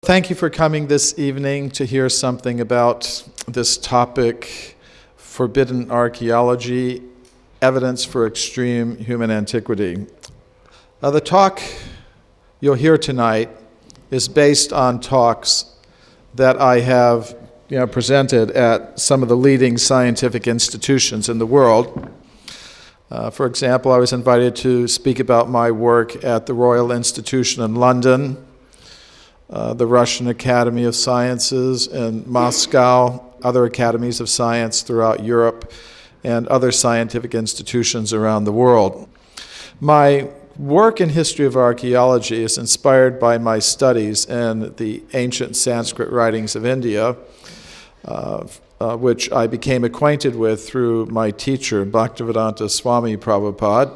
Thank you for coming this evening to hear something about this topic, forbidden archaeology, evidence for extreme human antiquity. The talk you'll hear tonight is based on talks that I have presented at some of the leading scientific institutions in the world. For example, I was invited to speak about my work at the Royal Institution in London, the Russian Academy of Sciences in Moscow, other academies of science throughout Europe, and other scientific institutions around the world. My work in history of archaeology is inspired by my studies in the ancient Sanskrit writings of India, which I became acquainted with through my teacher, Bhaktivedanta Swami Prabhupada.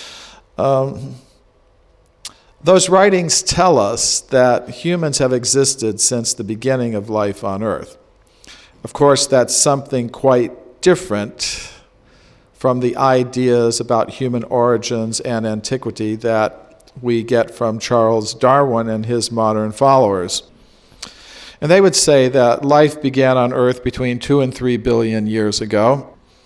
Those writings tell us that humans have existed since the beginning of life on Earth. Of course, that's something quite different from the ideas about human origins and antiquity that we get from Charles Darwin and his modern followers. And they would say that life began on Earth between 2 and 3 billion years ago.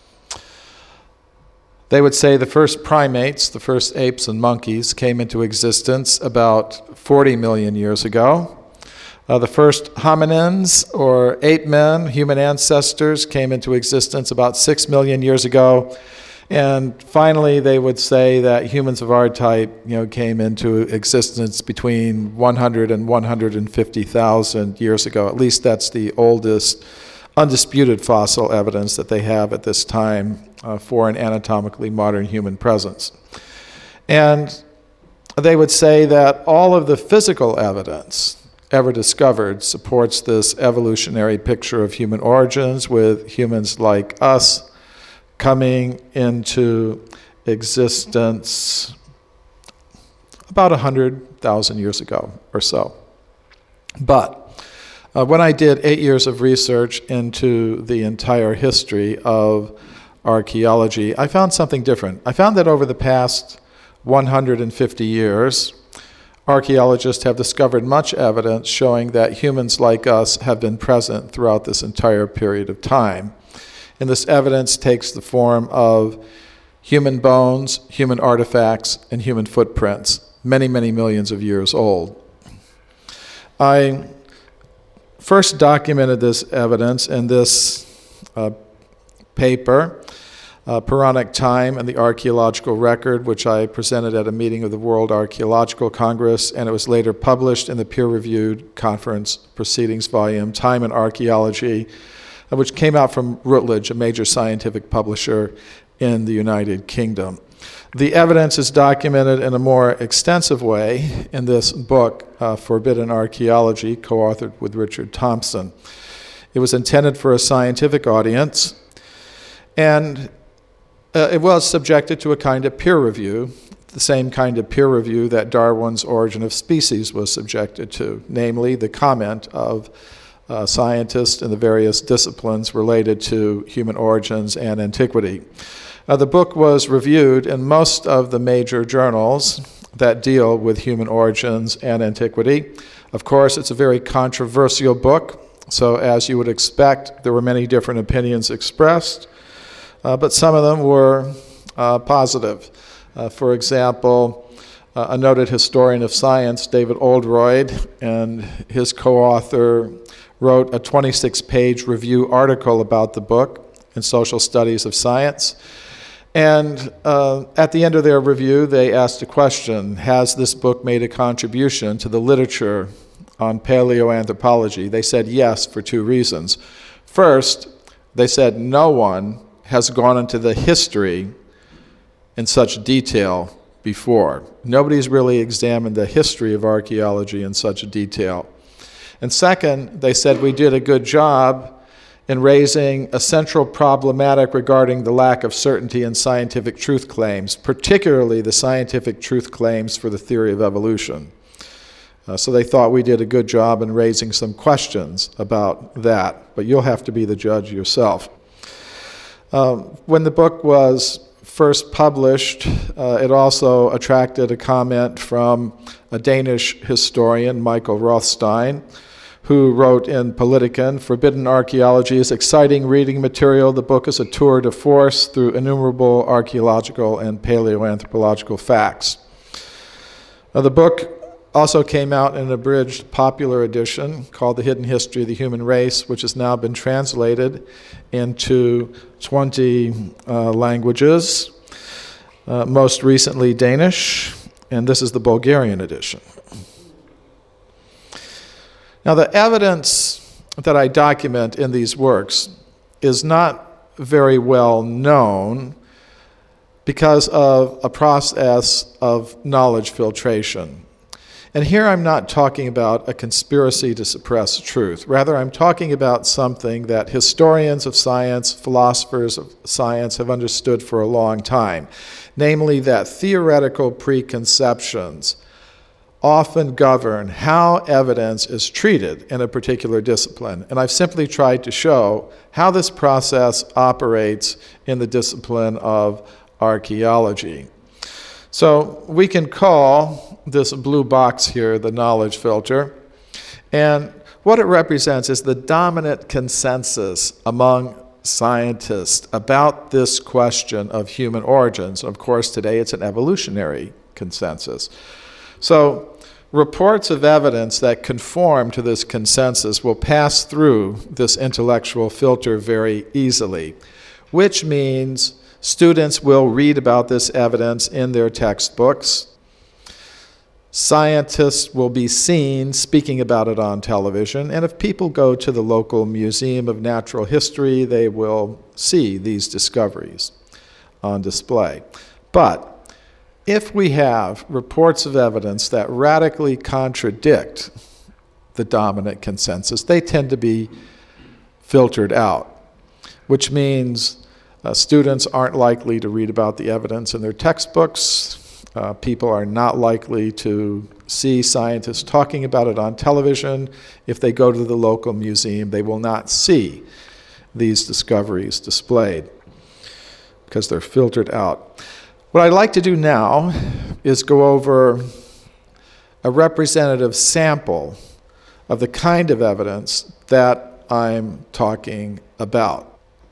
They would say the first primates, the first apes and monkeys, came into existence about 40 million years ago. The first hominins, or ape men, human ancestors, came into existence about 6 million years ago. And finally, they would say that humans of our type, came into existence between 100 and 150,000 years ago. At least that's the oldest undisputed fossil evidence that they have at this time for an anatomically modern human presence. And they would say that all of the physical evidence ever discovered supports this evolutionary picture of human origins, with humans like us coming into existence about 100,000 years ago or so. But when I did 8 years of research into the entire history of archaeology, I found something different. I found that over the past 150 years, archaeologists have discovered much evidence showing that humans like us have been present throughout this entire period of time. And this evidence takes the form of human bones, human artifacts, and human footprints, many, many millions of years old. I first documented this evidence in this paper, Puranic Time and the Archaeological Record, which I presented at a meeting of the World Archaeological Congress, and it was later published in the peer-reviewed conference proceedings volume, Time and Archaeology, which came out from Routledge, a major scientific publisher in the United Kingdom. The evidence is documented in a more extensive way in this book, Forbidden Archaeology, co-authored with Richard Thompson. It was intended for a scientific audience, and it was subjected to a kind of peer review, the same kind of peer review that Darwin's Origin of Species was subjected to, namely the comment of scientists in the various disciplines related to human origins and antiquity. The book was reviewed in most of the major journals that deal with human origins and antiquity. Of course, it's a very controversial book, so as you would expect, there were many different opinions expressed, but some of them were positive. For example, a noted historian of science, David Oldroyd, and his co-author wrote a 26-page review article about the book in Social Studies of Science. And at the end of their review, they asked a question: has this book made a contribution to the literature on paleoanthropology? They said yes, for two reasons. First, they said no one has gone into the history in such detail before. Nobody's really examined the history of archaeology in such detail. And second, they said we did a good job in raising a central problematic regarding the lack of certainty in scientific truth claims, particularly the scientific truth claims for the theory of evolution. So they thought we did a good job in raising some questions about that, but you'll have to be the judge yourself. When the book was first published, it also attracted a comment from a Danish historian, Michael Rothstein, who wrote in Politiken, "Forbidden Archaeology is exciting reading material. The book is a tour de force through innumerable archaeological and paleoanthropological facts." The book also came out in an abridged popular edition called The Hidden History of the Human Race, which has now been translated into 20 languages, most recently Danish, and this is the Bulgarian edition. Now, the evidence that I document in these works is not very well known because of a process of knowledge filtration. And here I'm not talking about a conspiracy to suppress truth. Rather, I'm talking about something that historians of science, philosophers of science have understood for a long time, namely that theoretical preconceptions often govern how evidence is treated in a particular discipline. And I've simply tried to show how this process operates in the discipline of archaeology. So we can call this blue box here the knowledge filter, and what it represents is the dominant consensus among scientists about this question of human origins. Of course, today it's an evolutionary consensus. So reports of evidence that conform to this consensus will pass through this intellectual filter very easily, which means students will read about this evidence in their textbooks. Scientists will be seen speaking about it on television, and if people go to the local Museum of Natural History, they will see these discoveries on display. But if we have reports of evidence that radically contradict the dominant consensus, they tend to be filtered out, which means students aren't likely to read about the evidence in their textbooks. People are not likely to see scientists talking about it on television. If they go to the local museum, they will not see these discoveries displayed because they're filtered out. What I'd like to do now is go over a representative sample of the kind of evidence that I'm talking about.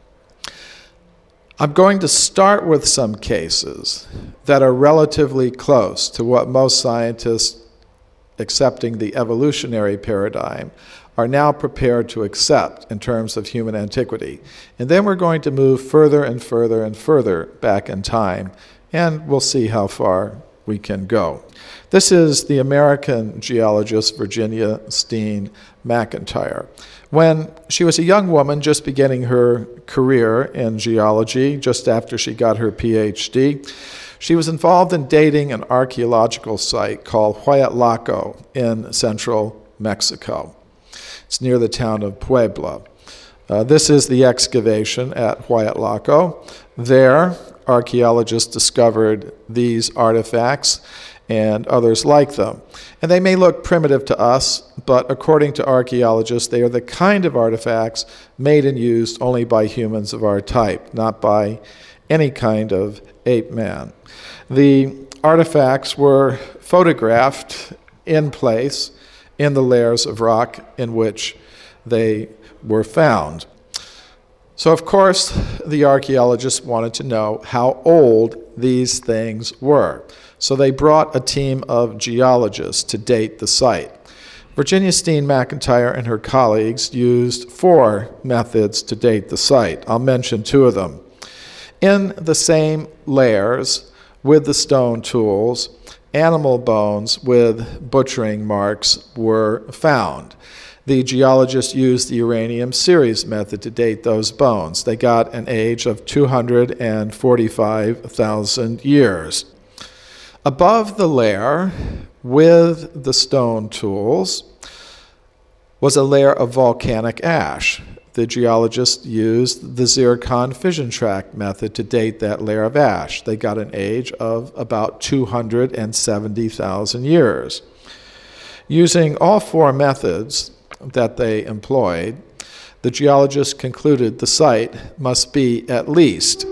I'm going to start with some cases that are relatively close to what most scientists accepting the evolutionary paradigm are now prepared to accept in terms of human antiquity. And then we're going to move further and further and further back in time, and we'll see how far we can go. This is the American geologist Virginia Steen McIntyre. When she was a young woman just beginning her career in geology, just after she got her PhD, she was involved in dating an archaeological site called Hueyatlaco in central Mexico. It's near the town of Puebla. This is the excavation at Hueyatlaco. There, archaeologists discovered these artifacts and others like them. And they may look primitive to us, but according to archaeologists, they are the kind of artifacts made and used only by humans of our type, not by any kind of ape man. The artifacts were photographed in place in the layers of rock in which they were found. So, of course, the archaeologists wanted to know how old these things were. So they brought a team of geologists to date the site. Virginia Steen McIntyre and her colleagues used 4 methods to date the site. I'll mention 2 of them. In the same layers with the stone tools, animal bones with butchering marks were found. The geologists used the uranium series method to date those bones. They got an age of 245,000 years. Above the layer with the stone tools was a layer of volcanic ash. The geologists used the zircon fission track method to date that layer of ash. They got an age of about 270,000 years. Using all 4 methods that they employed, the geologists concluded the site must be at least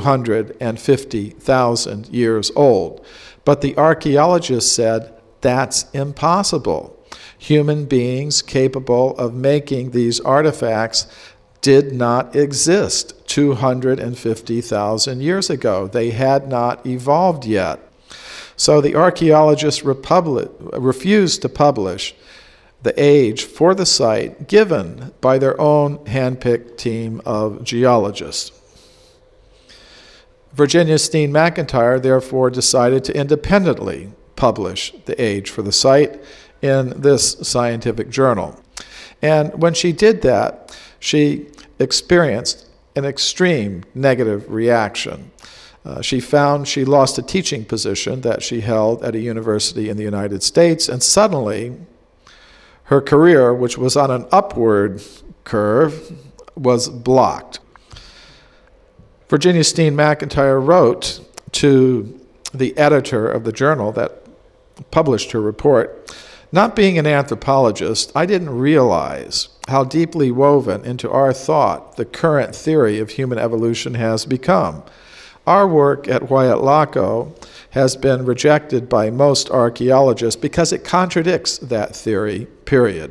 250,000 years old. But the archaeologists said that's impossible. Human beings capable of making these artifacts did not exist 250,000 years ago. They had not evolved yet. So the archaeologists refused to publish the age for the site given by their own hand-picked team of geologists. Virginia Steen McIntyre therefore decided to independently publish the age for the site in this scientific journal. And when she did that, she experienced an extreme negative reaction. She found she lost a teaching position that she held at a university in the United States, and suddenly her career, which was on an upward curve, was blocked. Virginia Steen McIntyre wrote to the editor of the journal that published her report, "Not being an anthropologist, I didn't realize how deeply woven into our thought the current theory of human evolution has become. Our work at Huayatlaco has been rejected by most archaeologists because it contradicts that theory, period."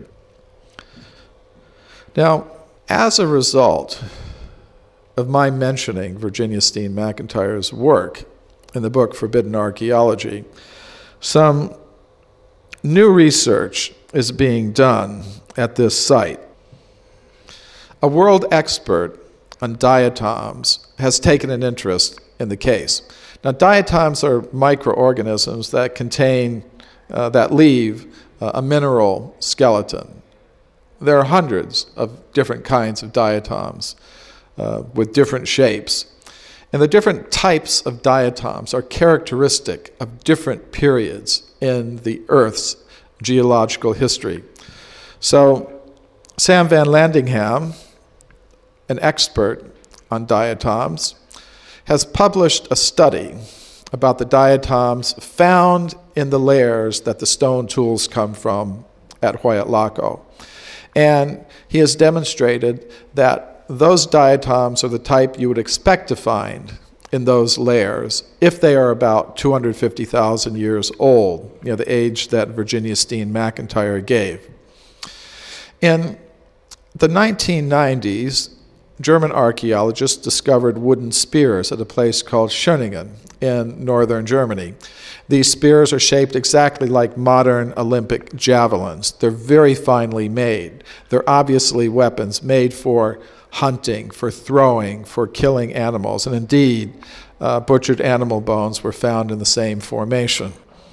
Now, as a result of my mentioning Virginia Steen McIntyre's work in the book Forbidden Archaeology, some new research is being done at this site. A world expert on diatoms has taken an interest in the case. Now, diatoms are microorganisms that leave a mineral skeleton. There are hundreds of different kinds of diatoms with different shapes. And the different types of diatoms are characteristic of different periods in the Earth's geological history. So Sam Van Landingham, an expert on diatoms, has published a study about the diatoms found in the layers that the stone tools come from at Huayatlaco. And he has demonstrated that those diatoms are the type you would expect to find in those layers if they are about 250,000 years old, the age that Virginia Steen McIntyre gave. In the 1990s, German archaeologists discovered wooden spears at a place called Schöningen in northern Germany. These spears are shaped exactly like modern Olympic javelins. They're very finely made. They're obviously weapons made for hunting, for throwing, for killing animals. And indeed, butchered animal bones were found in the same formation.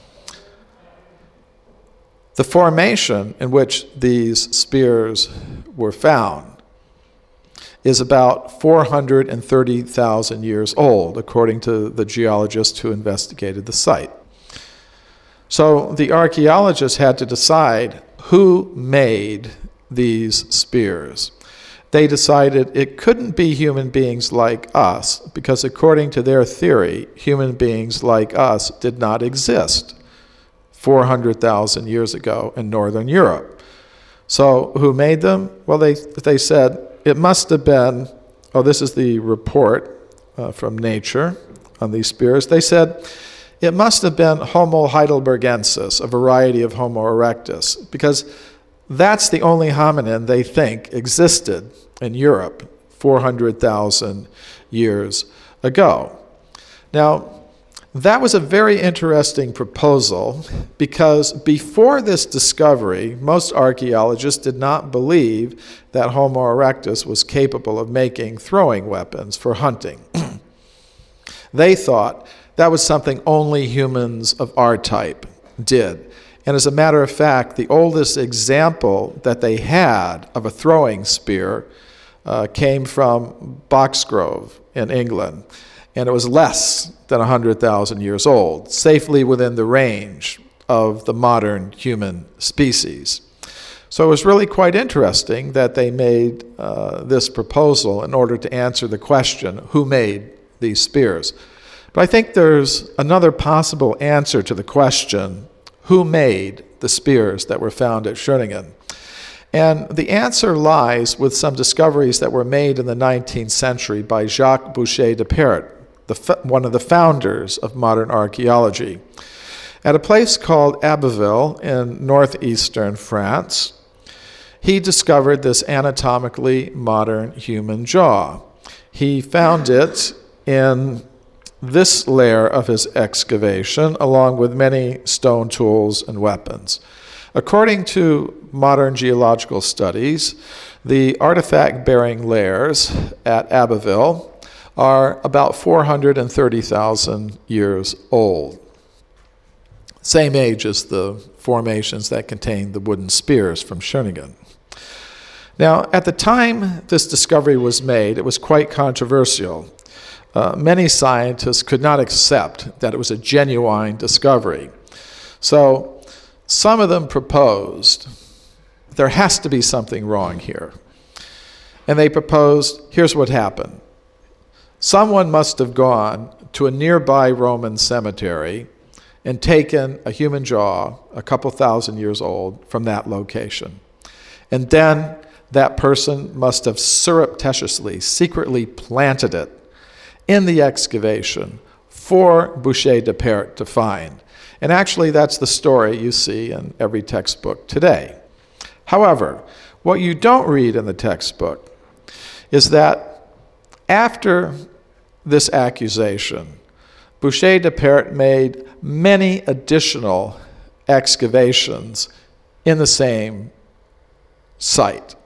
The formation in which these spears were found is about 430,000 years old, according to the geologist who investigated the site. So the archaeologists had to decide who made these spears. They decided it couldn't be human beings like us, because according to their theory, human beings like us did not exist 400,000 years ago in Northern Europe. So who made them? Well, they said it must have been, this is the report from Nature on these spears. They said it must have been Homo heidelbergensis, a variety of Homo erectus, because that's the only hominin they think existed in Europe 400,000 years ago. Now, that was a very interesting proposal because before this discovery, most archaeologists did not believe that Homo erectus was capable of making throwing weapons for hunting. They thought that was something only humans of our type did. And as a matter of fact, the oldest example that they had of a throwing spear came from Boxgrove in England. And it was less than 100,000 years old, safely within the range of the modern human species. So it was really quite interesting that they made this proposal in order to answer the question, who made these spears? But I think there's another possible answer to the question, who made the spears that were found at Schöningen? And the answer lies with some discoveries that were made in the 19th century by Jacques Boucher de Perret, one of the founders of modern archaeology, at a place called Abbeville in northeastern France. He discovered this anatomically modern human jaw. He found it in this layer of his excavation, along with many stone tools and weapons. According to modern geological studies, the artifact-bearing layers at Abbeville are about 430,000 years old. Same age as the formations that contain the wooden spears from Schöningen. Now, at the time this discovery was made, it was quite controversial. Many scientists could not accept that it was a genuine discovery. So some of them proposed there has to be something wrong here. And they proposed, here's what happened. Someone must have gone to a nearby Roman cemetery and taken a human jaw, a couple thousand years old, from that location. And then that person must have surreptitiously, secretly planted it in the excavation for Boucher de Perret to find. And actually, that's the story you see in every textbook today. However, what you don't read in the textbook is that after this accusation, Boucher de Perret made many additional excavations in the same site.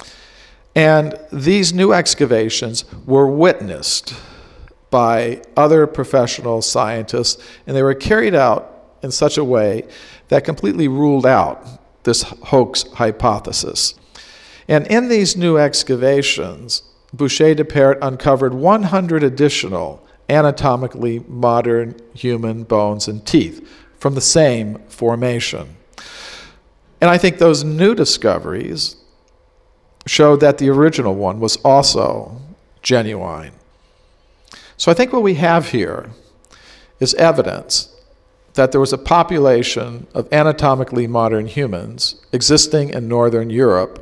And these new excavations were witnessed by other professional scientists, and they were carried out in such a way that completely ruled out this hoax hypothesis. And in these new excavations, Boucher de Perret uncovered 100 additional anatomically modern human bones and teeth from the same formation. And I think those new discoveries showed that the original one was also genuine. So I think what we have here is evidence that there was a population of anatomically modern humans existing in northern Europe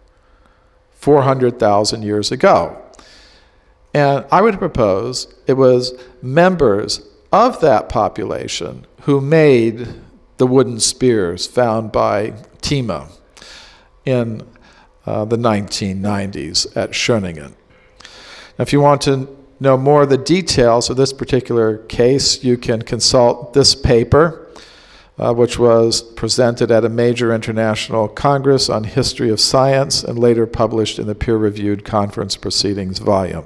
400,000 years ago. And I would propose it was members of that population who made the wooden spears found by Thieme in the 1990s at Schöningen. Now, if you want to know more of the details of this particular case, you can consult this paper, which was presented at a major international congress on history of science and later published in the peer-reviewed conference proceedings volume.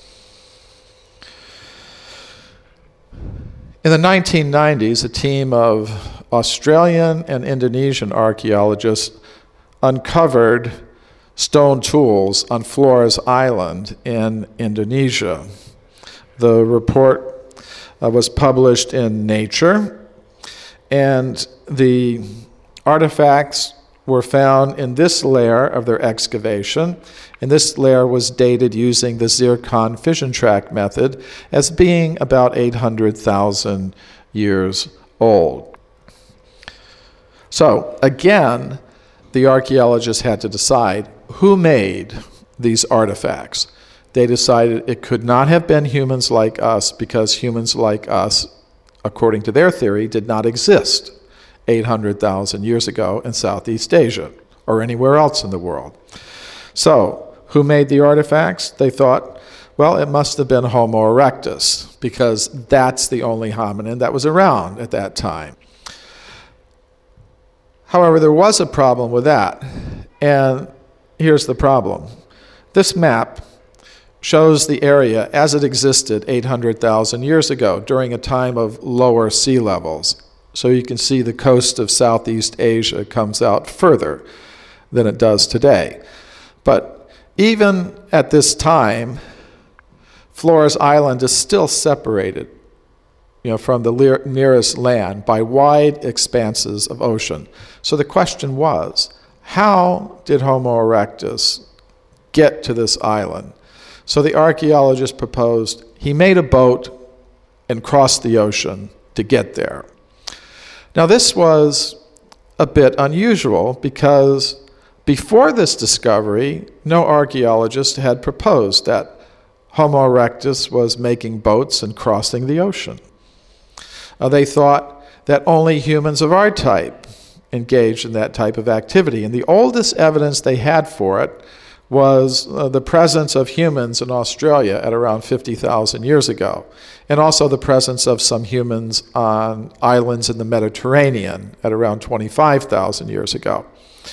In the 1990s, a team of Australian and Indonesian archaeologists uncovered stone tools on Flores Island in Indonesia. The report was published in Nature, and the artifacts were found in this layer of their excavation, and this layer was dated using the zircon fission track method as being about 800,000 years old. So again, the archaeologists had to decide who made these artifacts. They decided it could not have been humans like us because humans like us, according to their theory, did not exist 800,000 years ago in Southeast Asia or anywhere else in the world. So, who made the artifacts? They thought, well, it must have been Homo erectus because that's the only hominin that was around at that time. However, there was a problem with that, and here's the problem. This map shows the area as it existed 800,000 years ago during a time of lower sea levels. So you can see the coast of Southeast Asia comes out further than it does today. But even at this time, Flores Island is still separated, from the nearest land by wide expanses of ocean. So the question was, how did Homo erectus get to this island? So the archaeologists proposed he made a boat and crossed the ocean to get there. Now this was a bit unusual because Before this discovery, no archaeologist had proposed that Homo erectus was making boats and crossing the ocean. They thought that only humans of our type engaged in that type of activity. And the oldest evidence they had for it was the presence of humans in Australia at around 50,000 years ago, and also the presence of some humans on islands in the Mediterranean at around 25,000 years ago.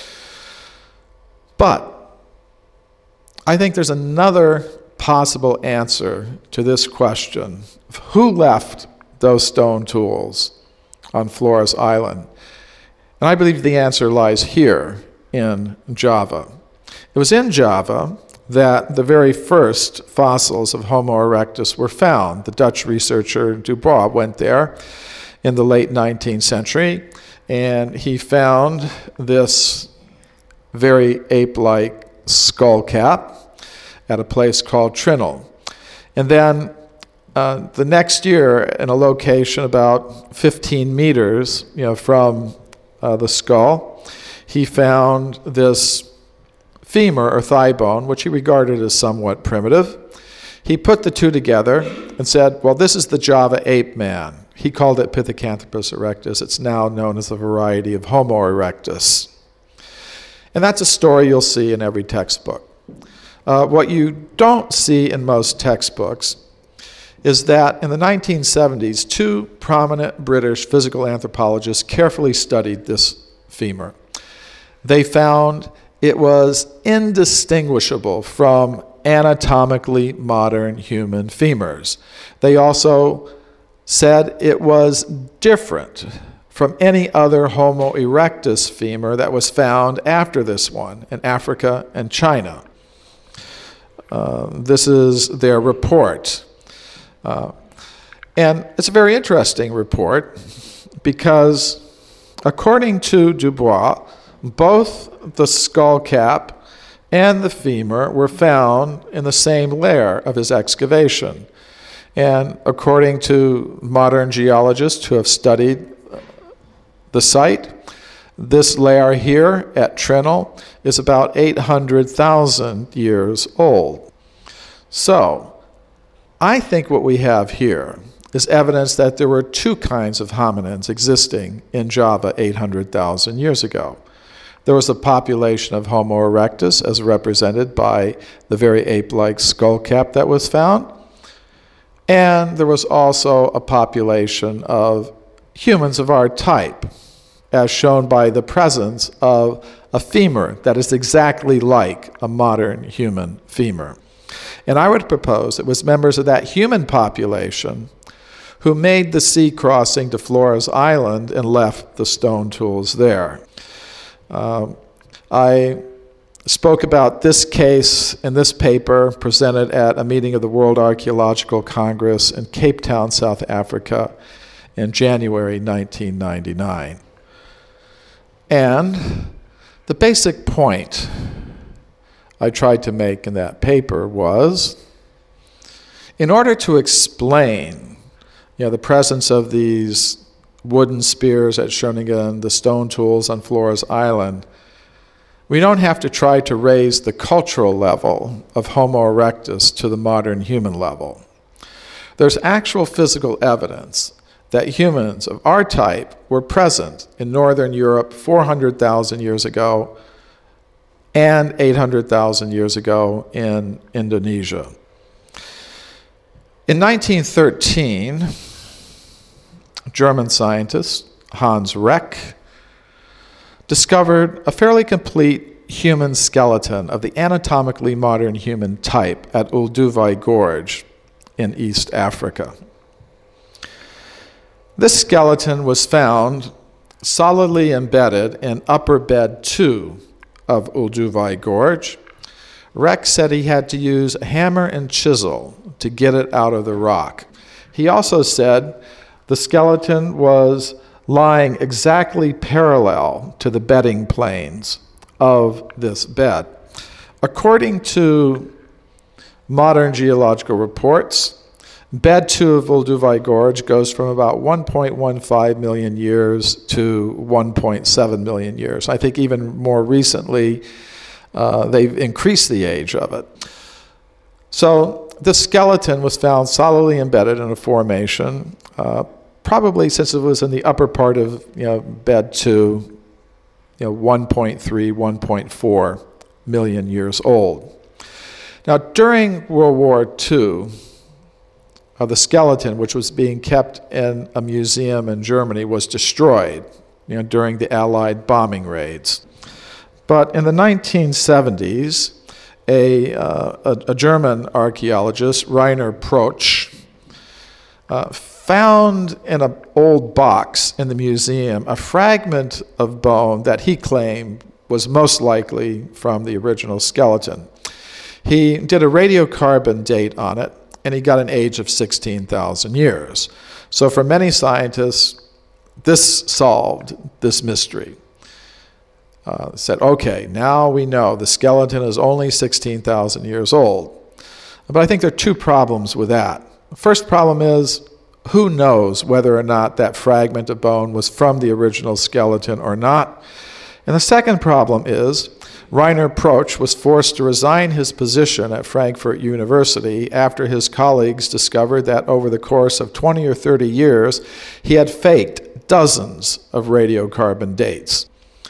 But I think there's another possible answer to this question: who left those stone tools on Flores Island? And I believe the answer lies here in Java. It was in Java that the very first fossils of Homo erectus were found. The Dutch researcher Dubois went there in the late 19th century, and he found this very ape-like skull cap at a place called Trinil. And then the next year, in a location about 15 meters from the skull, he found this femur or thigh bone, which he regarded as somewhat primitive. He put the two together and said, well, this is the Java ape man. He called it Pithecanthropus erectus. It's now known as a variety of Homo erectus. And that's a story you'll see in every textbook. What you don't see in most textbooks is that in the 1970s, two prominent British physical anthropologists carefully studied this femur. They found it was indistinguishable from anatomically modern human femurs. They also said it was different from any other Homo erectus femur that was found after this one in Africa and China. This is their report. And it's a very interesting report because, according to Dubois, both the skull cap and the femur were found in the same layer of his excavation. And according to modern geologists who have studied the site, this layer here at Trinil is about 800,000 years old. So, I think what we have here is evidence that there were two kinds of hominins existing in Java 800,000 years ago. There was a population of Homo erectus, as represented by the very ape-like skull cap that was found, and there was also a population of humans of our type, as shown by the presence of a femur that is exactly like a modern human femur. And I would propose it was members of that human population who made the sea crossing to Flores Island and left the stone tools there. I spoke about this case in this paper presented at a meeting of the World Archaeological Congress in Cape Town, South Africa in January 1999. And the basic point I tried to make in that paper was, in order to explain the presence of these wooden spears at Schoningen, the stone tools on Flores Island, we don't have to try to raise the cultural level of Homo erectus to the modern human level. There's actual physical evidence that humans of our type were present in northern Europe 400,000 years ago and 800,000 years ago in Indonesia. In 1913, German scientist Hans Reck discovered a fairly complete human skeleton of the anatomically modern human type at Olduvai Gorge in East Africa. This skeleton was found solidly embedded in upper bed 2 of Olduvai Gorge. Reck said he had to use a hammer and chisel to get it out of the rock. He also said the skeleton was lying exactly parallel to the bedding planes of this bed. According to modern geological reports, Bed 2 of Olduvai Gorge goes from about 1.15 million years to 1.7 million years. I think even more recently, they've increased the age of it. So the skeleton was found solidly embedded in a formation, probably since it was in the upper part of bed 2, 1.3, 1.4 million years old. Now, during World War II, the skeleton, which was being kept in a museum in Germany, was destroyed during the Allied bombing raids. But in the 1970s, a German archaeologist, Rainer Protsch, found in an old box in the museum a fragment of bone that he claimed was most likely from the original skeleton. He did a radiocarbon date on it, and he got an age of 16,000 years. So for many scientists, this solved this mystery. Said, okay, now we know the skeleton is only 16,000 years old. But I think there are two problems with that. The first problem is, who knows whether or not that fragment of bone was from the original skeleton or not? And the second problem is, Rainer Protsch was forced to resign his position at Frankfurt University after his colleagues discovered that over the course of 20 or 30 years, he had faked dozens of radiocarbon dates.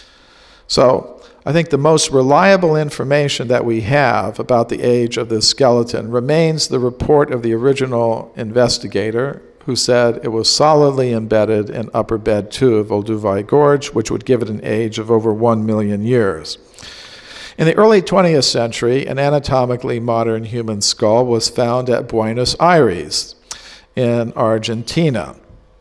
So I think the most reliable information that we have about the age of this skeleton remains the report of the original investigator, who said it was solidly embedded in upper bed 2 of Olduvai Gorge, which would give it an age of over 1 million years. In the early 20th century, an anatomically modern human skull was found at Buenos Aires in Argentina.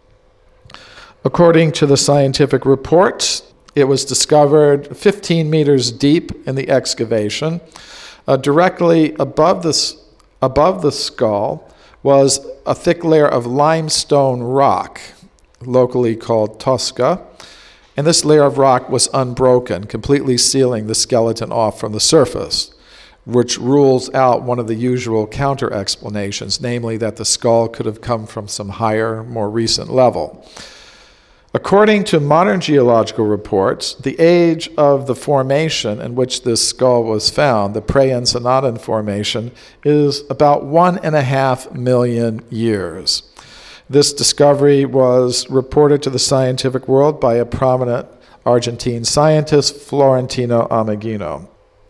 According to the scientific reports, it was discovered 15 meters deep in the excavation. Directly above the skull was a thick layer of limestone rock, locally called Tosca. And this layer of rock was unbroken, completely sealing the skeleton off from the surface, which rules out one of the usual counter-explanations, namely that the skull could have come from some higher, more recent level. According to modern geological reports, the age of the formation in which this skull was found, the Pre-Encenadan Formation, is about 1.5 million years. This discovery was reported to the scientific world by a prominent Argentine scientist, Florentino Ameghino.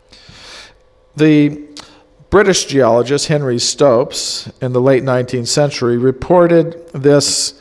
The British geologist Henry Stopes, in the late 19th century, reported this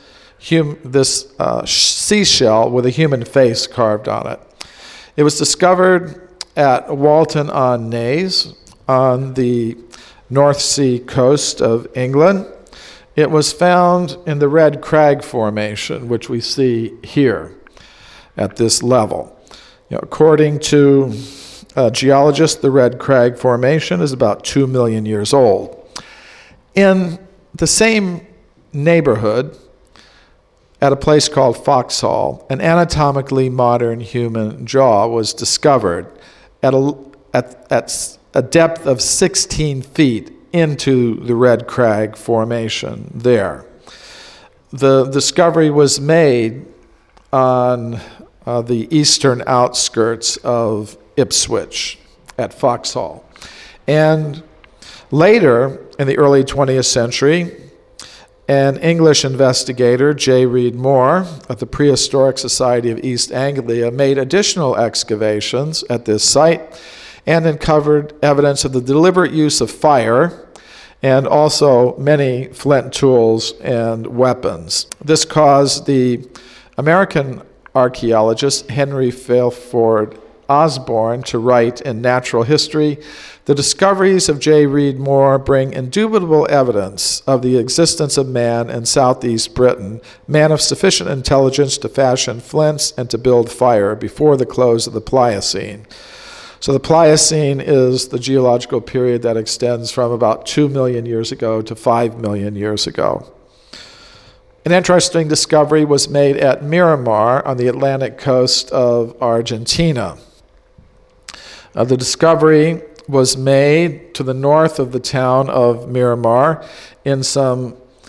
seashell with a human face carved on it. It was discovered at Walton-on-Naze on the North Sea coast of England. It was found in the Red Crag Formation, which we see here at this level. According to geologists, the Red Crag Formation is about 2 million years old. In the same neighborhood, at a place called Foxhall, an anatomically modern human jaw was discovered at a depth of 16 feet into the Red Crag Formation there. The discovery was made on the eastern outskirts of Ipswich at Foxhall. And later, in the early 20th century, an English investigator, J. Reed Moore, at the Prehistoric Society of East Anglia, made additional excavations at this site and uncovered evidence of the deliberate use of fire and also many flint tools and weapons. This caused the American archaeologist Henry Fairford Osborne to write in Natural History, "The discoveries of J. Reed Moore bring indubitable evidence of the existence of man in southeast Britain, man of sufficient intelligence to fashion flints and to build fire before the close of the Pliocene." So the Pliocene is the geological period that extends from about 2 million years ago to 5 million years ago. An interesting discovery was made at Miramar on the Atlantic coast of Argentina. The discovery was made to the north of the town of Miramar in some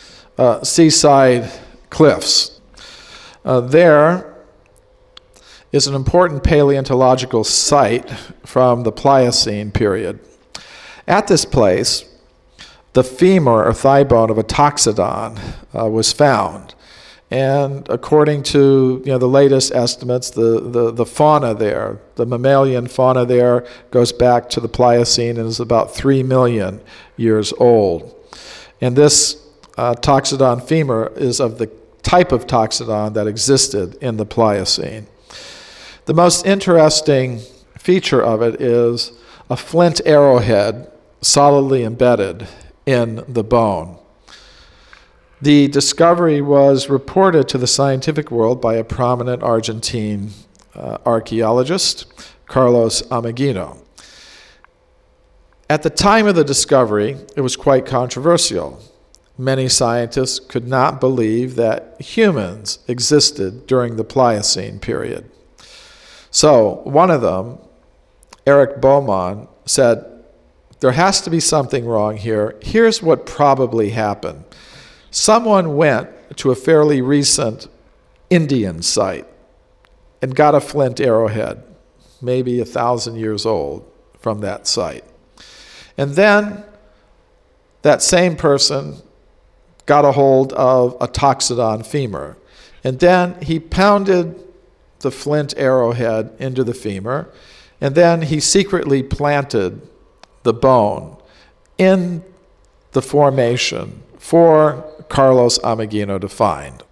seaside cliffs. There is an important paleontological site from the Pliocene period. At this place, the femur or thigh bone of a toxodon was found. And according to the latest estimates, the fauna there, the mammalian fauna there, goes back to the Pliocene and is about 3 million years old. And this toxodon femur is of the type of toxodon that existed in the Pliocene. The most interesting feature of it is a flint arrowhead solidly embedded in the bone. The discovery was reported to the scientific world by a prominent Argentine archaeologist, Carlos Ameghino. At the time of the discovery, it was quite controversial. Many scientists could not believe that humans existed during the Pliocene period. So one of them, Eric Baumann, said, there has to be something wrong here. Here's what probably happened. Someone went to a fairly recent Indian site and got a flint arrowhead, maybe 1,000 years old, from that site. And then that same person got a hold of a toxodon femur. And then he pounded the flint arrowhead into the femur, and then he secretly planted the bone in the formation for Carlos Ameghino to find.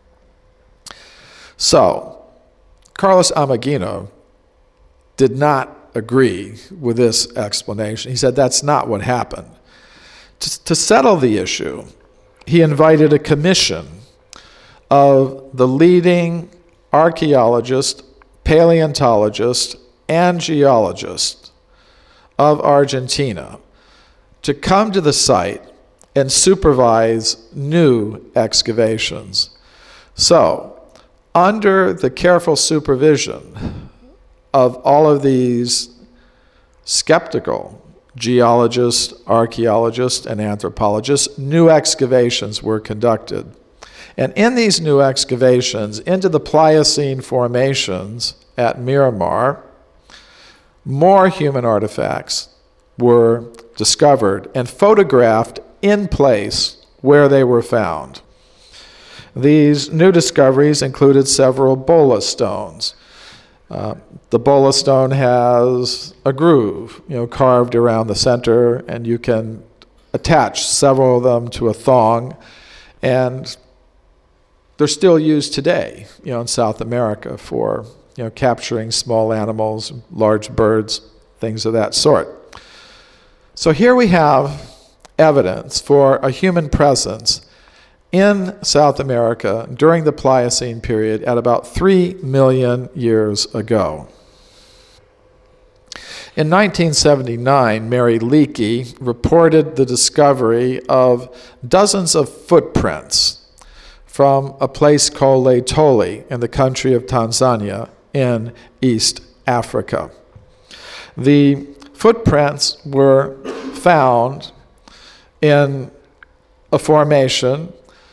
So, Carlos Ameghino did not agree with this explanation. He said that's not what happened. To settle the issue, he invited a commission of the leading archaeologists, paleontologists, and geologists of Argentina to come to the site and supervise new excavations. So, under the careful supervision of all of these skeptical geologists, archaeologists, and anthropologists, new excavations were conducted. And in these new excavations into the Pliocene formations at Miramar, more human artifacts were discovered and photographed in place where they were found. These new discoveries included several bola stones. The bola stone has a groove, carved around the center, and you can attach several of them to a thong, and they're still used today, in South America for, capturing small animals, large birds, things of that sort. So here we have evidence for a human presence in South America during the Pliocene period at about 3 million years ago. In 1979, Mary Leakey reported the discovery of dozens of footprints from a place called Laetoli in the country of Tanzania in East Africa. The footprints were found in a formation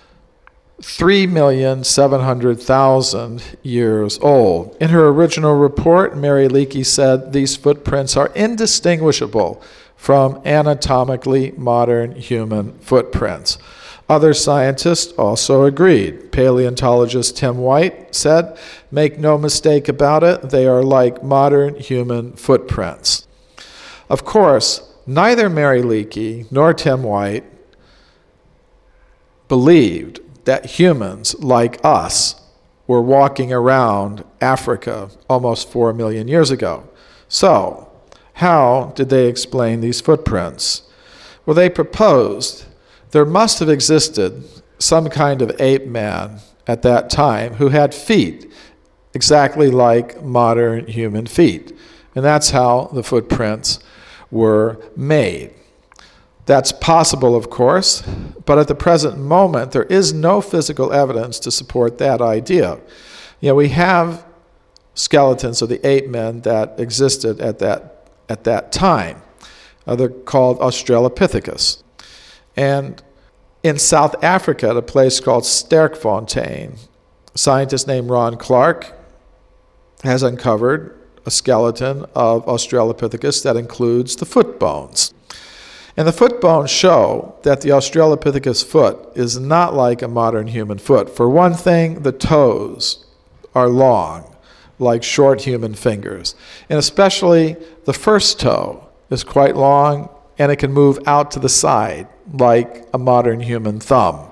3,700,000 years old. In her original report, Mary Leakey said these footprints are indistinguishable from anatomically modern human footprints. Other scientists also agreed. Paleontologist Tim White said, "Make no mistake about it, they are like modern human footprints." Of course, neither Mary Leakey nor Tim White believed that humans like us were walking around Africa almost 4 million years ago. So, how did they explain these footprints? Well, they proposed there must have existed some kind of ape man at that time who had feet exactly like modern human feet. And that's how the footprints were made. That's possible, of course, but at the present moment, there is no physical evidence to support that idea. We have skeletons of the ape men that existed at that time. They're called Australopithecus. And In South Africa, at a place called Sterkfontein, a scientist named Ron Clark has uncovered a skeleton of Australopithecus that includes the foot bones. And the foot bones show that the Australopithecus foot is not like a modern human foot. For one thing, the toes are long, like short human fingers. And especially the first toe is quite long, and it can move out to the side, like a modern human thumb.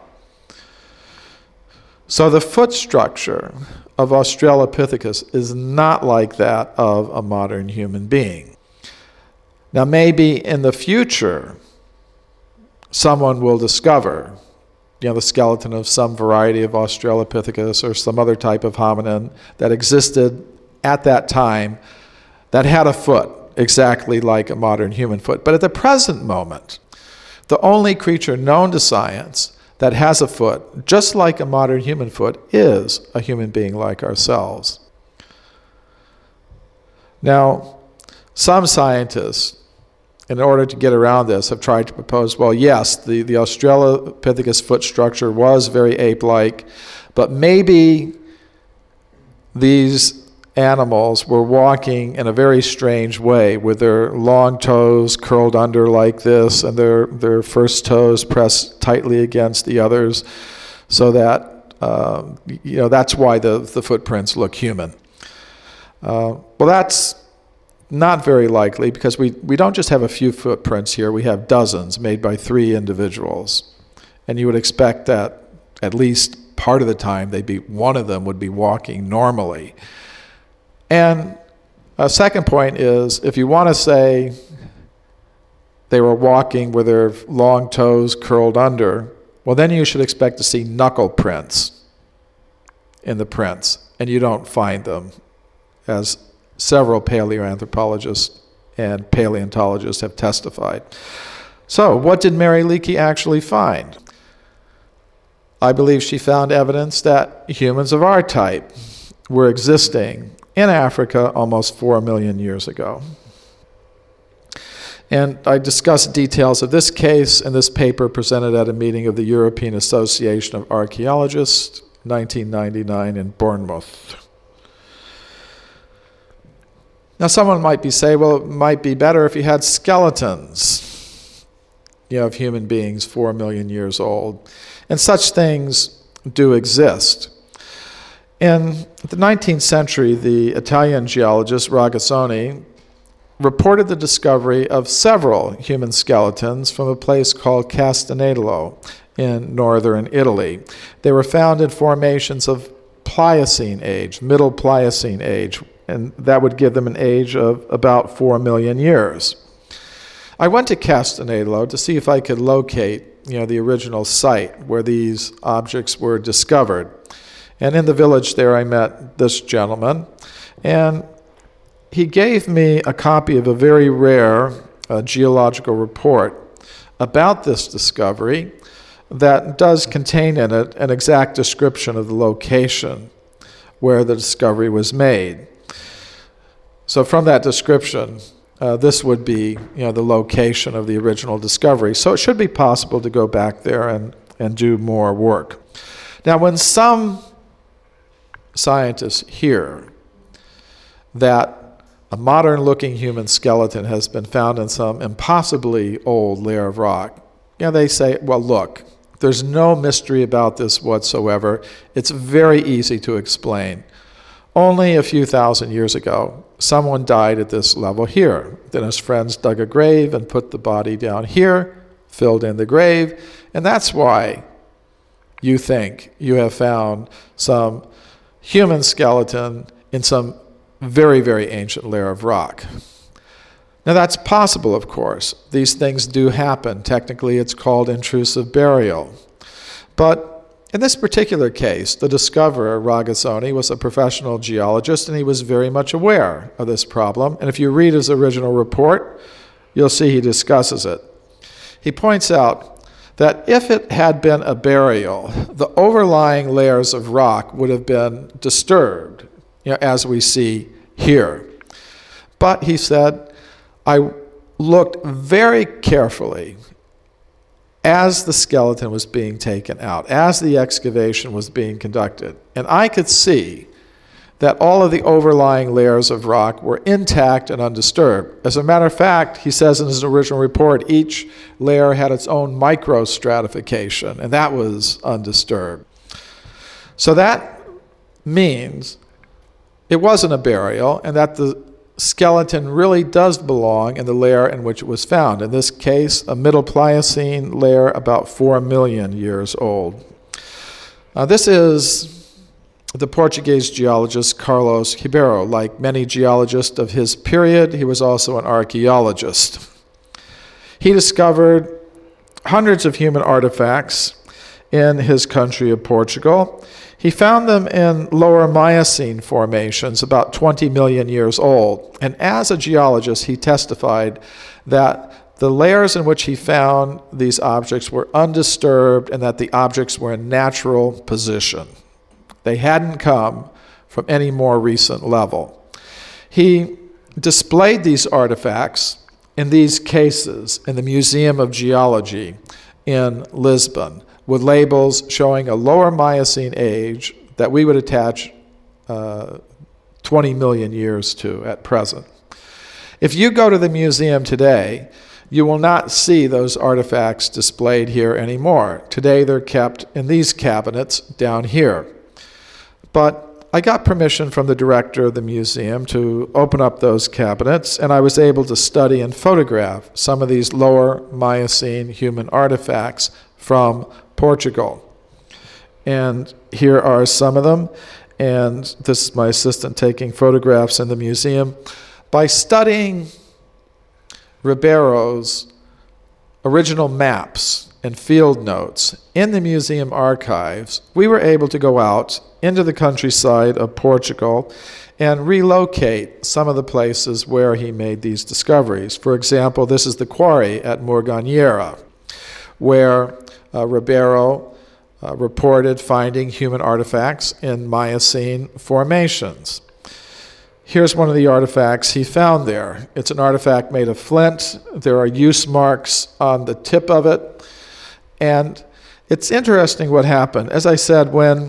So the foot structure of Australopithecus is not like that of a modern human being. Now, maybe in the future, someone will discover, the skeleton of some variety of Australopithecus or some other type of hominin that existed at that time that had a foot exactly like a modern human foot. But at the present moment, the only creature known to science that has a foot, just like a modern human foot, is a human being like ourselves. Now, some scientists, in order to get around this, have tried to propose, well, yes, the Australopithecus foot structure was very ape-like, but maybe these animals were walking in a very strange way with their long toes curled under like this and their first toes pressed tightly against the others, so that that's why the footprints look human. Well, that's not very likely, because we don't just have a few footprints here, we have dozens made by 3 individuals. And you would expect that at least part of the time one of them would be walking normally. And a second point is, if you want to say they were walking with their long toes curled under, well, then you should expect to see knuckle prints in the prints, and you don't find them, as several paleoanthropologists and paleontologists have testified. So, what did Mary Leakey actually find? I believe she found evidence that humans of our type were existing in Africa almost 4 million years ago. And I discussed details of this case in this paper presented at a meeting of the European Association of Archaeologists, 1999 in Bournemouth. Now, someone might say, well, it might be better if you had skeletons, of human beings 4 million years old. And such things do exist. In the 19th century, the Italian geologist Ragazzoni reported the discovery of several human skeletons from a place called Castanello in northern Italy. They were found in formations of Pliocene age, Middle Pliocene age, and that would give them an age of about 4 million years. I went to Castanello to see if I could locate, the original site where these objects were discovered. And in the village there, I met this gentleman, and he gave me a copy of a very rare geological report about this discovery that does contain in it an exact description of the location where the discovery was made. So from that description, this would be, the location of the original discovery. So it should be possible to go back there and do more work. Now, when some scientists hear that a modern-looking human skeleton has been found in some impossibly old layer of rock, they say, well, look, there's no mystery about this whatsoever. It's very easy to explain. Only a few thousand years ago, someone died at this level here. Then his friends dug a grave and put the body down here, filled in the grave, and that's why you think you have found some human skeleton in some very, very ancient layer of rock. Now that's possible, of course. These things do happen. Technically, it's called intrusive burial. But in this particular case, the discoverer, Ragazzoni, was a professional geologist, and he was very much aware of this problem. And if you read his original report, you'll see he discusses it. He points out that if it had been a burial, the overlying layers of rock would have been disturbed, as we see here. But, he said, I looked very carefully as the skeleton was being taken out, as the excavation was being conducted. And I could see that all of the overlying layers of rock were intact and undisturbed. As a matter of fact, he says in his original report, each layer had its own microstratification, and that was undisturbed. So that means it wasn't a burial, and that the skeleton really does belong in the layer in which it was found. In this case, a Middle Pliocene layer about 4 million years old. This is the Portuguese geologist Carlos Ribeiro. Like many geologists of his period, he was also an archaeologist. He discovered hundreds of human artifacts in his country of Portugal. He found them in lower Miocene formations, about 20 million years old. And as a geologist, he testified that the layers in which he found these objects were undisturbed and that the objects were in natural position. They hadn't come from any more recent level. He displayed these artifacts in these cases in the Museum of Geology in Lisbon, with labels showing a lower Miocene age that we would attach 20 million years to at present. If you go to the museum today, you will not see those artifacts displayed here anymore. Today they're kept in these cabinets down here. But I got permission from the director of the museum to open up those cabinets, and I was able to study and photograph some of these lower Miocene human artifacts from Portugal. And here are some of them, and this is my assistant taking photographs in the museum. By studying Ribeiro's original maps and field notes in the museum archives, we were able to go out into the countryside of Portugal and relocate some of the places where he made these discoveries. For example, this is the quarry at Morganheira, where Ribeiro reported finding human artifacts in Miocene formations. Here's one of the artifacts he found there. It's an artifact made of flint. There are use marks on the tip of it. And it's interesting what happened. As I said, when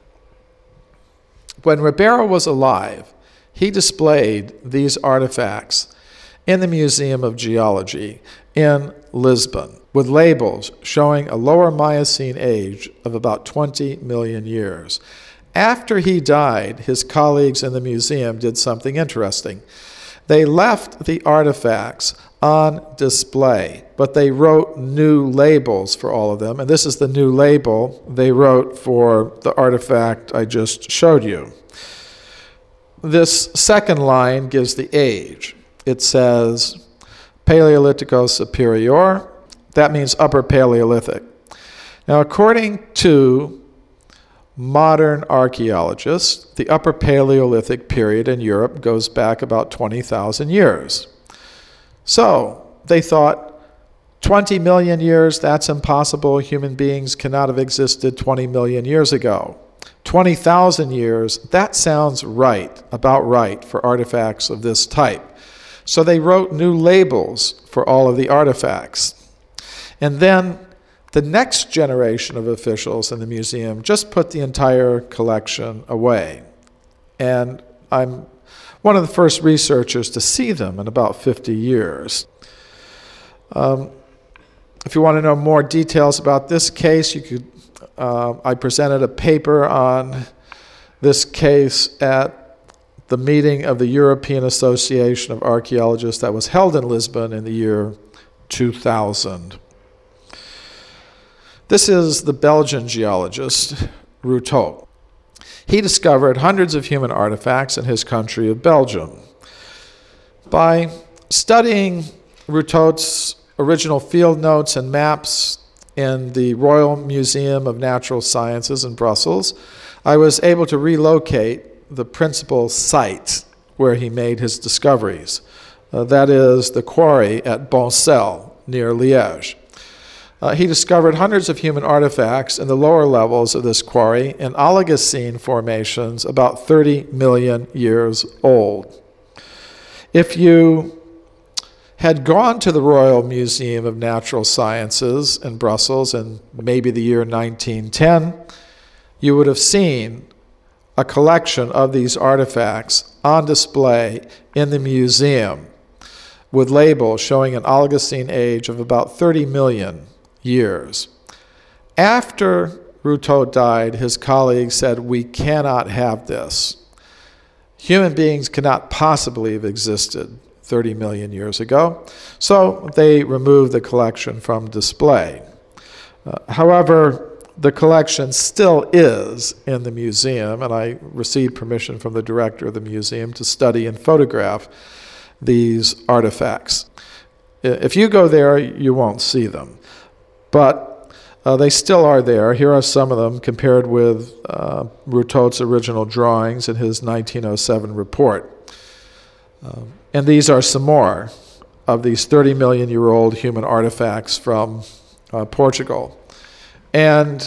Ribeiro was alive, he displayed these artifacts in the Museum of Geology in Lisbon with labels showing a lower Miocene age of about 20 million years. After he died, his colleagues in the museum did something interesting. They left the artifacts on display, but they wrote new labels for all of them, and this is the new label they wrote for the artifact I just showed you. This second line gives the age. It says Paleolitico Superior. That means Upper Paleolithic. Now, according to modern archaeologists, the Upper Paleolithic period in Europe goes back about 20,000 years. So they thought 20 million years, that's impossible. Human beings cannot have existed 20 million years ago. 20,000 years, that sounds right, about right for artifacts of this type. So they wrote new labels for all of the artifacts. And then the next generation of officials in the museum just put the entire collection away. And I'm one of the first researchers to see them in about 50 years. If you want to know more details about this case, you could. I presented a paper on this case at the meeting of the European Association of Archaeologists that was held in Lisbon in the year 2000. This is the Belgian geologist, Routot. He discovered hundreds of human artifacts in his country of Belgium. By studying Routot's original field notes and maps in the Royal Museum of Natural Sciences in Brussels, I was able to relocate the principal site where he made his discoveries. That is the quarry at Boncel, near Liège. He discovered hundreds of human artifacts in the lower levels of this quarry in Oligocene formations about 30 million years old. If you had gone to the Royal Museum of Natural Sciences in Brussels in maybe the year 1910, you would have seen a collection of these artifacts on display in the museum with labels showing an Oligocene age of about 30 million years. After Routot died, his colleagues said, "We cannot have this. Human beings cannot possibly have existed 30 million years ago." So they removed the collection from display. However, the collection still is in the museum, and I received permission from the director of the museum to study and photograph these artifacts. If you go there, you won't see them. But they still are there. Here are some of them compared with Routot's original drawings in his 1907 report. And these are some more of these 30 million year old human artifacts from Portugal. And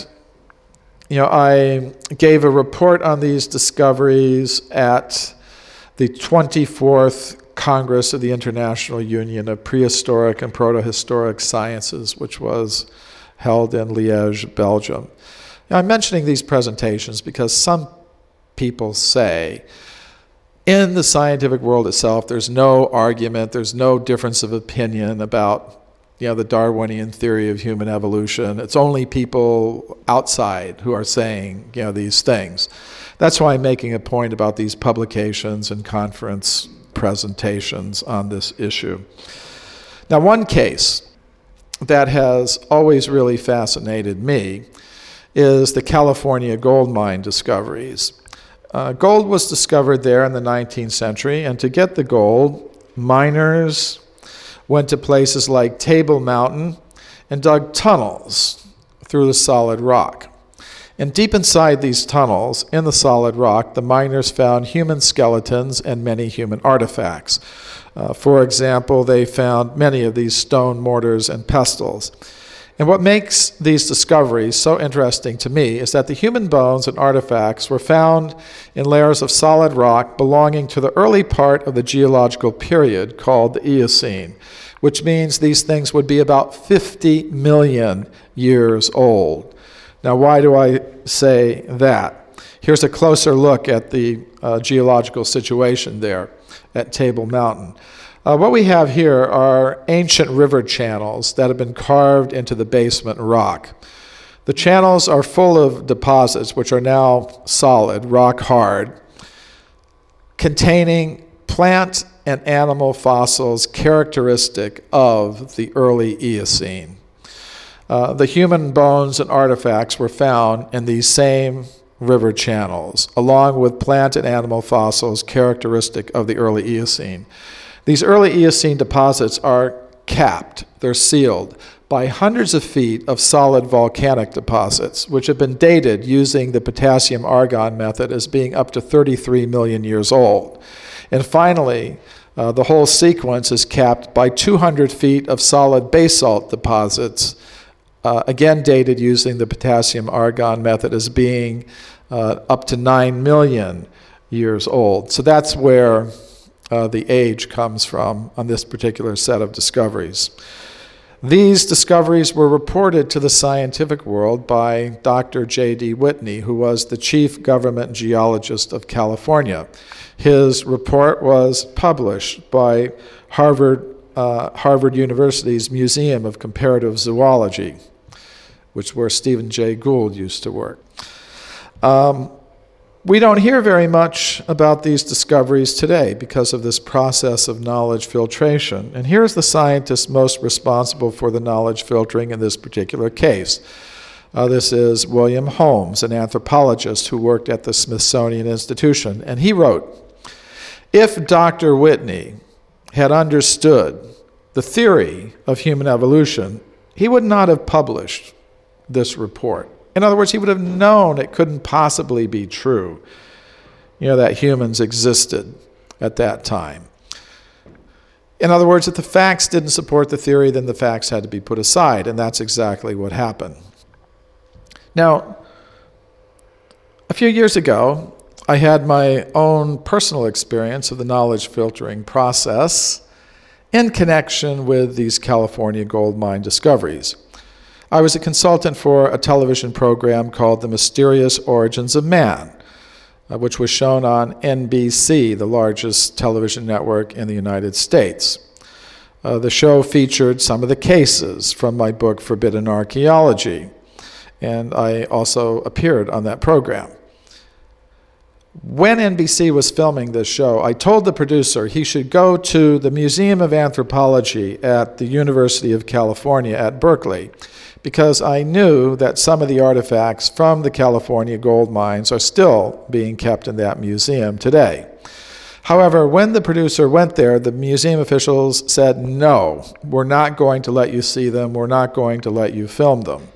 I gave a report on these discoveries at the 24th Congress of the International Union of Prehistoric and Protohistoric Sciences, which was held in Liège, Belgium. Now, I'm mentioning these presentations because some people say in the scientific world itself, there's no argument, there's no difference of opinion about the Darwinian theory of human evolution. It's only people outside who are saying these things. That's why I'm making a point about these publications and conference presentations on this issue. Now, one case that has always really fascinated me is the California gold mine discoveries. Gold was discovered there in the 19th century, and to get the gold, miners went to places like Table Mountain and dug tunnels through the solid rock. And deep inside these tunnels, in the solid rock, the miners found human skeletons and many human artifacts. For example, they found many of these stone mortars and pestles. And what makes these discoveries so interesting to me is that the human bones and artifacts were found in layers of solid rock belonging to the early part of the geological period called the Eocene, which means these things would be about 50 million years old. Now, why do I say that? Here's a closer look at the geological situation there at Table Mountain. What we have here are ancient river channels that have been carved into the basement rock. The channels are full of deposits, which are now solid, rock hard, containing plant and animal fossils characteristic of the early Eocene. The human bones and artifacts were found in these same river channels, along with plant and animal fossils characteristic of the early Eocene. These early Eocene deposits are capped, they're sealed, by hundreds of feet of solid volcanic deposits, which have been dated using the potassium-argon method as being up to 33 million years old. And finally, the whole sequence is capped by 200 feet of solid basalt deposits, again dated using the potassium-argon method as being up to 9 million years old. So that's where the age comes from on this particular set of discoveries. These discoveries were reported to the scientific world by Dr. J.D. Whitney, who was the chief government geologist of California. His report was published by Harvard University's Museum of Comparative Zoology, which is where Stephen Jay Gould used to work. We don't hear very much about these discoveries today because of this process of knowledge filtration. And here's the scientist most responsible for the knowledge filtering in this particular case. This is William Holmes, an anthropologist who worked at the Smithsonian Institution. And he wrote, "If Dr. Whitney had understood the theory of human evolution, he would not have published this report. In other words, he would have known it couldn't possibly be true, that humans existed at that time. In other words, if the facts didn't support the theory, then the facts had to be put aside, and that's exactly what happened." Now, a few years ago, I had my own personal experience of the knowledge filtering process, in connection with these California gold mine discoveries. I was a consultant for a television program called The Mysterious Origins of Man, which was shown on NBC, the largest television network in the United States. The show featured some of the cases from my book, Forbidden Archaeology, and I also appeared on that program. When NBC was filming this show, I told the producer he should go to the Museum of Anthropology at the University of California at Berkeley, because I knew that some of the artifacts from the California gold mines are still being kept in that museum today. However, when the producer went there, the museum officials said, no, we're not going to let you see them, we're not going to let you film them.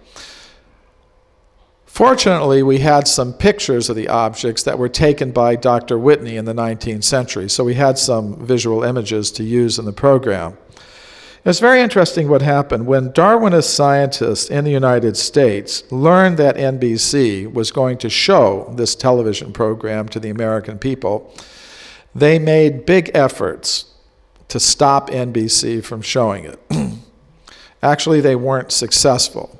Fortunately, we had some pictures of the objects that were taken by Dr. Whitney in the 19th century, so we had some visual images to use in the program. It's very interesting what happened. When Darwinist scientists in the United States learned that NBC was going to show this television program to the American people, they made big efforts to stop NBC from showing it. Actually, they weren't successful.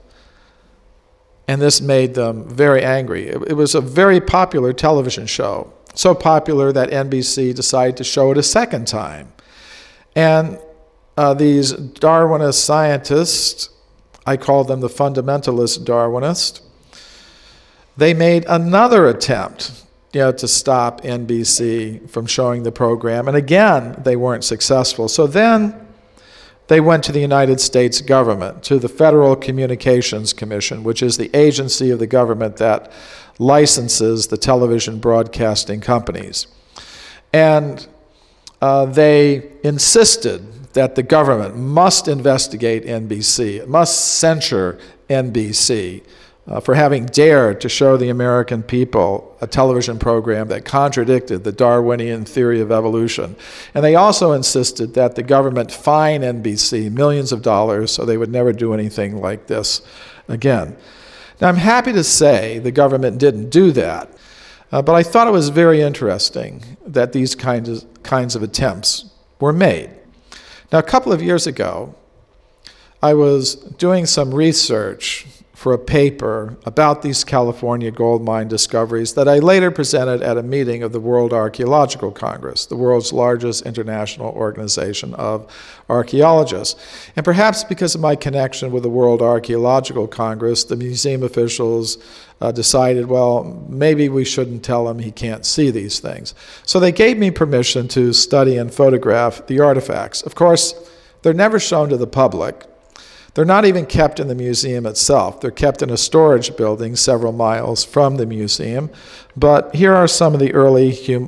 And this made them very angry. It was a very popular television show, so popular that NBC decided to show it a second time. And these Darwinist scientists, I call them the fundamentalist Darwinists, they made another attempt to stop NBC from showing the program. And again, they weren't successful. So then they went to the United States government, to the Federal Communications Commission, which is the agency of the government that licenses the television broadcasting companies. And they insisted that the government must investigate NBC, it must censure NBC for having dared to show the American people a television program that contradicted the Darwinian theory of evolution. And they also insisted that the government fine NBC millions of dollars so they would never do anything like this again. Now, I'm happy to say the government didn't do that, but I thought it was very interesting that these kinds of attempts were made. Now, a couple of years ago, I was doing some research for a paper about these California gold mine discoveries that I later presented at a meeting of the World Archaeological Congress, the world's largest international organization of archaeologists. And perhaps because of my connection with the World Archaeological Congress, the museum officials decided, well, maybe we shouldn't tell him he can't see these things. So they gave me permission to study and photograph the artifacts. Of course, they're never shown to the public. They're not even kept in the museum itself. They're kept in a storage building several miles from the museum. But here are some of the early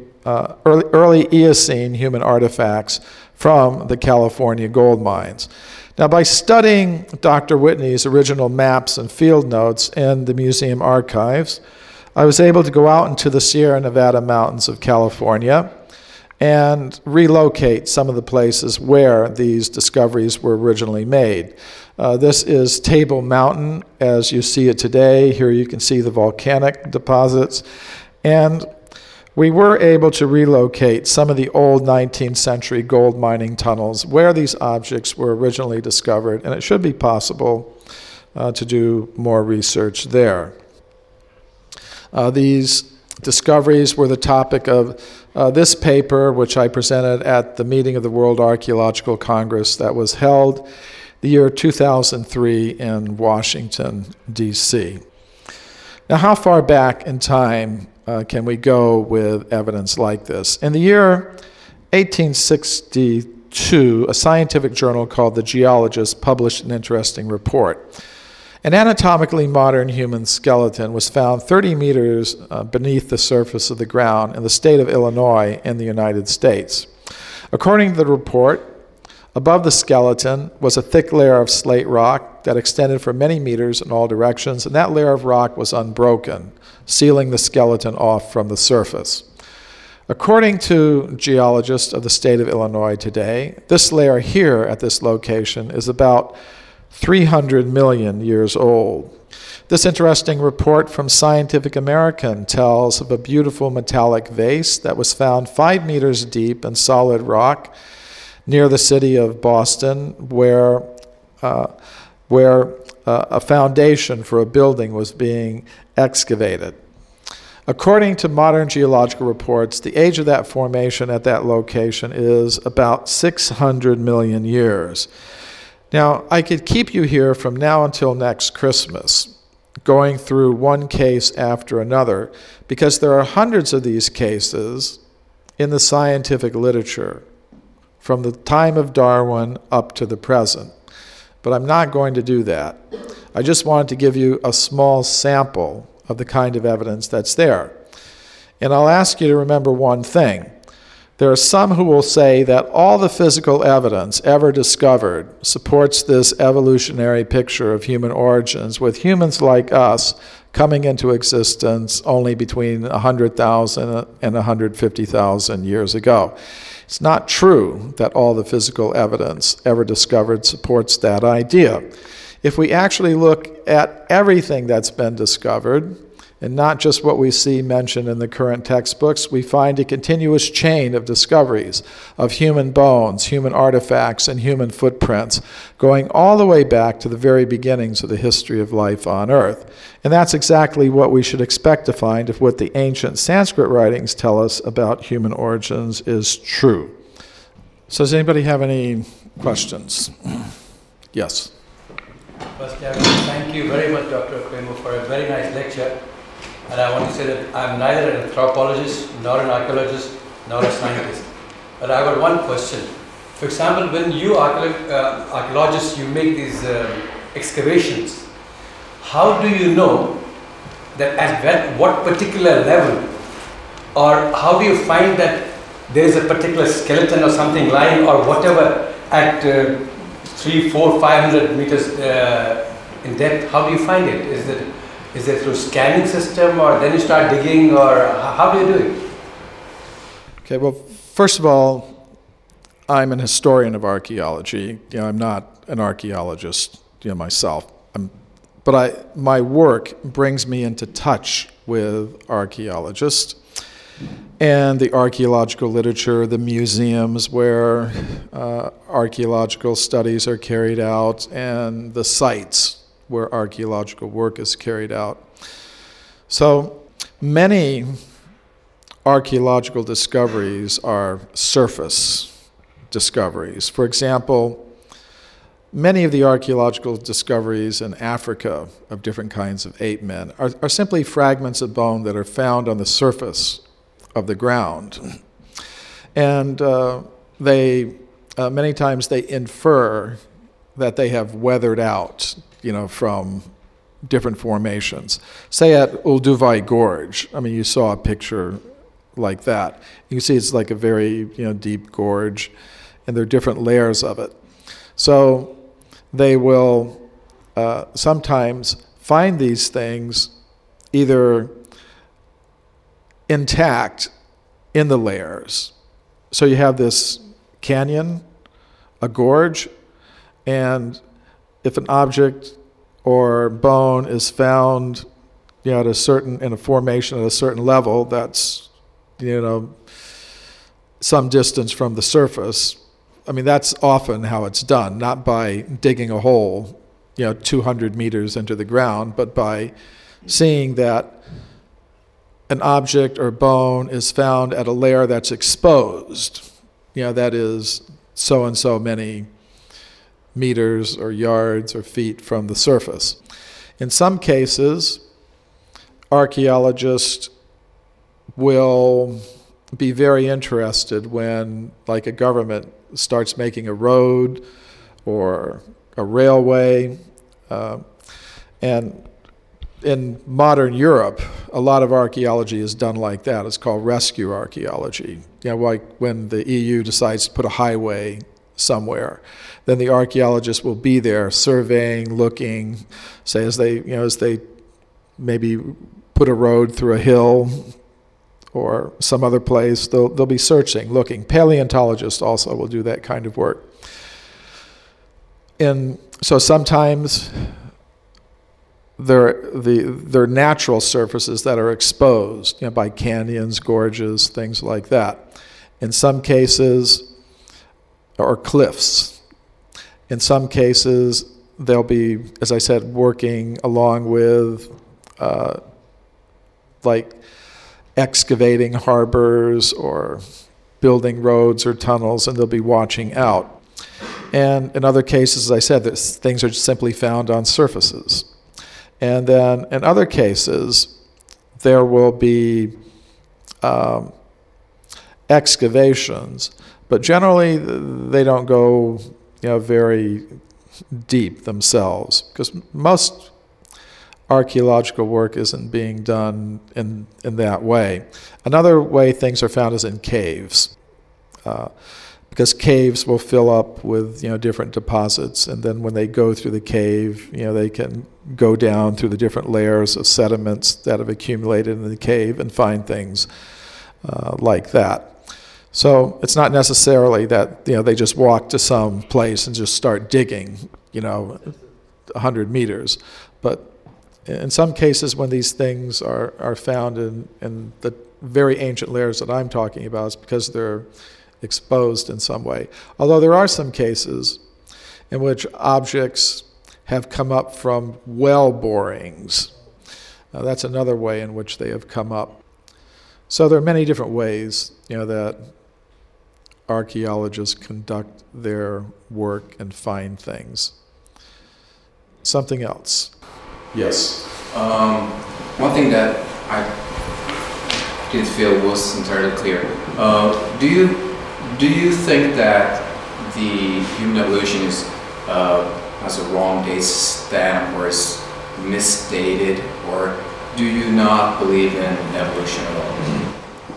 Eocene human artifacts from the California gold mines. Now, by studying Dr. Whitney's original maps and field notes in the museum archives, I was able to go out into the Sierra Nevada mountains of California and relocate some of the places where these discoveries were originally made. This is Table Mountain as you see it today. Here you can see the volcanic deposits. And we were able to relocate some of the old 19th century gold mining tunnels where these objects were originally discovered, and it should be possible to do more research there. These discoveries were the topic of this paper, which I presented at the meeting of the World Archaeological Congress that was held the year 2003 in Washington, D.C. Now, how far back in time can we go with evidence like this? In the year 1862, a scientific journal called The Geologist published an interesting report. An anatomically modern human skeleton was found 30 meters beneath the surface of the ground in the state of Illinois in the United States. According to the report, above the skeleton was a thick layer of slate rock that extended for many meters in all directions, and that layer of rock was unbroken, sealing the skeleton off from the surface. According to geologists of the state of Illinois today, this layer here at this location is about 300 million years old. This interesting report from Scientific American tells of a beautiful metallic vase that was found 5 meters deep in solid rock near the city of Boston, where a foundation for a building was being excavated. According to modern geological reports, the age of that formation at that location is about 600 million years. Now, I could keep you here from now until next Christmas, going through one case after another, because there are hundreds of these cases in the scientific literature, from the time of Darwin up to the present. But I'm not going to do that. I just wanted to give you a small sample of the kind of evidence that's there. And I'll ask you to remember one thing. There are some who will say that all the physical evidence ever discovered supports this evolutionary picture of human origins, with humans like us coming into existence only between 100,000 and 150,000 years ago. It's not true that all the physical evidence ever discovered supports that idea. If we actually look at everything that's been discovered, and not just what we see mentioned in the current textbooks, we find a continuous chain of discoveries of human bones, human artifacts, and human footprints, going all the way back to the very beginnings of the history of life on Earth. And that's exactly what we should expect to find if what the ancient Sanskrit writings tell us about human origins is true. So does anybody have any questions? Yes. First, thank you very much, Dr. Premo, for a very nice lecture. And I want to say that I'm neither an anthropologist, nor an archaeologist, nor a scientist. But I got one question. For example, when you archaeologists, you make these excavations, how do you know that at what particular level, or how do you find that there is a particular skeleton or something lying or whatever at 300, 400, 500 meters in depth? How do you find it? Is it through scanning system, or then you start digging, or how do you do it? Okay, well, first of all, I'm an historian of archaeology. I'm not an archaeologist, myself. But my work brings me into touch with archaeologists and the archaeological literature, the museums where archaeological studies are carried out, and the sites where archaeological work is carried out. So many archaeological discoveries are surface discoveries. For example, many of the archaeological discoveries in Africa of different kinds of ape men are simply fragments of bone that are found on the surface of the ground. And many times they infer that they have weathered out, from different formations. Say at Olduvai Gorge, you saw a picture like that. You can see it's like a very, deep gorge, and there are different layers of it. So they will sometimes find these things either intact in the layers. So you have this canyon, a gorge, and if an object or bone is found, in a formation at a certain level, that's, some distance from the surface. That's often how it's done, not by digging a hole, 200 meters into the ground, but by seeing that an object or bone is found at a layer that's exposed, that is so and so many meters or yards or feet from the surface. In some cases, archaeologists will be very interested when, like, a government starts making a road or a railway. And in modern Europe, a lot of archaeology is done like that. It's called rescue archaeology. Like when the EU decides to put a highway somewhere, then the archaeologists will be there surveying, looking, say as they maybe put a road through a hill or some other place, they'll be searching, looking. Paleontologists also will do that kind of work. And so sometimes they're natural surfaces that are exposed, by canyons, gorges, things like that. In some cases, or cliffs. In some cases, they'll be, as I said, working along with like excavating harbors or building roads or tunnels, and they'll be watching out. And in other cases, as I said, things are simply found on surfaces. And then in other cases, there will be excavations, but generally they don't go, very deep themselves, because most archaeological work isn't being done in that way. Another way things are found is in caves, because caves will fill up with different deposits, and then when they go through the cave, they can go down through the different layers of sediments that have accumulated in the cave and find things like that. So it's not necessarily that they just walk to some place and just start digging 100 meters, but in some cases when these things are found in the very ancient layers that I'm talking about, it's because they're exposed in some way. Although there are some cases in which objects have come up from well borings. That's another way in which they have come up. So there are many different ways that archaeologists conduct their work and find things. Something else? Yes. One thing that I didn't feel was entirely clear. Do you think that the human evolution has a wrong date stamp or is misdated, or do you not believe in evolution at all?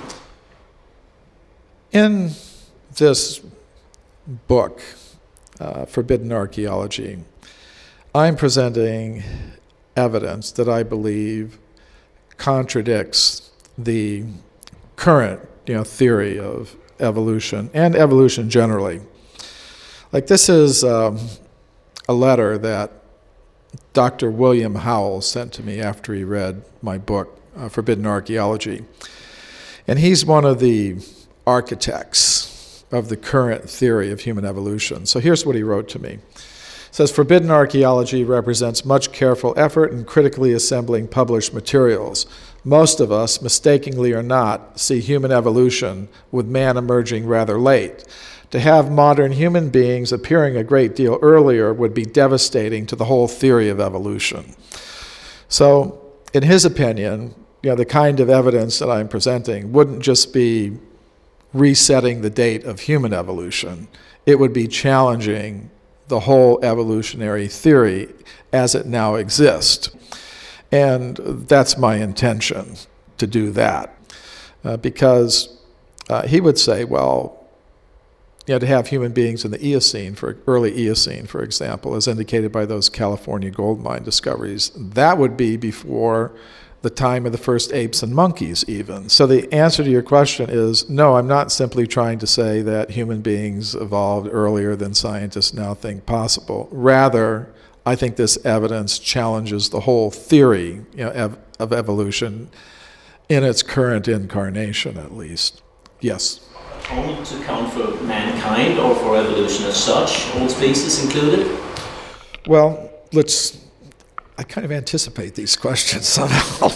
In this book, Forbidden Archaeology, I'm presenting evidence that I believe contradicts the current theory of evolution and evolution generally. Like, this is a letter that Dr. William Howell sent to me after he read my book, Forbidden Archaeology. And he's one of the architects of the current theory of human evolution. So here's what he wrote to me. It says, "Forbidden Archaeology represents much careful effort in critically assembling published materials. Most of us, mistakenly or not, see human evolution with man emerging rather late. To have modern human beings appearing a great deal earlier would be devastating to the whole theory of evolution." So, in his opinion, the kind of evidence that I'm presenting wouldn't just be resetting the date of human evolution. It would be challenging the whole evolutionary theory as it now exists. And that's my intention, to do that. Because he would say, well, to have human beings in the Eocene, early Eocene, for example, as indicated by those California gold mine discoveries, that would be before the time of the first apes and monkeys even. So the answer to your question is, no, I'm not simply trying to say that human beings evolved earlier than scientists now think possible. Rather, I think this evidence challenges the whole theory of evolution in its current incarnation, at least. Yes? Only to account for mankind or for evolution as such, all species included? Well, I kind of anticipate these questions somehow.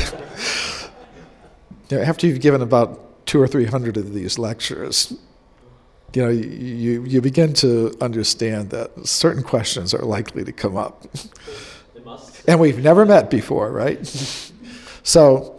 After you've given about 200 or 300 of these lectures, you begin to understand that certain questions are likely to come up. They must. And we've never met before, right? So,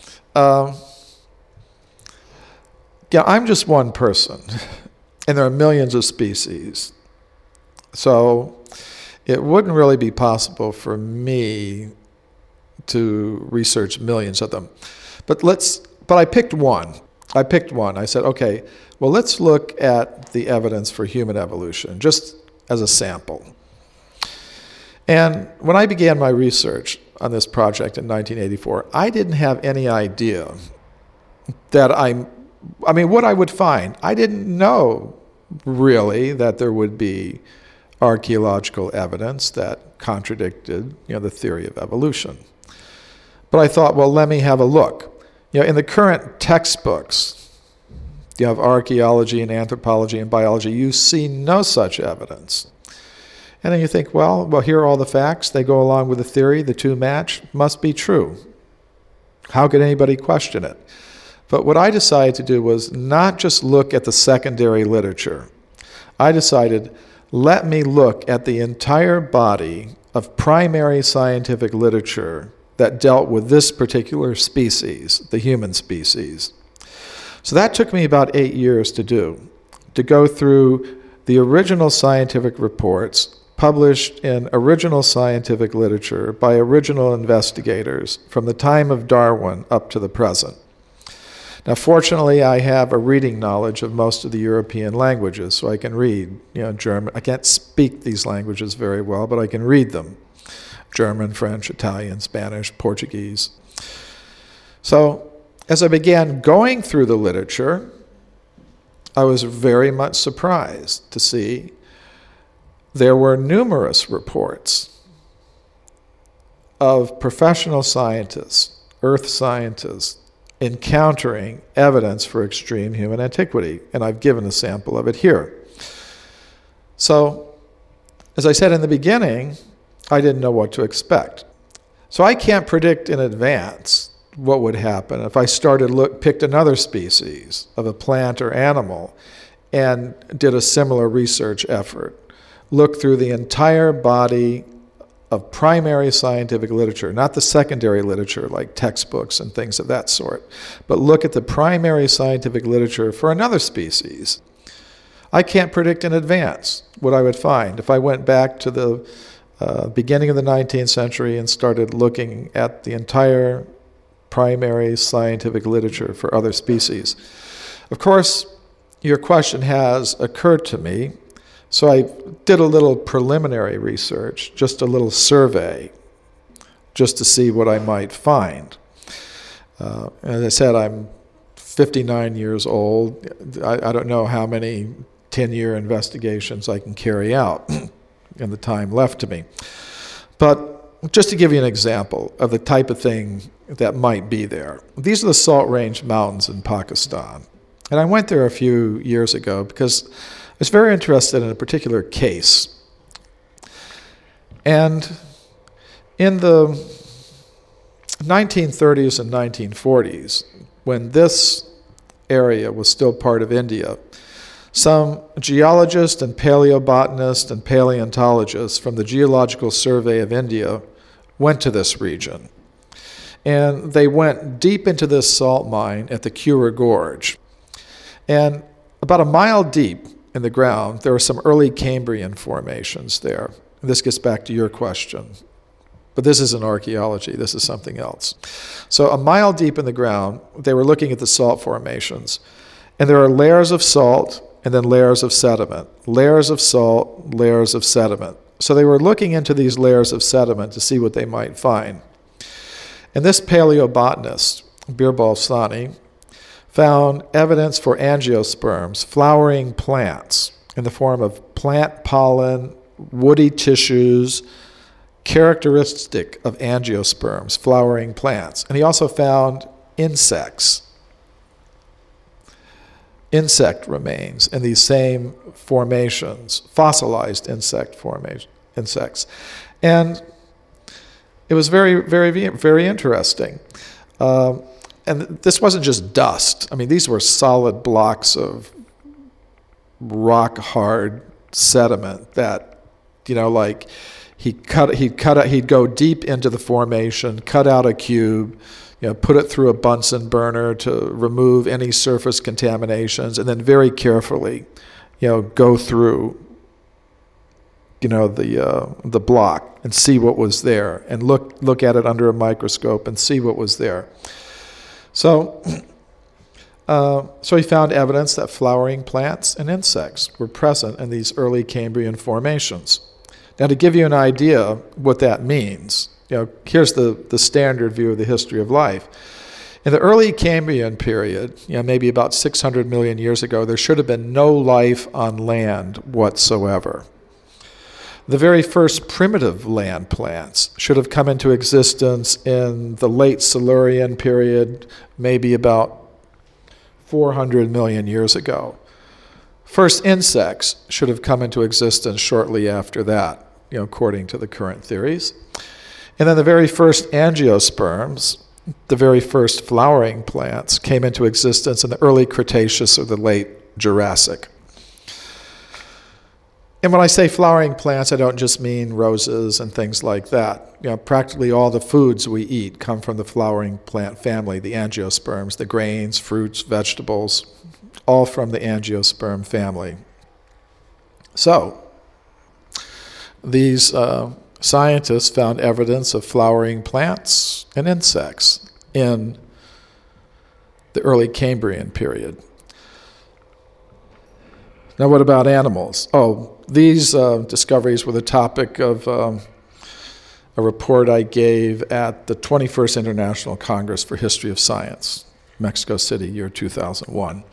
I'm just one person, and there are millions of species. So it wouldn't really be possible for me to research millions of them. But I picked one. I said, okay, well, let's look at the evidence for human evolution, just as a sample. And when I began my research on this project in 1984, I didn't have any idea that what I would find. I didn't know really that there would be archaeological evidence that contradicted, the theory of evolution. But I thought, well, let me have a look. In the current textbooks You have archaeology and anthropology and biology. You see no such evidence. And then you think, well, here are all the facts. They go along with the theory. The two match. Must be true. How could anybody question it? But what I decided to do was not just look at the secondary literature. I decided, let me look at the entire body of primary scientific literature that dealt with this particular species, the human species. So that took me about 8 years to do, to go through the original scientific reports published in original scientific literature by original investigators from the time of Darwin up to the present. Now, fortunately, I have a reading knowledge of most of the European languages, so I can read, German. I can't speak these languages very well, but I can read them. German, French, Italian, Spanish, Portuguese. So, as I began going through the literature, I was very much surprised to see there were numerous reports of professional scientists, earth scientists, encountering evidence for extreme human antiquity, and I've given a sample of it here. So, as I said in the beginning, I didn't know what to expect. So I can't predict in advance what would happen if I picked another species of a plant or animal and did a similar research effort. Look through the entire body of primary scientific literature, not the secondary literature like textbooks and things of that sort, but look at the primary scientific literature for another species. I can't predict in advance what I would find if I went back to the beginning of the 19th century and started looking at the entire primary scientific literature for other species. Of course, your question has occurred to me, so I did a little preliminary research, just a little survey, just to see what I might find. As I said, I'm 59 years old. I don't know how many 10-year investigations I can carry out in the time left to me. But just to give you an example of the type of thing that might be there. These are the Salt Range Mountains in Pakistan. And I went there a few years ago because I was very interested in a particular case. And in the 1930s and 1940s, when this area was still part of India, some geologists and paleobotanists and paleontologists from the Geological Survey of India went to this region. And they went deep into this salt mine at the Cura Gorge. And about a mile deep in the ground, there are some early Cambrian formations there. And this gets back to your question. But this isn't archaeology, this is something else. So a mile deep in the ground, they were looking at the salt formations. And there are layers of salt and then layers of sediment. Layers of salt, layers of sediment. So they were looking into these layers of sediment to see what they might find. And this paleobotanist, Birbal Sahni, found evidence for angiosperms, flowering plants, in the form of plant pollen, woody tissues, characteristic of angiosperms, flowering plants. And he also found insect remains in these same formations, fossilized insects. And it was very, very, very interesting. And this wasn't just dust. I mean, these were solid blocks of rock-hard sediment that, like he'd go deep into the formation, cut out a cube, put it through a Bunsen burner to remove any surface contaminations, and then very carefully, go through, the block and see what was there, and look at it under a microscope and see what was there. So he found evidence that flowering plants and insects were present in these early Cambrian formations. Now, to give you an idea what that means, here's the standard view of the history of life. In the early Cambrian period, maybe about 600 million years ago, there should have been no life on land whatsoever. The very first primitive land plants should have come into existence in the late Silurian period, maybe about 400 million years ago. First insects should have come into existence shortly after that, according to the current theories. And then the very first angiosperms, the very first flowering plants, came into existence in the early Cretaceous or the late Jurassic. And when I say flowering plants, I don't just mean roses and things like that. Practically all the foods we eat come from the flowering plant family, the angiosperms, the grains, fruits, vegetables, all from the angiosperm family. So, these scientists found evidence of flowering plants and insects in the early Cambrian period. Now, what about animals? These discoveries were the topic of a report I gave at the 21st International Congress for History of Science, Mexico City, year 2001.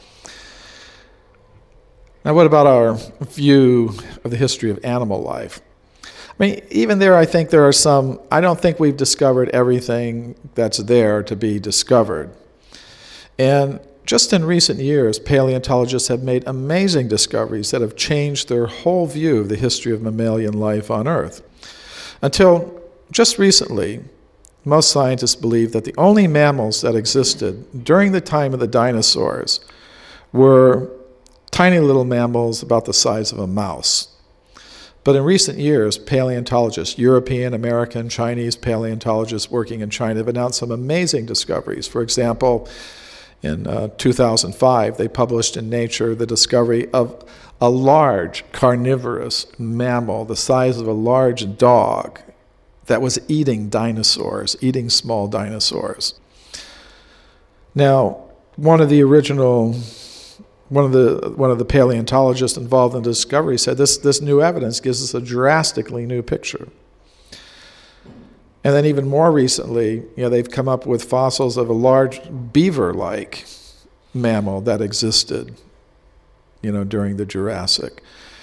Now, what about our view of the history of animal life? Even there, I think there are some, I don't think we've discovered everything that's there to be discovered. And just in recent years, paleontologists have made amazing discoveries that have changed their whole view of the history of mammalian life on Earth. Until just recently, most scientists believed that the only mammals that existed during the time of the dinosaurs were tiny little mammals about the size of a mouse. But in recent years, paleontologists, European, American, Chinese paleontologists working in China have announced some amazing discoveries. For example, in 2005, they published in Nature the discovery of a large carnivorous mammal the size of a large dog that was eating dinosaurs, eating small dinosaurs. Now, one of the paleontologists involved in the discovery said this new evidence gives us a drastically new picture. And then even more recently, they've come up with fossils of a large beaver-like mammal that existed, during the Jurassic.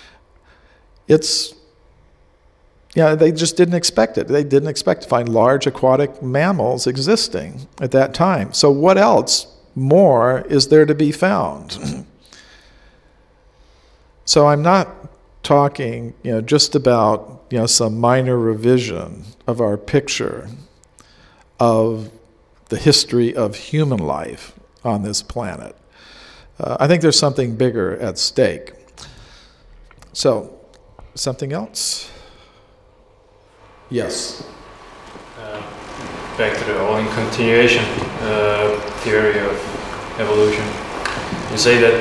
They just didn't expect it. They didn't expect to find large aquatic mammals existing at that time. So what else more is there to be found? So I'm not talking, just about, some minor revision of our picture of the history of human life on this planet. I think there's something bigger at stake. So, something else? Yes. Back to the all-in continuation theory of evolution. You say that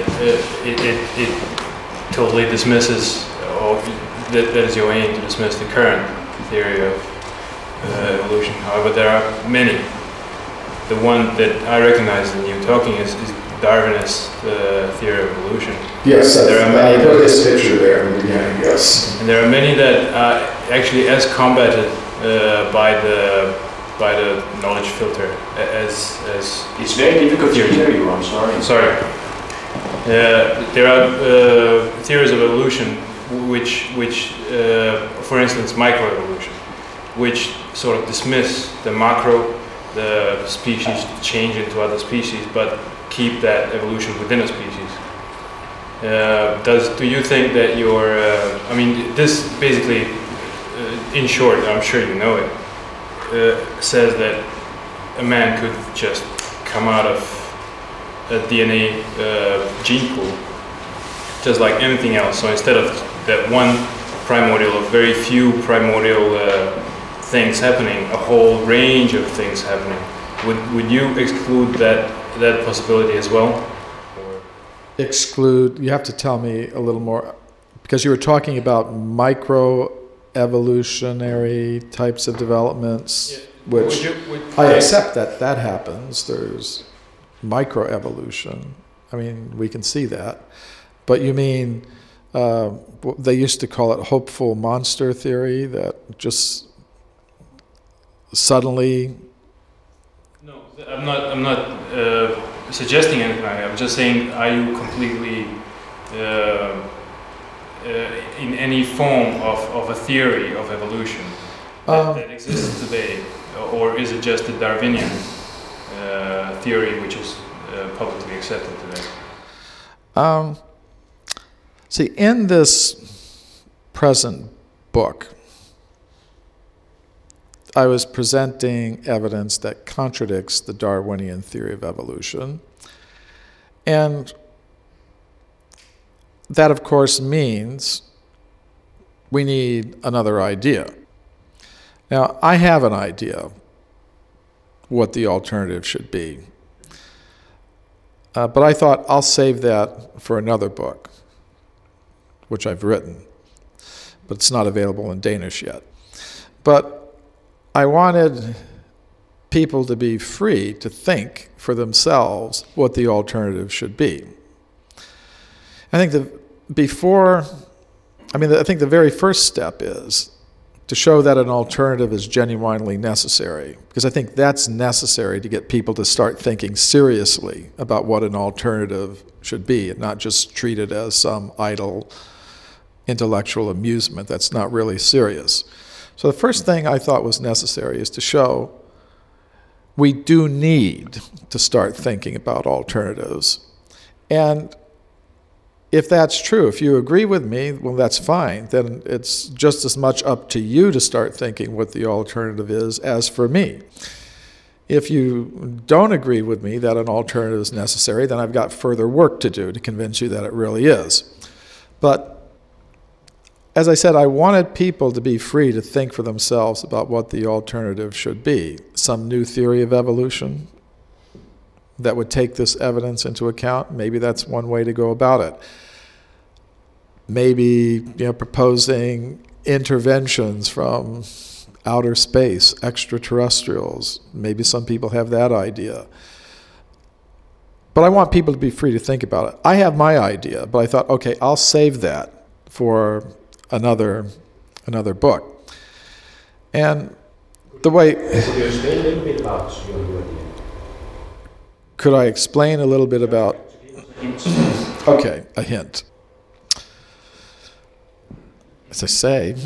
it totally dismisses, or that is your aim to dismiss the current theory of evolution. However, there are many. The one that I recognize in you talking is Darwinist theory of evolution. Yes, there are many. I put this picture there in the beginning, yes. And there are many that are actually as combated by the knowledge filter as it's very difficult to hear you. I'm sorry. Sorry. There are theories of evolution which for instance, microevolution, which sort of dismiss the macro, the species change into other species, but keep that evolution within a species. Do you think that this basically, in short, I'm sure you know it, says that a man could just come out of a DNA gene pool, just like anything else. So instead of that one primordial, of very few primordial things happening, a whole range of things happening, would you exclude that possibility as well? Or? Exclude, you have to tell me a little more, because you were talking about micro-evolutionary types of developments, which I accept that happens. There's microevolution. We can see that. But you mean, they used to call it hopeful monster theory, that just suddenly... No, I'm not suggesting anything. I'm just saying, are you completely in any form of a theory of evolution that exists today, or is it just a Darwinian theory which is publicly accepted today? See, in this present book, I was presenting evidence that contradicts the Darwinian theory of evolution. And that, of course, means we need another idea. Now, I have an idea what the alternative should be. But I thought I'll save that for another book, which I've written, but it's not available in Danish yet. But I wanted people to be free to think for themselves what the alternative should be. I think the very first step is to show that an alternative is genuinely necessary, because I think that's necessary to get people to start thinking seriously about what an alternative should be and not just treat it as some idle intellectual amusement that's not really serious. So the first thing I thought was necessary is to show we do need to start thinking about alternatives. And if that's true, if you agree with me, well, that's fine. Then it's just as much up to you to start thinking what the alternative is as for me. If you don't agree with me that an alternative is necessary, then I've got further work to do to convince you that it really is. But as I said, I wanted people to be free to think for themselves about what the alternative should be. Some new theory of evolution that would take this evidence into account. Maybe that's one way to go about it. Maybe, proposing interventions from outer space, extraterrestrials. Maybe some people have that idea. But I want people to be free to think about it. I have my idea, but I thought, okay, I'll save that for another book. And the way... Could you explain a little bit about your new idea? Could I explain a little bit about... Okay, a hint. As I say,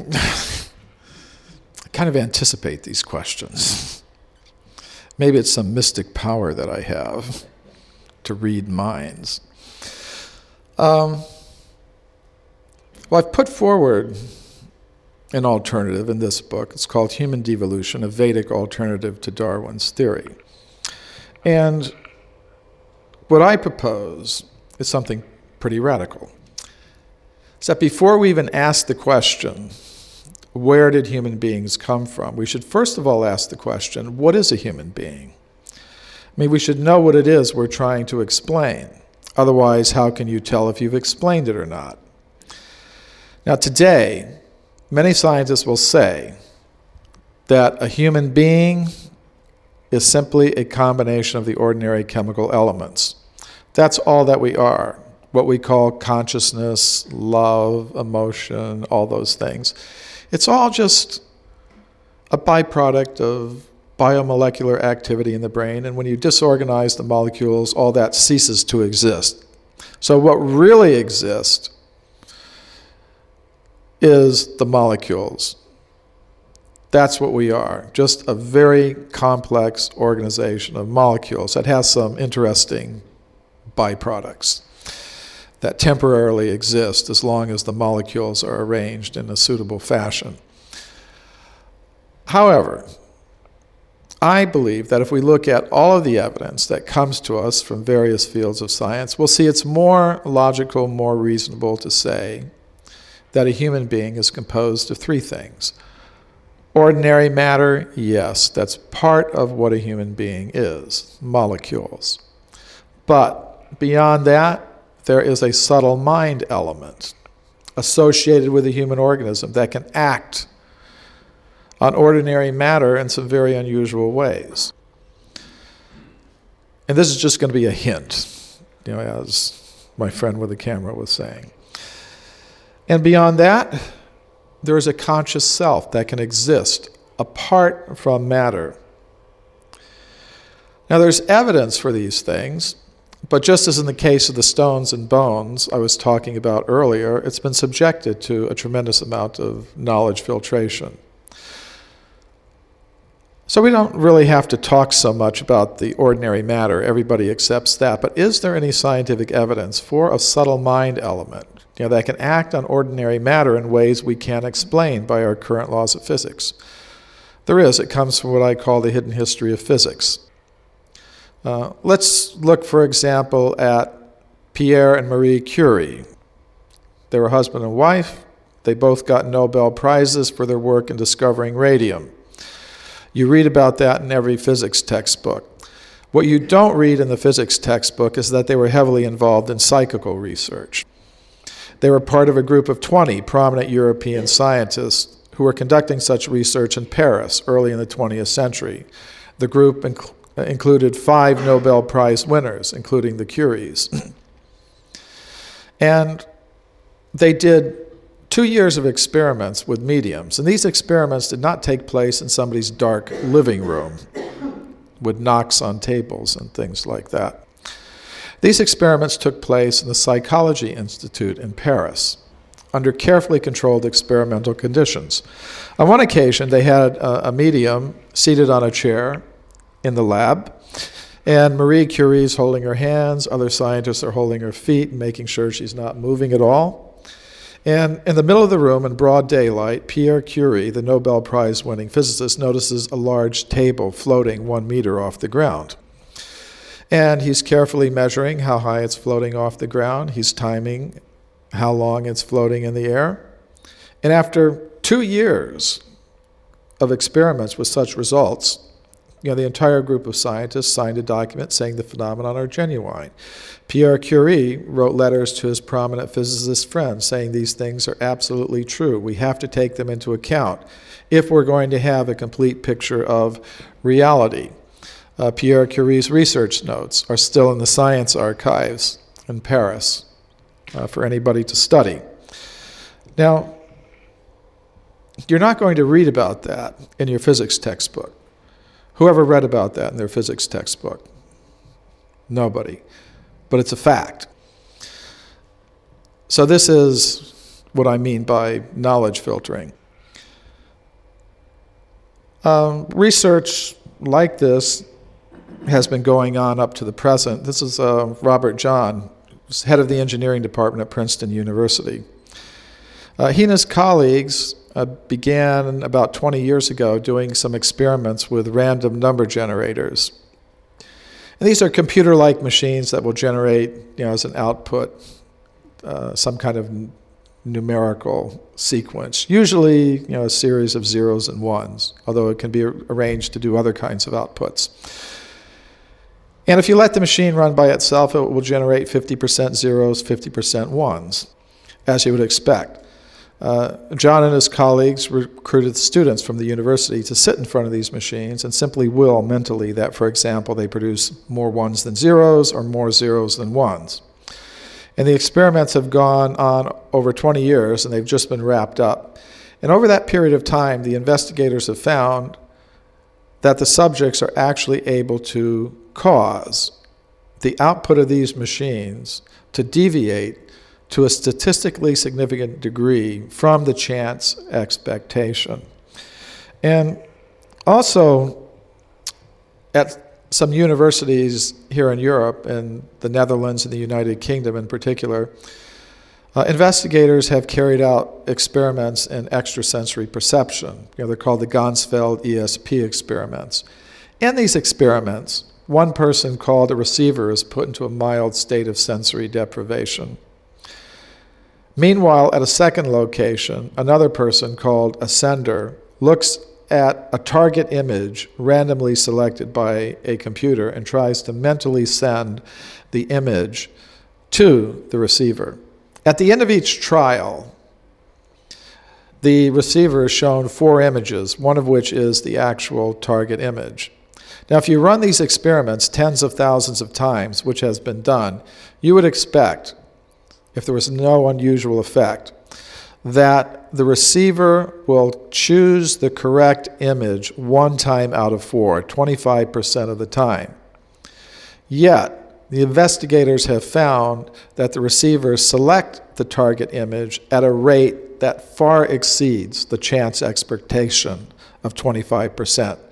I kind of anticipate these questions. Maybe it's some mystic power that I have to read minds. Well, I've put forward an alternative in this book. It's called Human Devolution, a Vedic alternative to Darwin's theory. And what I propose is something pretty radical. It's that before we even ask the question, where did human beings come from, we should first of all ask the question, what is a human being? I mean, we should know what it is we're trying to explain. Otherwise, how can you tell if you've explained it or not? Now, today, many scientists will say that a human being is simply a combination of the ordinary chemical elements. That's all that we are, what we call consciousness, love, emotion, all those things. It's all just a byproduct of biomolecular activity in the brain, and when you disorganize the molecules, all that ceases to exist. So what really exists is the molecules. That's what we are, just a very complex organization of molecules that has some interesting byproducts that temporarily exist as long as the molecules are arranged in a suitable fashion. However, I believe that if we look at all of the evidence that comes to us from various fields of science, we'll see it's more logical, more reasonable to say that a human being is composed of three things. Ordinary matter, yes, that's part of what a human being is, molecules. But beyond that, there is a subtle mind element associated with the human organism that can act on ordinary matter in some very unusual ways. And this is just going to be a hint, as my friend with the camera was saying. And beyond that, there is a conscious self that can exist apart from matter. Now, there's evidence for these things, but just as in the case of the stones and bones I was talking about earlier, it's been subjected to a tremendous amount of knowledge filtration. So we don't really have to talk so much about the ordinary matter. Everybody accepts that. But is there any scientific evidence for a subtle mind element, that can act on ordinary matter in ways we can't explain by our current laws of physics? There is. It comes from what I call the hidden history of physics. Let's look, for example, at Pierre and Marie Curie. They were husband and wife. They both got Nobel Prizes for their work in discovering radium. You read about that in every physics textbook. What you don't read in the physics textbook is that they were heavily involved in psychical research. They were part of a group of 20 prominent European scientists who were conducting such research in Paris early in the 20th century. The group included 5 Nobel Prize winners, including the Curies. And they did 2 years of experiments with mediums. And these experiments did not take place in somebody's dark living room with knocks on tables and things like that. These experiments took place in the Psychology Institute in Paris under carefully controlled experimental conditions. On one occasion, they had a medium seated on a chair in the lab, and Marie Curie's holding her hands, other scientists are holding her feet and making sure she's not moving at all. And in the middle of the room, in broad daylight, Pierre Curie, the Nobel Prize-winning physicist, notices a large table floating 1 meter off the ground. And he's carefully measuring how high it's floating off the ground. He's timing how long it's floating in the air. And after 2 years of experiments with such results, the entire group of scientists signed a document saying the phenomenon are genuine. Pierre Curie wrote letters to his prominent physicist friends saying these things are absolutely true. We have to take them into account if we're going to have a complete picture of reality. Pierre Curie's research notes are still in the science archives in Paris for anybody to study. Now, you're not going to read about that in your physics textbook. Whoever read about that in their physics textbook? Nobody. But it's a fact. So this is what I mean by knowledge filtering. Research like this has been going on up to the present. This is Robert John, head of the engineering department at Princeton University. He and his colleagues began about 20 years ago doing some experiments with random number generators. And these are computer-like machines that will generate, as an output, some kind of numerical sequence, usually, a series of zeros and ones, although it can be arranged to do other kinds of outputs. And if you let the machine run by itself, it will generate 50% zeros, 50% ones, as you would expect. John and his colleagues recruited students from the university to sit in front of these machines and simply will mentally that, for example, they produce more ones than zeros or more zeros than ones. And the experiments have gone on over 20 years, and they've just been wrapped up. And over that period of time, the investigators have found that the subjects are actually able to cause the output of these machines to deviate to a statistically significant degree from the chance expectation. And also, at some universities here in Europe, and the Netherlands and the United Kingdom in particular, investigators have carried out experiments in extrasensory perception. They're called the Ganzfeld ESP experiments. In these experiments, one person called a receiver is put into a mild state of sensory deprivation. Meanwhile, at a second location, another person called a sender looks at a target image randomly selected by a computer and tries to mentally send the image to the receiver. At the end of each trial, the receiver is shown 4 images, one of which is the actual target image. Now, if you run these experiments tens of thousands of times, which has been done, you would expect, if there was no unusual effect, that the receiver will choose the correct image 1 time out of 4, 25% of the time. Yet, the investigators have found that the receivers select the target image at a rate that far exceeds the chance expectation of 25%.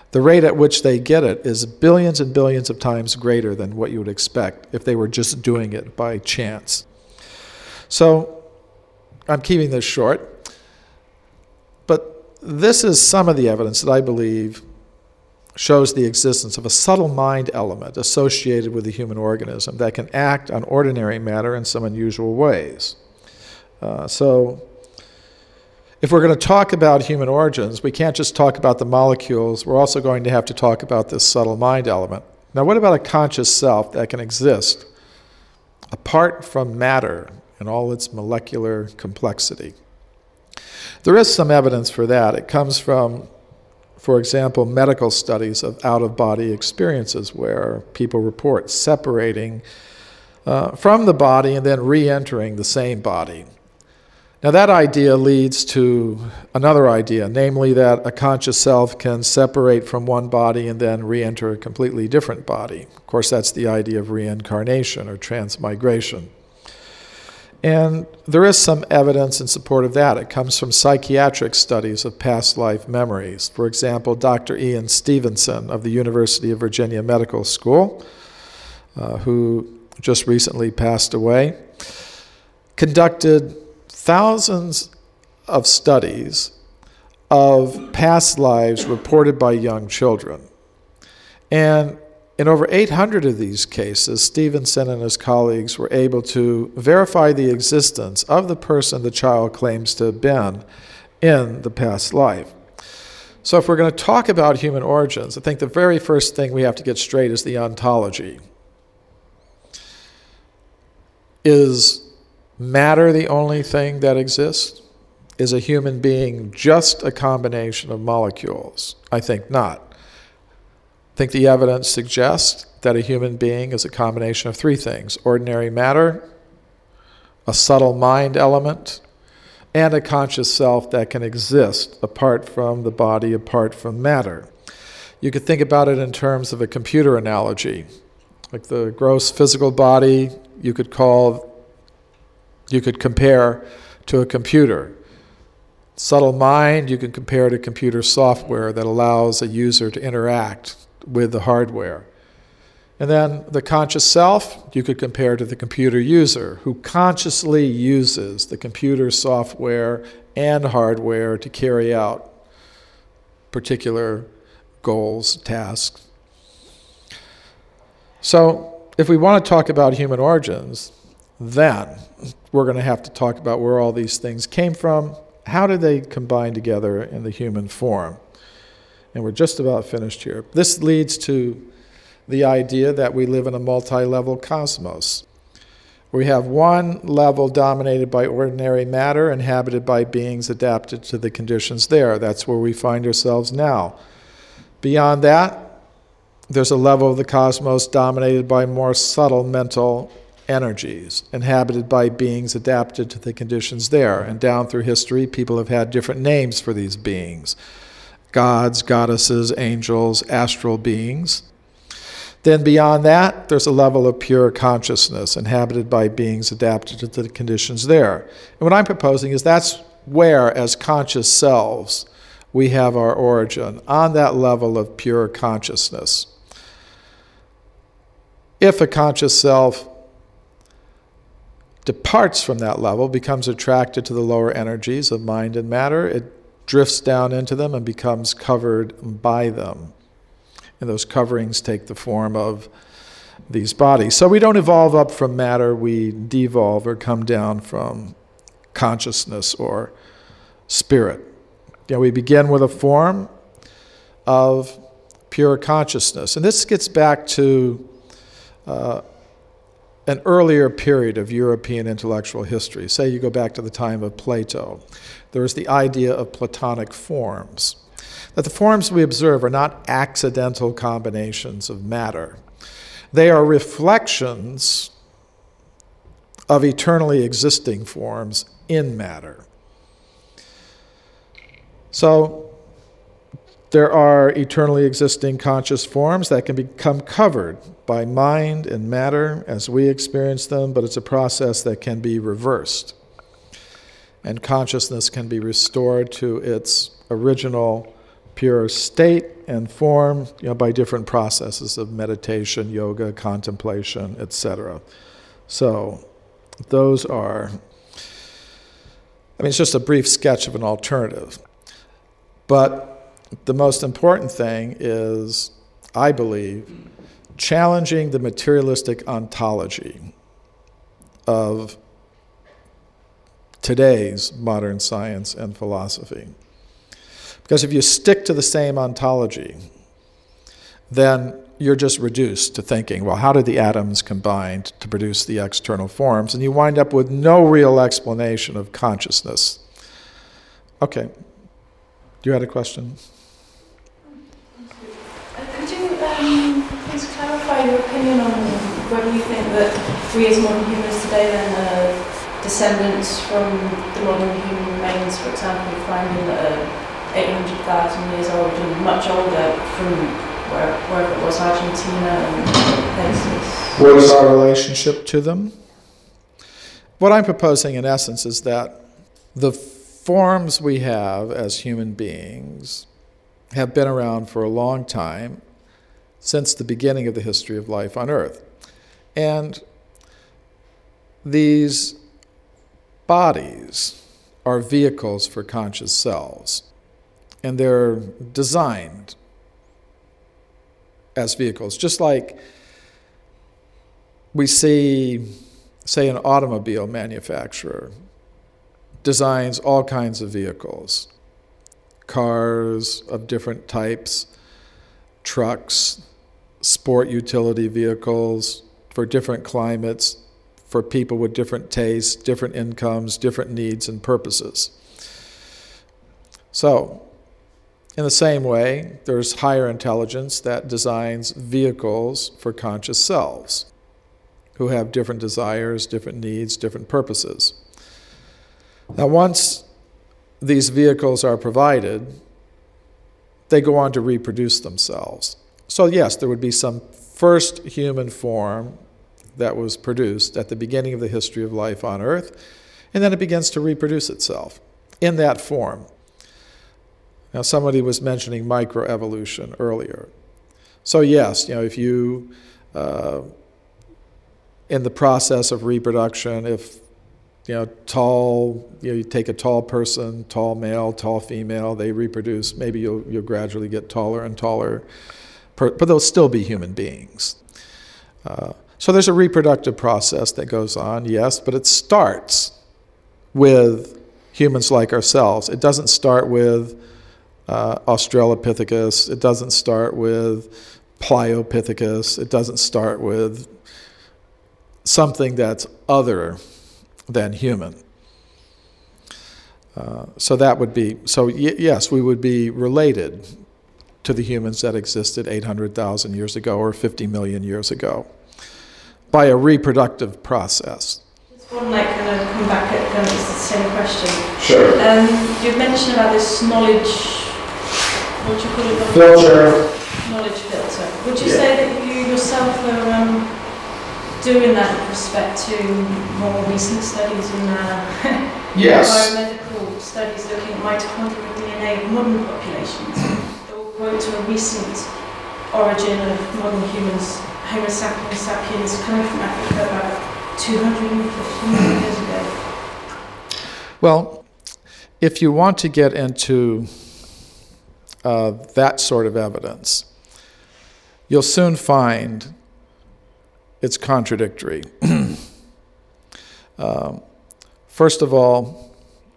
the rate at which they get it is billions and billions of times greater than what you would expect if they were just doing it by chance. So I'm keeping this short, but this is some of the evidence that I believe shows the existence of a subtle mind element associated with the human organism that can act on ordinary matter in some unusual ways. So if we're going to talk about human origins, we can't just talk about the molecules. We're also going to have to talk about this subtle mind element. Now, what about a conscious self that can exist apart from matter and all its molecular complexity? There is some evidence for that. It comes from, for example, medical studies of out-of-body experiences where people report separating from the body and then re-entering the same body. Now that idea leads to another idea, namely that a conscious self can separate from one body and then re-enter a completely different body. Of course, that's the idea of reincarnation or transmigration. And there is some evidence in support of that. It comes from psychiatric studies of past life memories. For example, Dr. Ian Stevenson of the University of Virginia Medical School, who just recently passed away, conducted thousands of studies of past lives reported by young children. And in over 800 of these cases, Stevenson and his colleagues were able to verify the existence of the person the child claims to have been in the past life. So if we're going to talk about human origins, I think the very first thing we have to get straight is the ontology. Is matter the only thing that exists? Is a human being just a combination of molecules? I think not. I think the evidence suggests that a human being is a combination of three things: ordinary matter, a subtle mind element, and a conscious self that can exist apart from the body, apart from matter. You could think about it in terms of a computer analogy. Like the gross physical body, you could compare to a computer. Subtle mind, you can compare to computer software that allows a user to interact with the hardware. And then the conscious self, you could compare to the computer user who consciously uses the computer software and hardware to carry out particular goals, tasks. So if we want to talk about human origins, then we're going to have to talk about where all these things came from. How did they combine together in the human form? And we're just about finished here. This leads to the idea that we live in a multi-level cosmos. We have one level dominated by ordinary matter, inhabited by beings adapted to the conditions there. That's where we find ourselves now. Beyond that, there's a level of the cosmos dominated by more subtle mental energies, inhabited by beings adapted to the conditions there. And down through history, people have had different names for these beings: gods, goddesses, angels, astral beings. Then beyond that, there's a level of pure consciousness, inhabited by beings adapted to the conditions there. And what I'm proposing is that's where, as conscious selves, we have our origin, on that level of pure consciousness. If a conscious self departs from that level, becomes attracted to the lower energies of mind and matter, it drifts down into them and becomes covered by them. And those coverings take the form of these bodies. So we don't evolve up from matter, we devolve or come down from consciousness or spirit. We begin with a form of pure consciousness. And this gets back to an earlier period of European intellectual history. Say you go back to the time of Plato. There is the idea of Platonic forms. That the forms we observe are not accidental combinations of matter. They are reflections of eternally existing forms in matter. So there are eternally existing conscious forms that can become covered by mind and matter as we experience them, but it's a process that can be reversed. And consciousness can be restored to its original pure state and form, by different processes of meditation, yoga, contemplation, etc. So those are, it's just a brief sketch of an alternative. But the most important thing is, I believe, challenging the materialistic ontology of today's modern science and philosophy. Because if you stick to the same ontology, then you're just reduced to thinking, well, how did the atoms combine to produce the external forms? And you wind up with no real explanation of consciousness. Okay. You had a question? Could you please clarify your opinion on whether you think that we as modern humans today then are descendants from the modern human remains, for example, finding that are 800,000 years old and much older from wherever it was, Argentina and places? What is our relationship to them? What I'm proposing in essence is that the forms we have as human beings have been around for a long time, since the beginning of the history of life on Earth. And these bodies are vehicles for conscious selves, and they're designed as vehicles, just like we see, say, an automobile manufacturer designs all kinds of vehicles, cars of different types, trucks, sport utility vehicles for different climates, for people with different tastes, different incomes, different needs and purposes. So, in the same way, there's higher intelligence that designs vehicles for conscious selves who have different desires, different needs, different purposes. Now, once these vehicles are provided, they go on to reproduce themselves. So yes, there would be some first human form that was produced at the beginning of the history of life on Earth, and then it begins to reproduce itself in that form. Now, somebody was mentioning microevolution earlier. So yes, if you, in the process of reproduction, if you take a tall person, tall male, tall female, they reproduce, maybe you'll gradually get taller and taller, but they'll still be human beings. So there's a reproductive process that goes on, yes, but it starts with humans like ourselves. It doesn't start with Australopithecus. It doesn't start with Pliopithecus. It doesn't start with something that's other than human. Yes, we would be related to the humans that existed 800,000 years ago or 50 million years ago by a reproductive process. Just one kind of come back at it's the same question. Sure. You've mentioned about this knowledge, what do you call it? Filter. Knowledge filter. Would you say that you yourself are doing that with respect to more recent studies in Yes. biomedical studies looking at mitochondrial DNA of modern populations? That will point to a recent origin of modern humans, Homo sapiens, coming from Africa about 250 million years ago. Well, if you want to get into that sort of evidence, you'll soon find it's contradictory. First of all,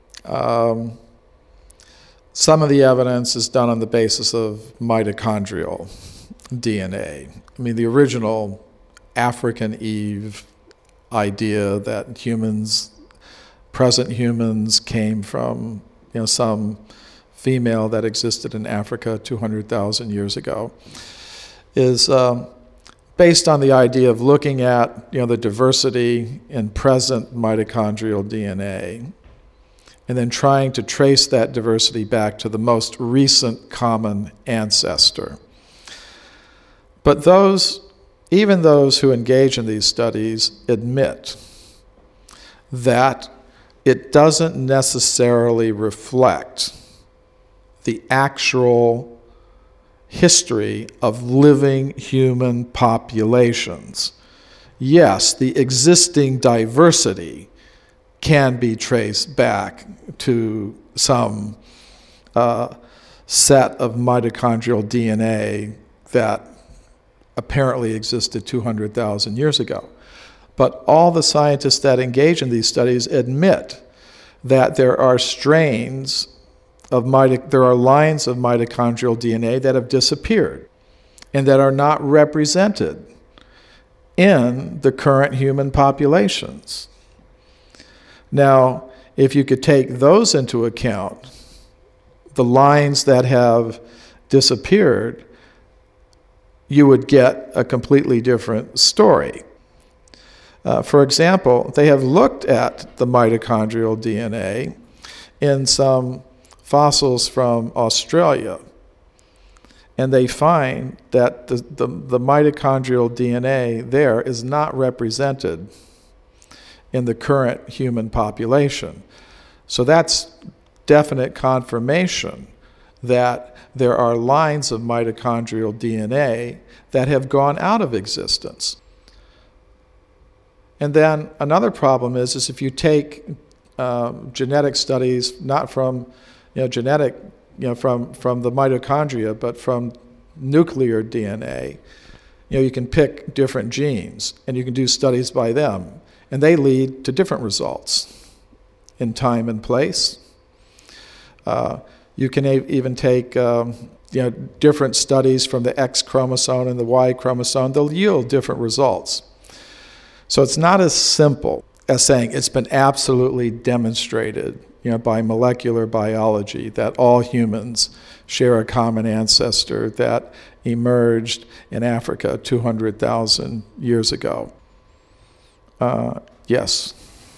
some of the evidence is done on the basis of mitochondrial DNA. The original African Eve idea that present humans came from some female that existed in Africa 200,000 years ago is based on the idea of looking at the diversity in present mitochondrial DNA and then trying to trace that diversity back to the most recent common ancestor. But even those who engage in these studies admit that it doesn't necessarily reflect the actual history of living human populations. Yes, the existing diversity can be traced back to some set of mitochondrial DNA that apparently existed 200,000 years ago. But all the scientists that engage in these studies admit that there are strains of there are lines of mitochondrial DNA that have disappeared and that are not represented in the current human populations. Now, if you could take those into account, the lines that have disappeared, you would get a completely different story. For example, they have looked at the mitochondrial DNA in some fossils from Australia, and they find that the mitochondrial DNA there is not represented in the current human population. So that's definite confirmation that there are lines of mitochondrial DNA that have gone out of existence. And then another problem is if you take genetic studies, not from from the mitochondria, but from nuclear DNA, you can pick different genes and you can do studies by them, and they lead to different results in time and place. You can even take different studies from the X chromosome and the Y chromosome. They'll yield different results. So it's not as simple as saying it's been absolutely demonstrated by molecular biology that all humans share a common ancestor that emerged in Africa 200,000 years ago. Yes?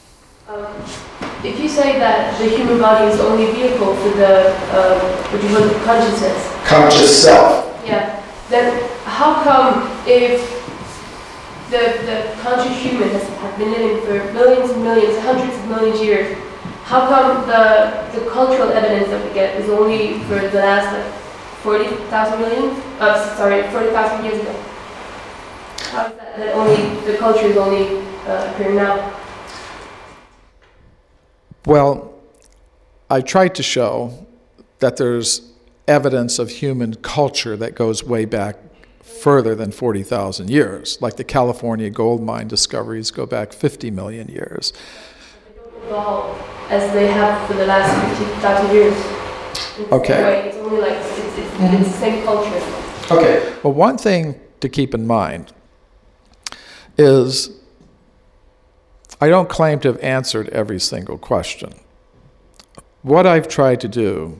If you say that the human body is the only vehicle for the, consciousness? Conscious self. Yeah. Then how come if the conscious human has been living for millions and millions, hundreds of millions of years, how come the cultural evidence that we get is only for the last 40,000 years ago? How is that only the culture is only appearing now? Well, I tried to show that there's evidence of human culture that goes way back further than 40,000 years, like the California gold mine discoveries go back 50 million years. They don't evolve as they have for the last 50,000 years. Okay. It's only like, it's the same culture. Okay. Well, one thing to keep in mind is I don't claim to have answered every single question. What I've tried to do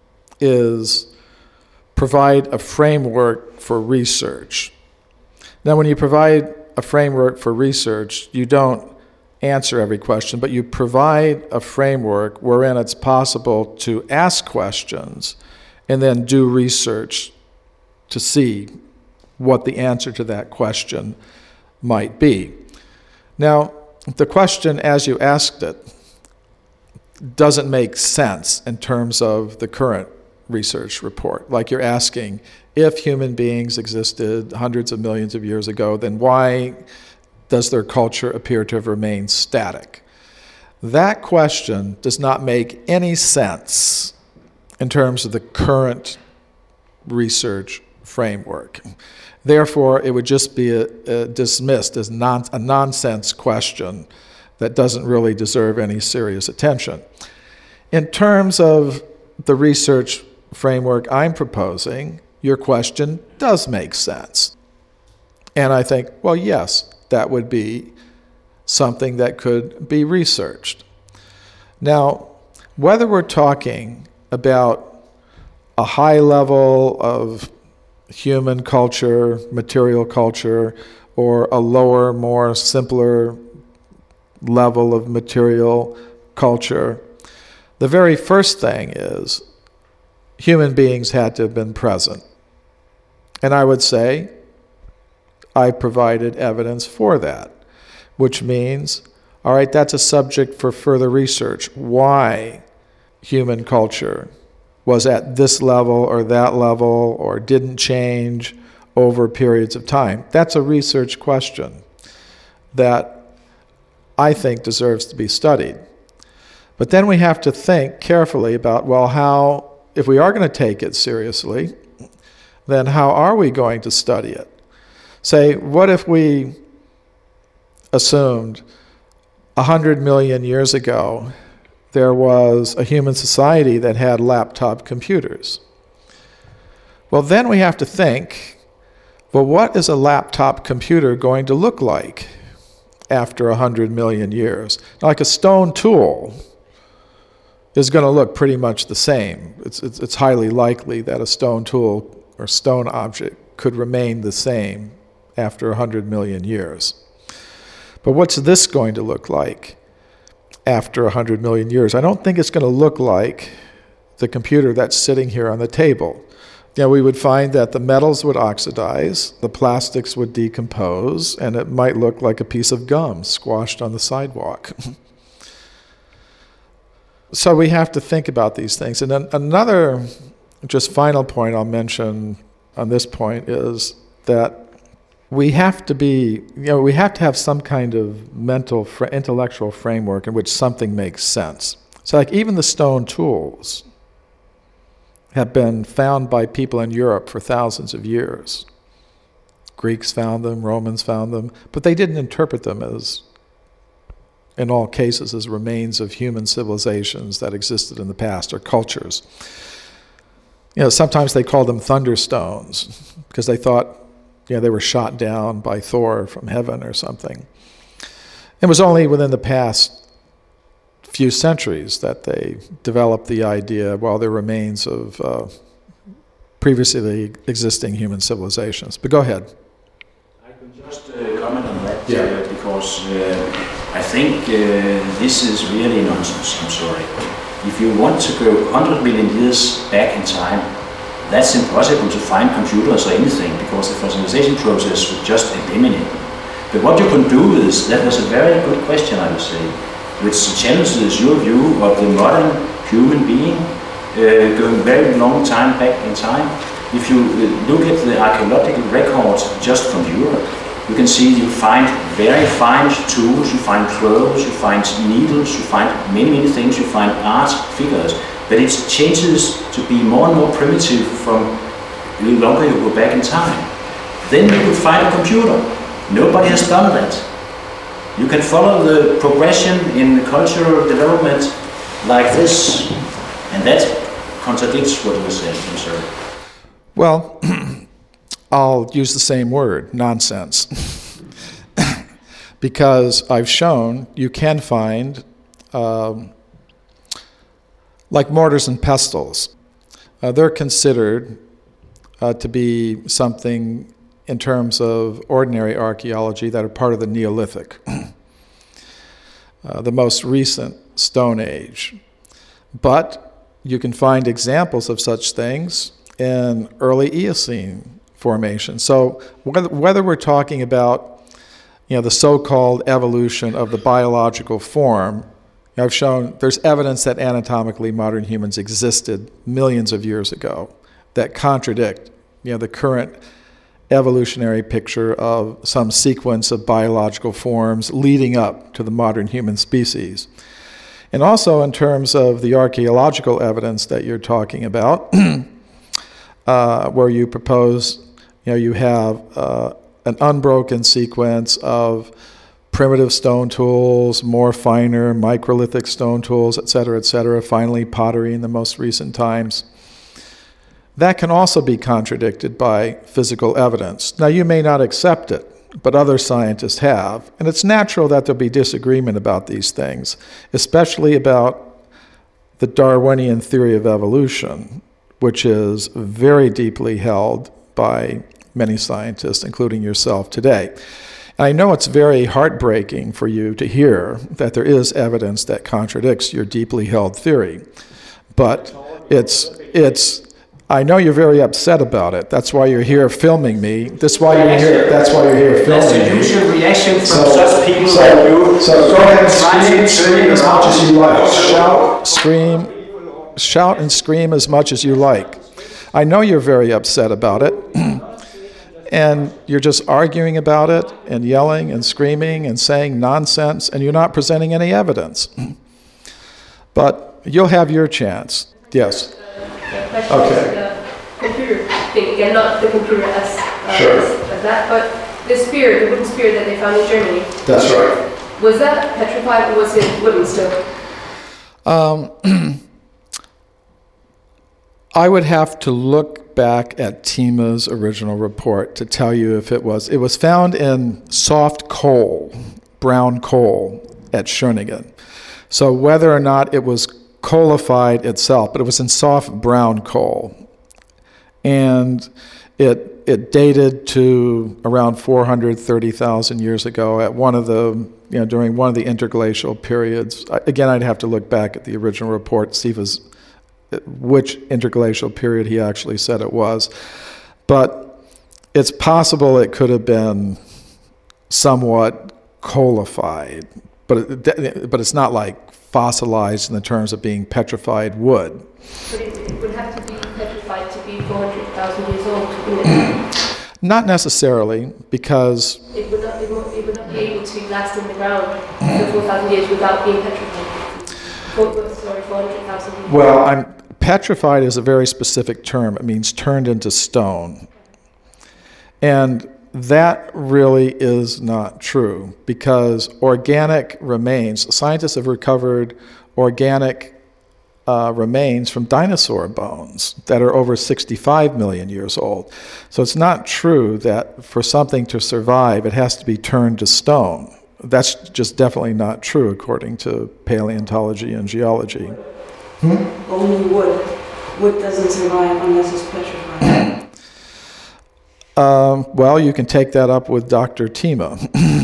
is provide a framework for research. Now, when you provide a framework for research, you don't answer every question, but you provide a framework wherein it's possible to ask questions and then do research to see what the answer to that question might be. Now, the question as you asked it doesn't make sense in terms of the current research report. Like you're asking, if human beings existed hundreds of millions of years ago, then why does their culture appear to have remained static? That question does not make any sense in terms of the current research framework. Therefore, it would just be dismissed as a nonsense question that doesn't really deserve any serious attention. In terms of the research framework I'm proposing, your question does make sense. And I think, well, yes, that would be something that could be researched. Now, whether we're talking about a high level of human culture, material culture, or a lower, more simpler level of material culture, the very first thing is human beings had to have been present. And I would say I provided evidence for that, which means, all right, that's a subject for further research. Why human culture was at this level or that level or didn't change over periods of time. That's a research question that I think deserves to be studied. But then we have to think carefully about, well, how, if we are going to take it seriously, then how are we going to study it? Say, what if we assumed 100 million years ago there was a human society that had laptop computers? Well, then we have to think, well, what is a laptop computer going to look like after 100 million years? Like a stone tool is going to look pretty much the same. It's highly likely that a stone tool or stone object could remain the same after 100 million years. But what's this going to look like after 100 million years? I don't think it's going to look like the computer that's sitting here on the table. We would find that the metals would oxidize, the plastics would decompose, and it might look like a piece of gum squashed on the sidewalk. So we have to think about these things. And then another just final point I'll mention on this point is that we have to be, we have to have some kind of mental, intellectual framework in which something makes sense. So like even the stone tools have been found by people in Europe for thousands of years. Greeks found them, Romans found them, but they didn't interpret them as, in all cases, as remains of human civilizations that existed in the past or cultures. Sometimes they called them thunderstones because they thought, they were shot down by Thor from heaven or something. It was only within the past few centuries that they developed the idea, they're remains of previously existing human civilizations. But go ahead. I can just comment on that because I think this is really nonsense. I'm sorry. If you want to go 100 million years back in time, that's impossible to find computers or anything because the fossilization process would just eliminate them. But what you can do is, that was a very good question, I would say, which challenges your view of the modern human being going very long time back in time. If you look at the archaeological records just from Europe, you can see you find very fine tools, you find clothes, you find needles, you find many things, you find art figures. But it changes to be more and more primitive from the longer you go back in time. Then you could find a computer. Nobody has done that. You can follow the progression in cultural development like this, and that contradicts what you were saying, I'm sorry. Well, I'll use the same word, nonsense. Because I've shown you can find like mortars and pestles. They're considered to be something in terms of ordinary archaeology that are part of the Neolithic, the most recent Stone Age. But you can find examples of such things in early Eocene formation. So whether we're talking about the so-called evolution of the biological form, I've shown there's evidence that anatomically modern humans existed millions of years ago that contradict the current evolutionary picture of some sequence of biological forms leading up to the modern human species. And also in terms of the archaeological evidence that you're talking about, where you propose, you have an unbroken sequence of primitive stone tools, more finer microlithic stone tools, et cetera, finally pottery in the most recent times. That can also be contradicted by physical evidence. Now, you may not accept it, but other scientists have. And it's natural that there'll be disagreement about these things, especially about the Darwinian theory of evolution, which is very deeply held by many scientists, including yourself today. And I know it's very heartbreaking for you to hear that there is evidence that contradicts your deeply held theory. But I know you're very upset about it. That's why you're here filming me. That's why you're here filming me. That's the usual reaction from such people like you. So go ahead and scream as much as you like. Shout, scream. shout and scream as much as you like. I know you're very upset about it, and you're just arguing about it and yelling and screaming and saying nonsense, and you're not presenting any evidence. But you'll have your chance. Yes. The computer thing again, not the computer as that, but the spear, the wooden spear that they found in Germany. That's right. Was that petrified or was it wooden still? I would have to look back at Tima's original report to tell you if it was. It was found in soft coal, brown coal, at Schöningen. So whether or not it was coalified itself, but it was in soft brown coal. And it dated to around 430,000 years ago at one of the, during one of the interglacial periods. Again, I'd have to look back at the original report, see if it was, which interglacial period he actually said it was. But it's possible it could have been somewhat coalified, but it's not like fossilized in the terms of being petrified wood. But it would have to be petrified to be 400,000 years old, wouldn't it? Not necessarily, because it would not be able to last in the ground for 4,000 years without being petrified. 400,000 years. Well, petrified is a very specific term. It means turned into stone. And that really is not true, because organic remains, scientists have recovered organic remains from dinosaur bones that are over 65 million years old. So it's not true that for something to survive, it has to be turned to stone. That's just definitely not true according to paleontology and geology. Only wood. Wood doesn't survive unless it's petrified. Well, you can take that up with Dr. Tima.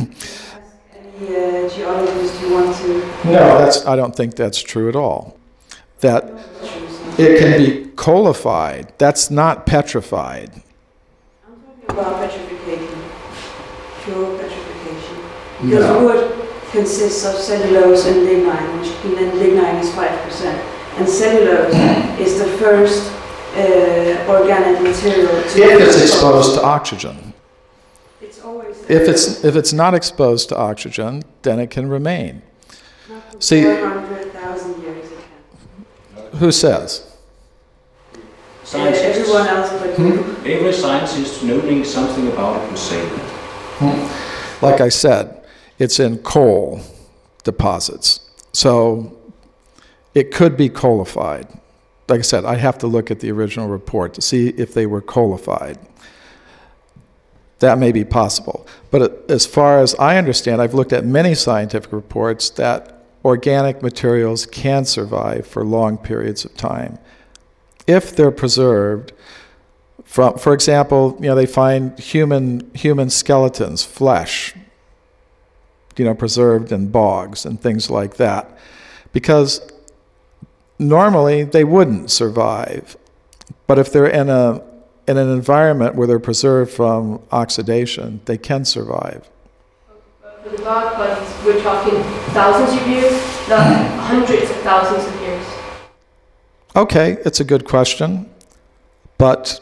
Any geologist you want to... No, I don't think that's true at all. That it can be coalified. That's not petrified. I'm talking about petrification. Pure petrification. Because wood consists of cellulose and lignine, which lignine is 5%. And cellulose is the first organic material. If it's exposed to oxygen. It's always if it's not exposed to oxygen, then it can remain. See, 400,000 years it can. Who says? Scientists. Everyone else but you. Every scientist knowing something about it will say that. Like I said, it's in coal deposits. So it could be coalified. Like I said, I have to look at the original report to see if they were coalified. That may be possible. But as far as I understand, I've looked at many scientific reports that organic materials can survive for long periods of time if they're preserved. For example, they find human skeletons, flesh, preserved in bogs and things like that, because normally they wouldn't survive. But if they're in an environment where they're preserved from oxidation, they can survive. For the bog bodies, we're talking thousands of years, not hundreds of thousands of years. Okay, it's a good question, but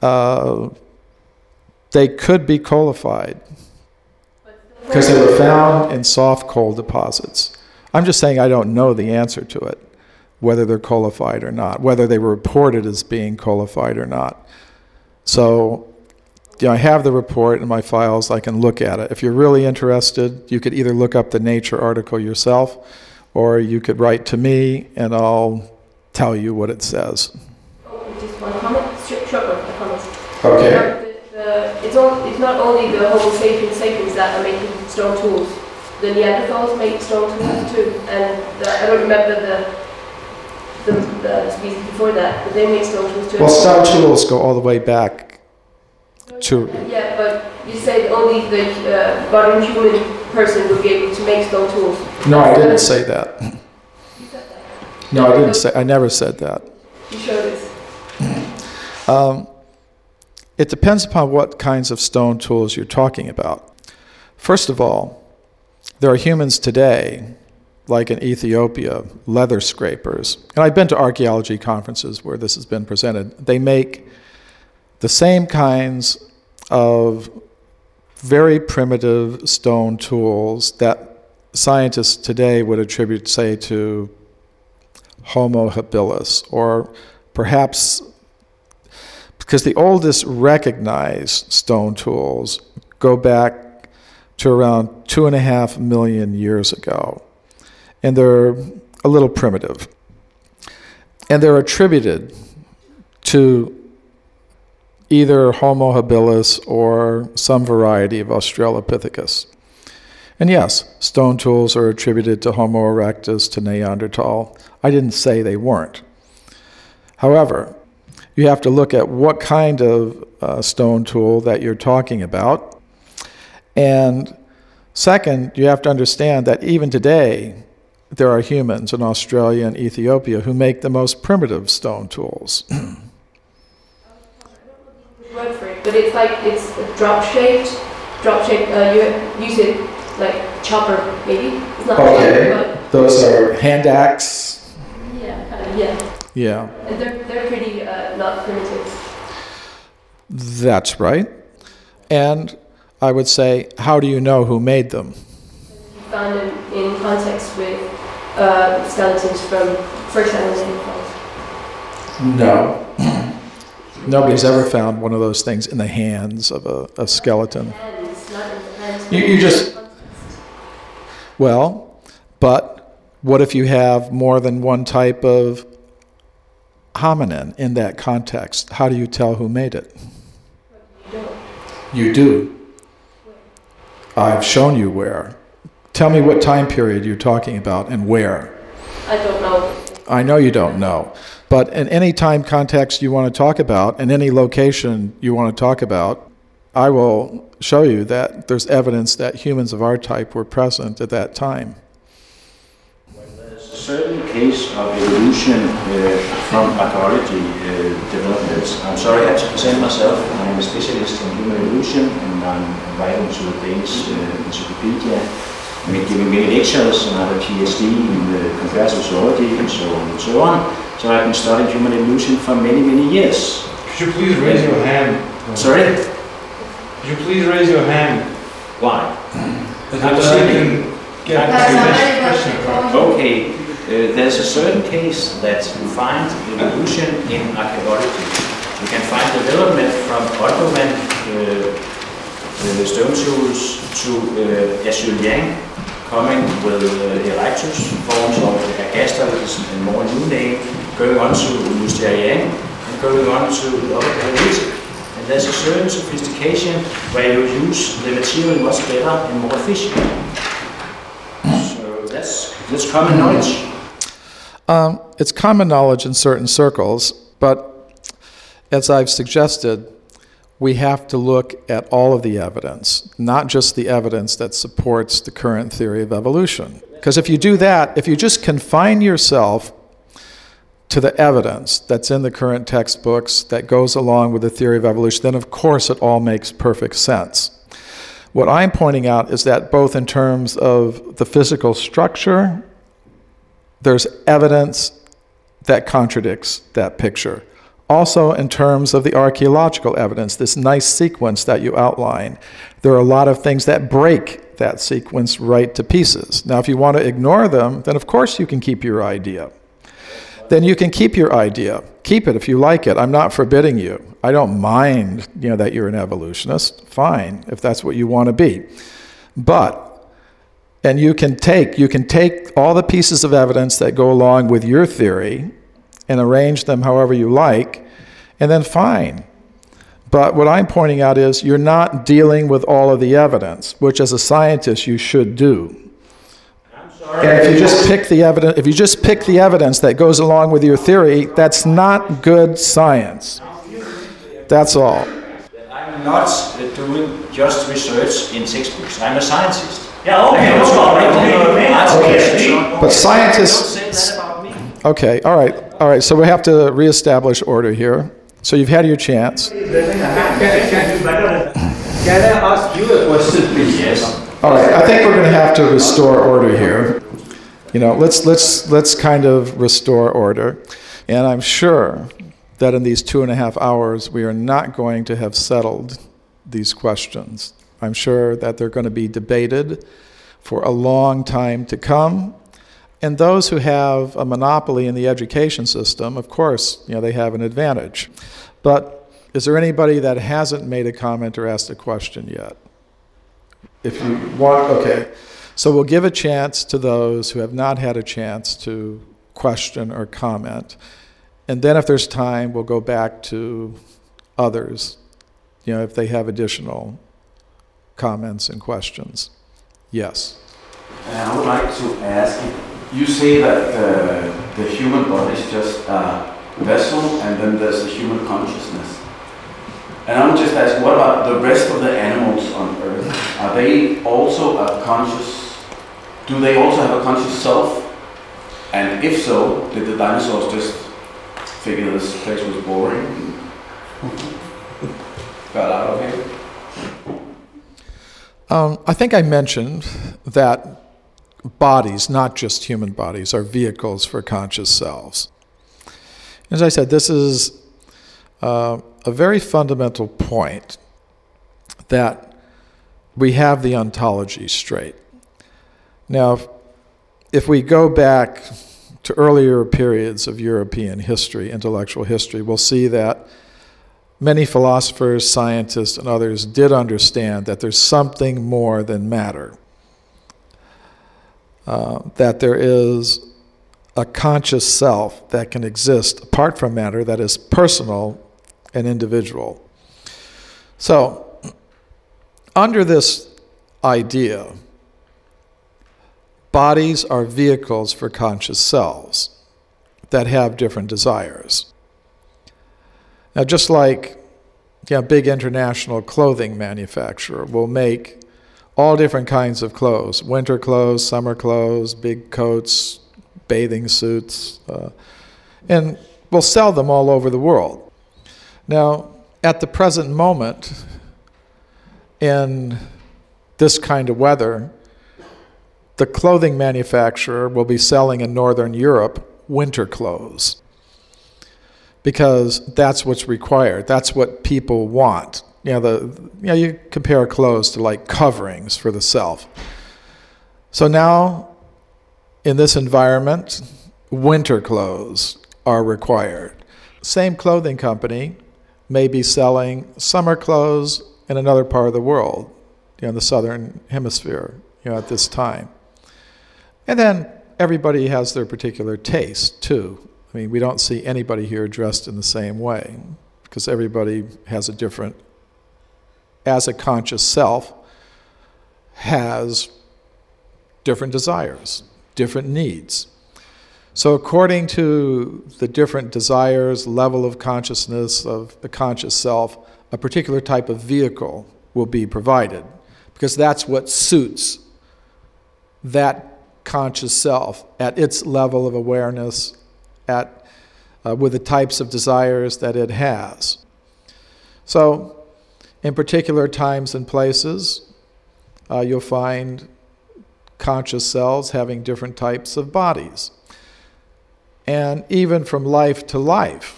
they could be coalified because they were found in soft coal deposits. I'm just saying I don't know the answer to it, whether they're coalified or not, whether they were reported as being coalified or not. So, I have the report in my files. I can look at it. If you're really interested, you could either look up the Nature article yourself, or you could write to me, and I'll tell you what it says. Just one comment, short comment. Okay. It's not only the Homo sapiens that are making stone tools. The Neanderthals made stone tools too, and I don't remember the species before that, but they made stone tools too. Well, stone tools go all the way back to... Yeah, but you said only the modern human person would be able to make stone tools. No, I didn't say that. You said that. No, I didn't say. I never said that. You showed us. It depends upon what kinds of stone tools you're talking about. First of all, there are humans today like in Ethiopia, leather scrapers. And I've been to archaeology conferences where this has been presented. They make the same kinds of very primitive stone tools that scientists today would attribute, say, to Homo habilis, or perhaps because the oldest recognized stone tools go back to around 2.5 million years ago. And they're a little primitive. And they're attributed to either Homo habilis or some variety of Australopithecus. And yes, stone tools are attributed to Homo erectus, to Neanderthal. I didn't say they weren't. However, you have to look at what kind of stone tool that you're talking about. And second, you have to understand that even today, there are humans in Australia and Ethiopia who make the most primitive stone tools. Word for it, but it's like it's drop-shaped. You use it like chopper, maybe. It's not Okay, but those are hand axe. Yeah. Yeah, And they're pretty not primitive. that's right. And I would say, how do you know who made them? You found them in context with skeletons from, for example, Neanderthals. No. Nobody's ever found one of those things in the hands of a skeleton. Hands, not in the hands. You just... Well, but what if you have more than one type of hominin in that context? How do you tell who made it? You do. I've shown you where. Tell me what time period you're talking about and where. I don't know. I know you don't know. But in any time context you want to talk about, in any location you want to talk about, I will show you that there's evidence that humans of our type were present at that time. There's a certain case of evolution from archaeology developments. I'm sorry I have to present myself. I'm a specialist in human evolution, and I'm writing to the Danish Encyclopedia. I'm giving many lectures, and I have a PhD in comparative zoology and so on and so on. So I've been studying human evolution for many, many years. Could you please raise your hand? Sorry? Could you please raise your hand? Why? So you can get to the next question across. Okay, there's a certain case that you find evolution in archaeology. You can find development from Ottoman stone tools to Acheulean, coming with Erectus, forms of Agaster, which is a more new name, going on to Mousterian, and going on to the Upper Paleolithic. And there's a certain sophistication where you use the material much better and more efficiently. So that's common knowledge. It's common knowledge in certain circles, but as I've suggested, we have to look at all of the evidence, not just the evidence that supports the current theory of evolution. Because if you do that, if you just confine yourself to the evidence that's in the current textbooks that goes along with the theory of evolution, then of course it all makes perfect sense. What I'm pointing out is that both in terms of the physical structure, there's evidence that contradicts that picture. Also, in terms of the archaeological evidence, this nice sequence that you outline, there are a lot of things that break that sequence right to pieces. Now, if you want to ignore them, then of course you can keep your idea. Then you can keep your idea. Keep it if you like it. I'm not forbidding you. I don't mind, that you're an evolutionist. Fine, if that's what you want to be. And you can take all the pieces of evidence that go along with your theory and arrange them however you like, and then fine. But what I'm pointing out is you're not dealing with all of the evidence, which as a scientist you should do. And if you just pick the evidence that goes along with your theory, that's not good science. That's all. I'm not doing just research in textbooks. I'm a scientist. Yeah, okay. But scientists... Okay, all right, so we have to reestablish order here. So you've had your chance. Can I ask you a question, please? Yes. All right, I think we're going to have to restore order here. Let's kind of restore order. And I'm sure that in these 2.5 hours, we are not going to have settled these questions. I'm sure that they're going to be debated for a long time to come. And those who have a monopoly in the education system, of course, they have an advantage. But is there anybody that hasn't made a comment or asked a question yet? If you want, okay. So we'll give a chance to those who have not had a chance to question or comment. And then if there's time, we'll go back to others, if they have additional comments and questions. Yes? I would like to ask, you say that the human body is just a vessel and then there's the human consciousness. And I'm just asking, what about the rest of the animals on Earth? Are they also do they also have a conscious self? And if so, did the dinosaurs just figure this place was boring and got out of here? I think I mentioned that bodies, not just human bodies, are vehicles for conscious selves. As I said, this is a very fundamental point, that we have the ontology straight. Now, if we go back to earlier periods of European history, intellectual history, we'll see that many philosophers, scientists, and others did understand that there's something more than matter, that there is a conscious self that can exist apart from matter, that is personal and individual. So, under this idea, bodies are vehicles for conscious selves that have different desires. Now, just like a big international clothing manufacturer will make all different kinds of clothes, winter clothes, summer clothes, big coats, bathing suits, and will sell them all over the world. Now, at the present moment, in this kind of weather, the clothing manufacturer will be selling in Northern Europe winter clothes, because that's what's required. That's what people want. You compare clothes to like coverings for the self. So now, in this environment, winter clothes are required. Same clothing company may be selling summer clothes in another part of the world, in the southern hemisphere, at this time. And then everybody has their particular taste, too. I mean, we don't see anybody here dressed in the same way, because everybody has a different, as a conscious self, has different desires, different needs. So according to the different desires, level of consciousness of the conscious self, a particular type of vehicle will be provided, because that's what suits that conscious self at its level of awareness, with the types of desires that it has. So, in particular times and places, you'll find conscious selves having different types of bodies. And even from life to life,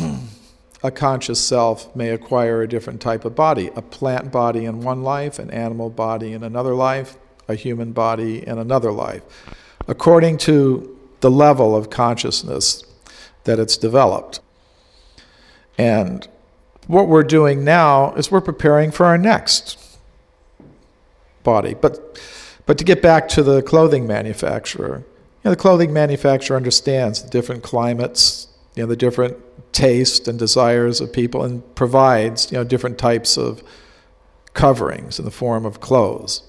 a conscious self may acquire a different type of body, a plant body in one life, an animal body in another life, a human body in another life, according to the level of consciousness that it's developed. And what we're doing now is we're preparing for our next body. But to get back to the clothing manufacturer, the clothing manufacturer understands the different climates, the different tastes and desires of people, and provides, different types of coverings in the form of clothes.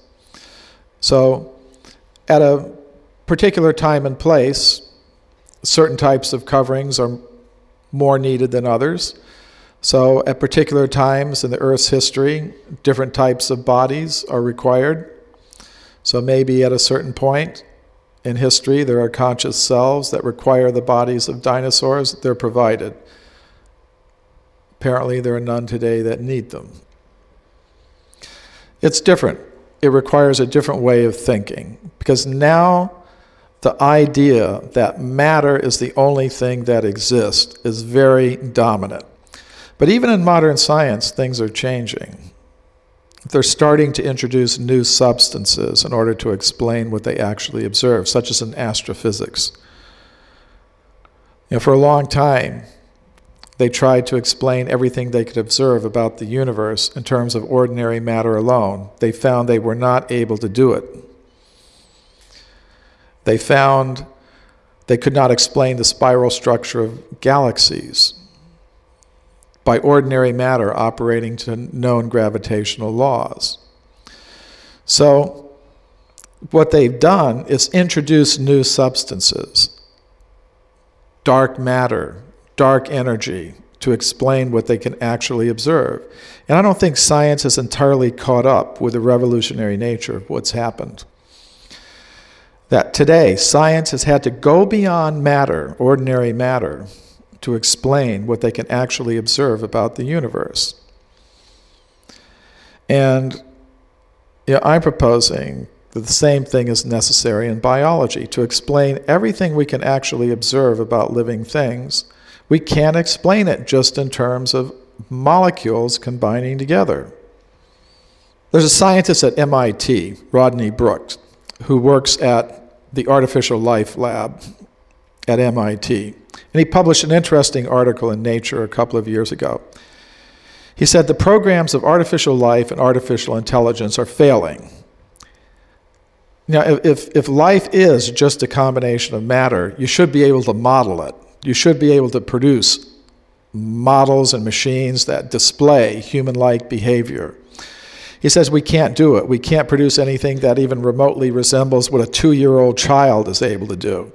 So, at a particular time and place, certain types of coverings are more needed than others. So, at particular times in the Earth's history, different types of bodies are required. So maybe at a certain point in history, there are conscious selves that require the bodies of dinosaurs. They're provided. Apparently, there are none today that need them. It's different. It requires a different way of thinking, because now the idea that matter is the only thing that exists is very dominant. But even in modern science, things are changing. They're starting to introduce new substances in order to explain what they actually observe, such as in astrophysics. For a long time, they tried to explain everything they could observe about the universe in terms of ordinary matter alone. They found they were not able to do it. They found they could not explain the spiral structure of galaxies by ordinary matter operating to known gravitational laws. So what they've done is introduce new substances, dark matter, dark energy, to explain what they can actually observe. And I don't think science has entirely caught up with the revolutionary nature of what's happened. That today, science has had to go beyond matter, ordinary matter, to explain what they can actually observe about the universe. And I'm proposing that the same thing is necessary in biology. To explain everything we can actually observe about living things, we can't explain it just in terms of molecules combining together. There's a scientist at MIT, Rodney Brooks, who works at the Artificial Life Lab at MIT. And he published an interesting article in Nature a couple of years ago. He said the programs of artificial life and artificial intelligence are failing. Now, if life is just a combination of matter, you should be able to model it. You should be able to produce models and machines that display human-like behavior. He says we can't do it. We can't produce anything that even remotely resembles what a 2-year-old child is able to do.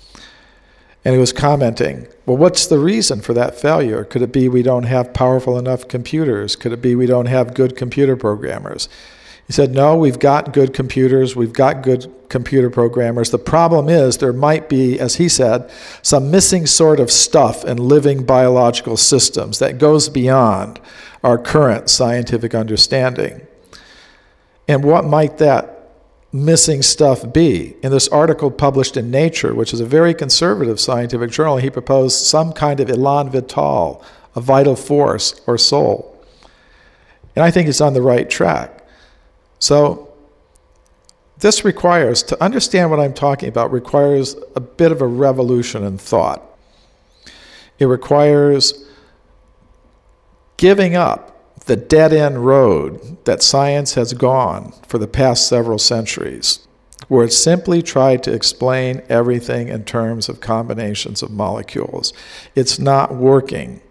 And he was commenting, well, what's the reason for that failure? Could it be we don't have powerful enough computers? Could it be we don't have good computer programmers? He said, no, we've got good computers, we've got good computer programmers. The problem is there might be, as he said, some missing sort of stuff in living biological systems that goes beyond our current scientific understanding. And what might that missing stuff be? In this article published in Nature, which is a very conservative scientific journal, he proposed some kind of elan vital, a vital force or soul. And I think he's on the right track. So this requires, to understand what I'm talking about, requires a bit of a revolution in thought. It requires giving up the dead-end road that science has gone for the past several centuries, where it simply tried to explain everything in terms of combinations of molecules. It's not working.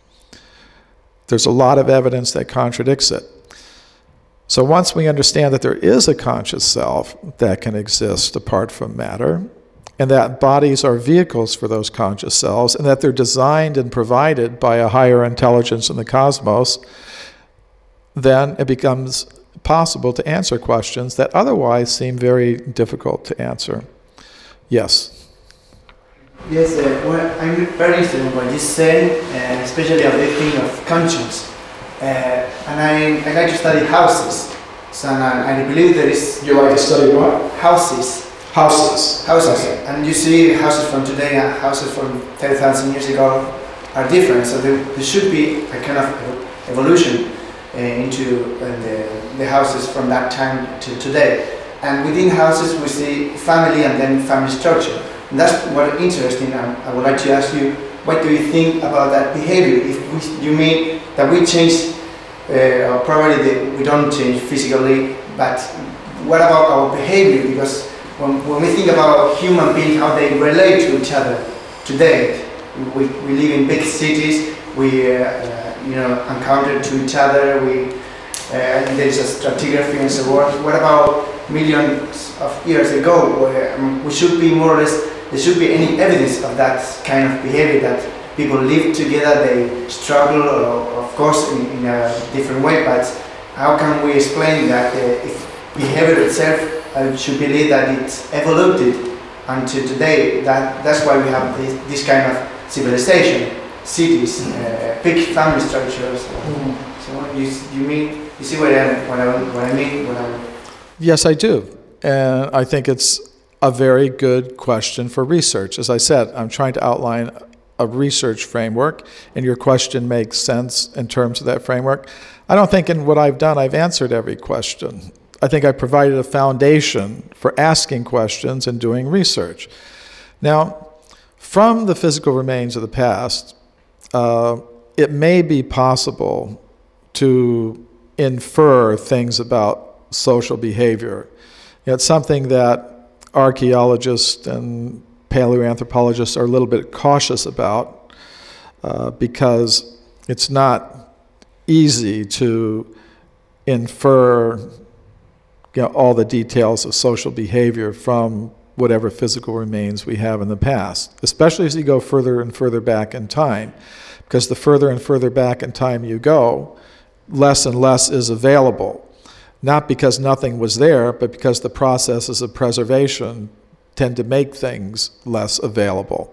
There's a lot of evidence that contradicts it. So once we understand that there is a conscious self that can exist apart from matter, and that bodies are vehicles for those conscious selves, and that they're designed and provided by a higher intelligence in the cosmos, then it becomes possible to answer questions that otherwise seem very difficult to answer. Yes? Yes, well, I'm very interested in what you say, especially on the thing of conscience. And I like to study houses. So I believe there is... You like to study what? Houses. Houses. Okay. And you see houses from today and houses from 10,000 years ago are different. So there should be a kind of evolution into the houses from that time to today. And within houses we see family and then family structure. And that's what interesting. I would like to ask you, what do you think about that behavior? If you mean that we change, or probably we don't change physically, but what about our behavior? Because when we think about human beings, how they relate to each other today, we live in big cities, we encounter to each other, there's a stratigraphy and so on. What about millions of years ago, where we should be more or less, there should be any evidence of that kind of behavior, that people live together, they struggle, of course, in a different way, but how can we explain that if behavior itself, I should believe that it's evolved until today, that's why we have this kind of civilization, cities, big family structures. So you see what I mean? Yes, I do. And I think it's a very good question for research. As I said, I'm trying to outline a research framework, and your question makes sense in terms of that framework. I don't think in what I've done I've answered every question. I think I provided a foundation for asking questions and doing research. Now, from the physical remains of the past, it may be possible to infer things about social behavior. It's something that archaeologists and paleoanthropologists are a little bit cautious about because it's not easy to infer all the details of social behavior from whatever physical remains we have in the past, especially as you go further and further back in time, because the further and further back in time you go, less and less is available. Not because nothing was there, but because the processes of preservation tend to make things less available.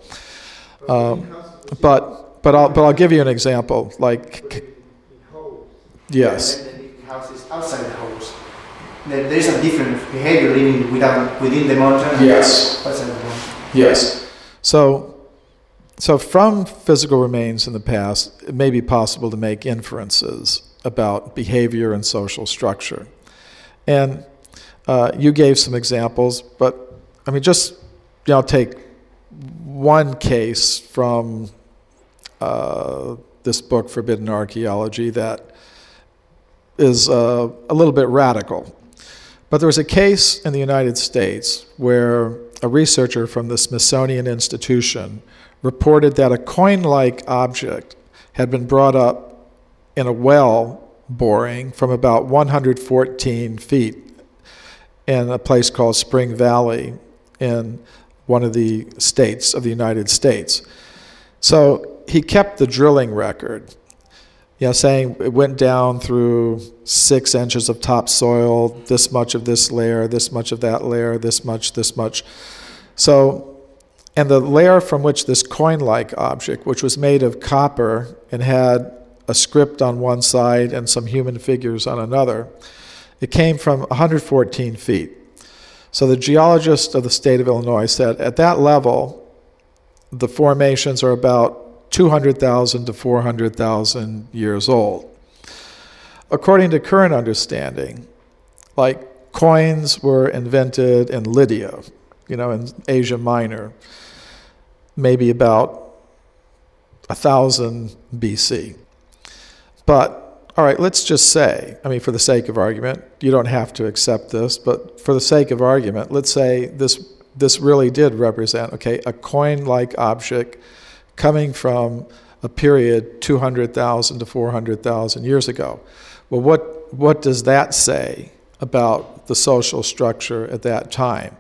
But I'll give you an example. Like, yes. Houses outside the house. There is a different behavior living within the mountain. Yes. Outside the mountain. Yes. So from physical remains in the past, it may be possible to make inferences about behavior and social structure. And you gave some examples, but I mean, just take one case from this book, Forbidden Archaeology, that is a little bit radical. But there was a case in the United States where a researcher from the Smithsonian Institution reported that a coin-like object had been brought up in a well boring from about 114 feet in a place called Spring Valley in one of the states of the United States. So he kept the drilling record, saying it went down through 6 inches of topsoil, this much of this layer, this much of that layer, this much. So, and the layer from which this coin-like object, which was made of copper and had a script on one side and some human figures on another, it came from 114 feet. So the geologist of the state of Illinois said at that level, the formations are about 200,000 to 400,000 years old. According to current understanding, like coins were invented in Lydia, in Asia Minor, maybe about 1000 BC. But, all right, let's just say, for the sake of argument, you don't have to accept this, but for the sake of argument, let's say this really did represent, a coin-like object coming from a period 200,000 to 400,000 years ago. Well, what does that say about the social structure at that time?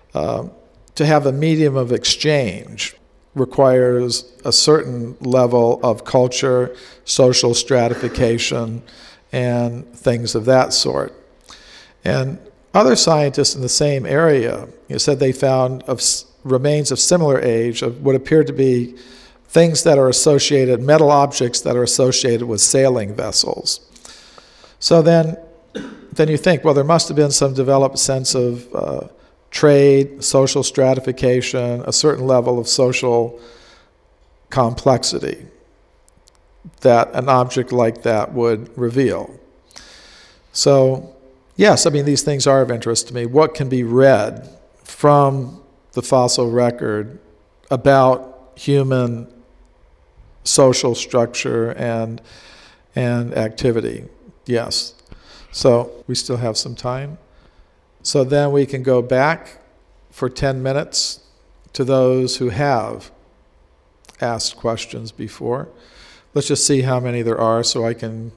To have a medium of exchange requires a certain level of culture, social stratification, and things of that sort. And other scientists in the same area said they found remains of similar age of what appeared to be things that are associated, metal objects that are associated with sailing vessels. So then you think, well, there must have been some developed sense of trade, social stratification, a certain level of social complexity that an object like that would reveal. So, yes, these things are of interest to me. What can be read from the fossil record about human social structure and activity? Yes. So we still have some time. So then we can go back for 10 minutes to those who have asked questions before. Let's just see how many there are so I can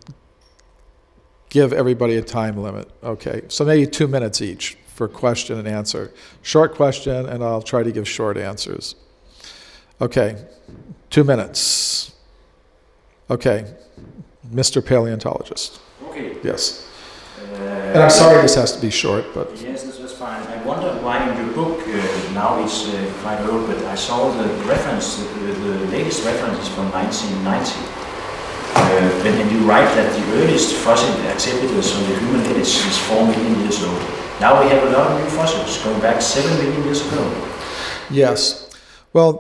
give everybody a time limit. Okay, so maybe 2 minutes each for question and answer. Short question, and I'll try to give short answers. Okay, 2 minutes. Okay, Mr. Paleontologist. Okay. Yes. And I'm sorry this has to be short, but... Yes, this was fine. I wonder why in your book, now it's quite old, but I saw the reference, the latest reference is from 1990. and you write that the earliest fossil acceptors on the human lineage is 4 million years old. Now we have a lot of new fossils going back 7 million years ago. Yes. Well,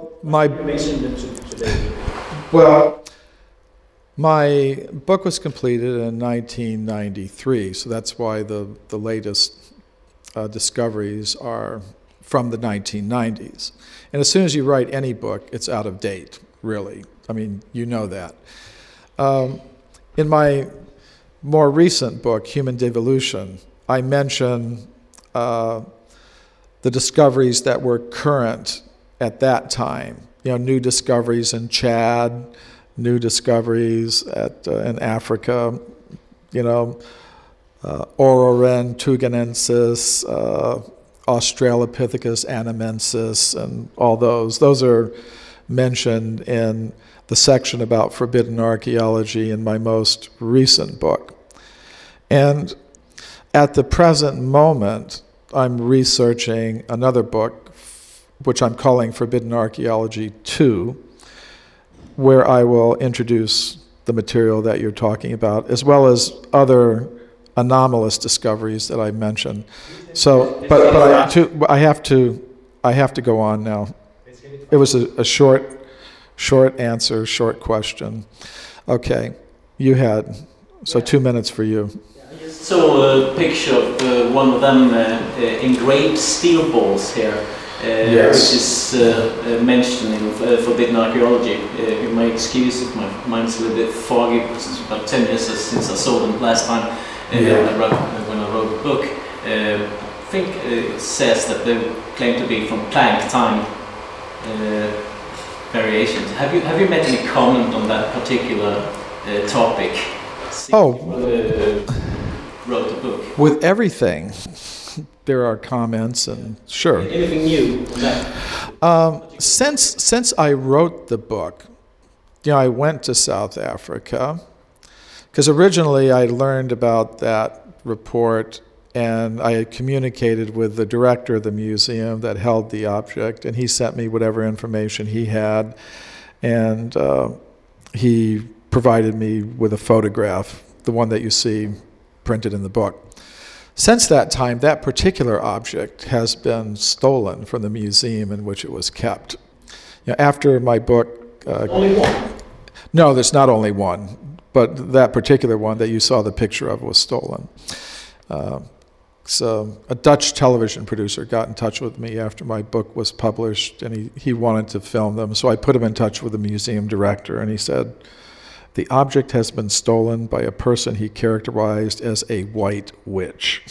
my book was completed in 1993, so that's why the latest discoveries are from the 1990s. And as soon as you write any book, it's out of date, really. I mean, you know that. In my more recent book, Human Devolution, I mention the discoveries that were current at that time. New discoveries in Chad, new discoveries in Africa, Ororen tuganensis, Australopithecus anamensis, and all those. Those are mentioned in the section about forbidden archaeology in my most recent book. And at the present moment, I'm researching another book, which I'm calling Forbidden Archaeology 2, where I will introduce the material that you're talking about, as well as other anomalous discoveries that I mentioned. So, but I have to go on now. It was a short answer, short question. Okay, you had, so 2 minutes for you. I just saw a picture of one of them engraved steel balls here, which is mentioned in Forbidden Archaeology. You may excuse if my mind's a little bit foggy, because it's about 10 years since I saw them last time when I wrote the book. I think it says that they claim to be from Planck time variations. Have you made any comment on that particular topic? Wrote the book. With everything, there are comments, and sure. Anything new on that? Since I wrote the book, I went to South Africa, because originally I learned about that report, and I had communicated with the director of the museum that held the object, and he sent me whatever information he had, and he provided me with a photograph, the one that you see printed in the book. Since that time, that particular object has been stolen from the museum in which it was kept. After my book... only one? No, there's not only one, but that particular one that you saw the picture of was stolen. So a Dutch television producer got in touch with me after my book was published, and he wanted to film them. So I put him in touch with the museum director, and he said, the object has been stolen by a person he characterized as a white witch.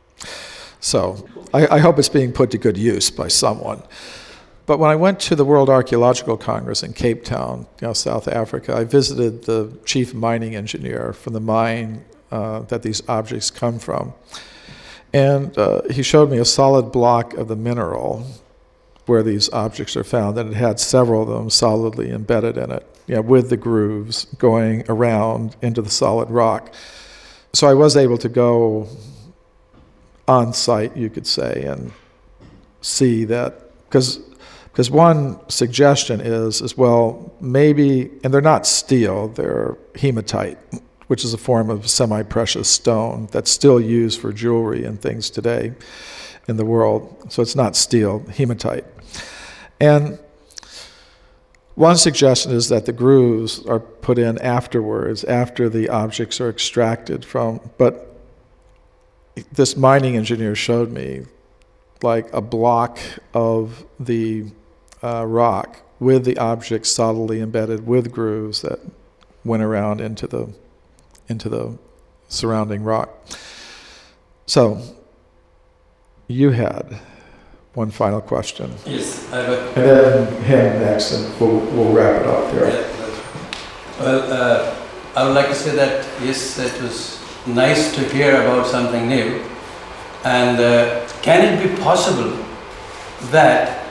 So I hope it's being put to good use by someone. But when I went to the World Archaeological Congress in Cape Town, South Africa, I visited the chief mining engineer from the mine that these objects come from. And he showed me a solid block of the mineral where these objects are found, and it had several of them solidly embedded in it, with the grooves going around into the solid rock. So I was able to go on site, you could say, and see that, because one suggestion is, well, maybe, and they're not steel, they're hematite, which is a form of semi-precious stone that's still used for jewelry and things today in the world. So it's not steel, hematite. And one suggestion is that the grooves are put in afterwards, after the objects are extracted from, but this mining engineer showed me like a block of the rock with the objects solidly embedded with grooves that went around into the surrounding rock. So, you had one final question. Yes, and then him next, and we'll wrap it up there. Yeah, well, I would like to say that, yes, it was nice to hear about something new. And can it be possible that,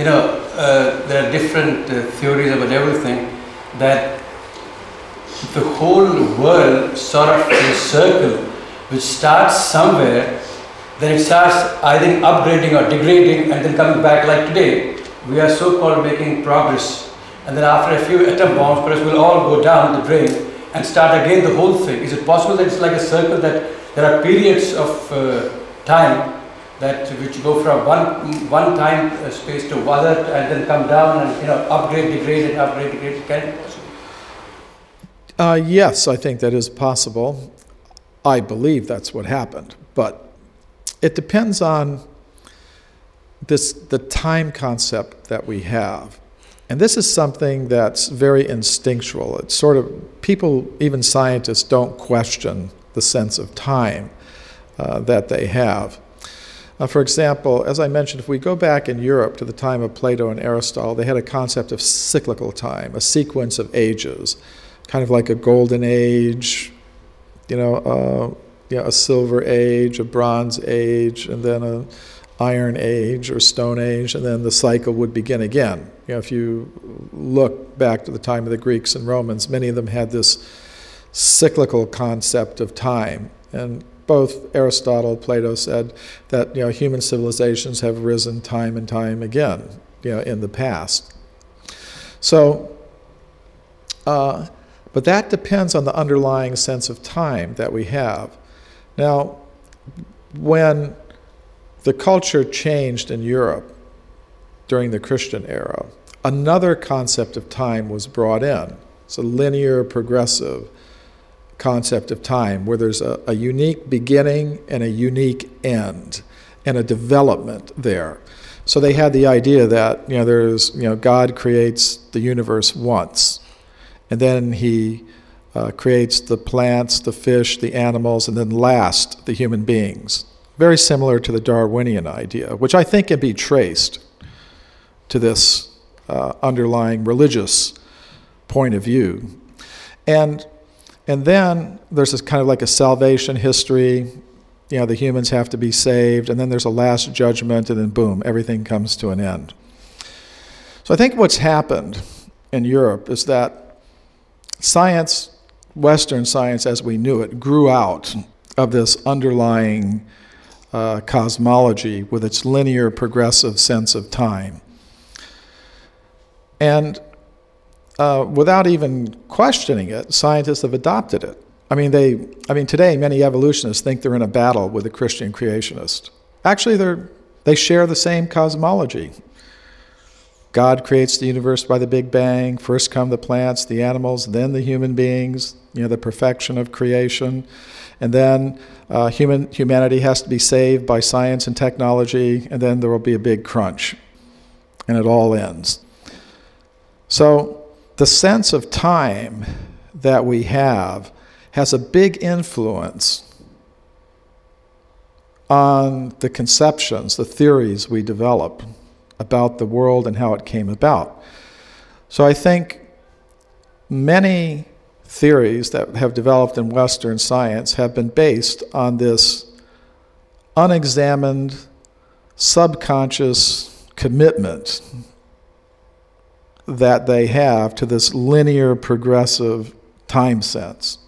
there are different theories about everything, that the whole world sort of in a circle which starts somewhere, then it starts either upgrading or degrading and then coming back like today. We are so-called making progress, and then after a few atom bombs, perhaps we'll all go down the drain, and start again the whole thing? Is it possible that it's like a circle, that there are periods of time that which go from one time space to other and then come down and upgrade, degrade, and upgrade, degrade? Can it be possible? Yes, I think that is possible. I believe that's what happened, but it depends on the time concept that we have. And this is something that's very instinctual. It's sort of, people, even scientists, don't question the sense of time that they have. For example, as I mentioned, if we go back in Europe to the time of Plato and Aristotle, they had a concept of cyclical time, a sequence of ages, kind of like a golden age, a silver age, a bronze age, and then a Iron Age or Stone Age, and then the cycle would begin again. If you look back to the time of the Greeks and Romans, many of them had this cyclical concept of time. And both Aristotle, Plato said that human civilizations have risen time and time again, in the past. So, but that depends on the underlying sense of time that we have. Now, when the culture changed in Europe during the Christian era, another concept of time was brought in. It's a linear, progressive concept of time where there's a unique beginning and a unique end and a development there. So they had the idea that God creates the universe once, and then he creates the plants, the fish, the animals, and then last, the human beings. Very similar to the Darwinian idea, which I think can be traced to this underlying religious point of view. And then there's this kind of like a salvation history. The humans have to be saved, and then there's a last judgment, and then boom, everything comes to an end. So I think what's happened in Europe is that science, Western science as we knew it, grew out of this underlying cosmology with its linear, progressive sense of time. And without even questioning it, scientists have adopted it. I mean, today many evolutionists think they're in a battle with a Christian creationist. Actually, they share the same cosmology. God creates the universe by the Big Bang. First come the plants, the animals, then the human beings, the perfection of creation. And then humanity has to be saved by science and technology, and then there will be a big crunch, and it all ends. So the sense of time that we have has a big influence on the conceptions, the theories we develop about the world and how it came about. So I think many theories that have developed in Western science have been based on this unexamined, subconscious commitment that they have to this linear, progressive time sense.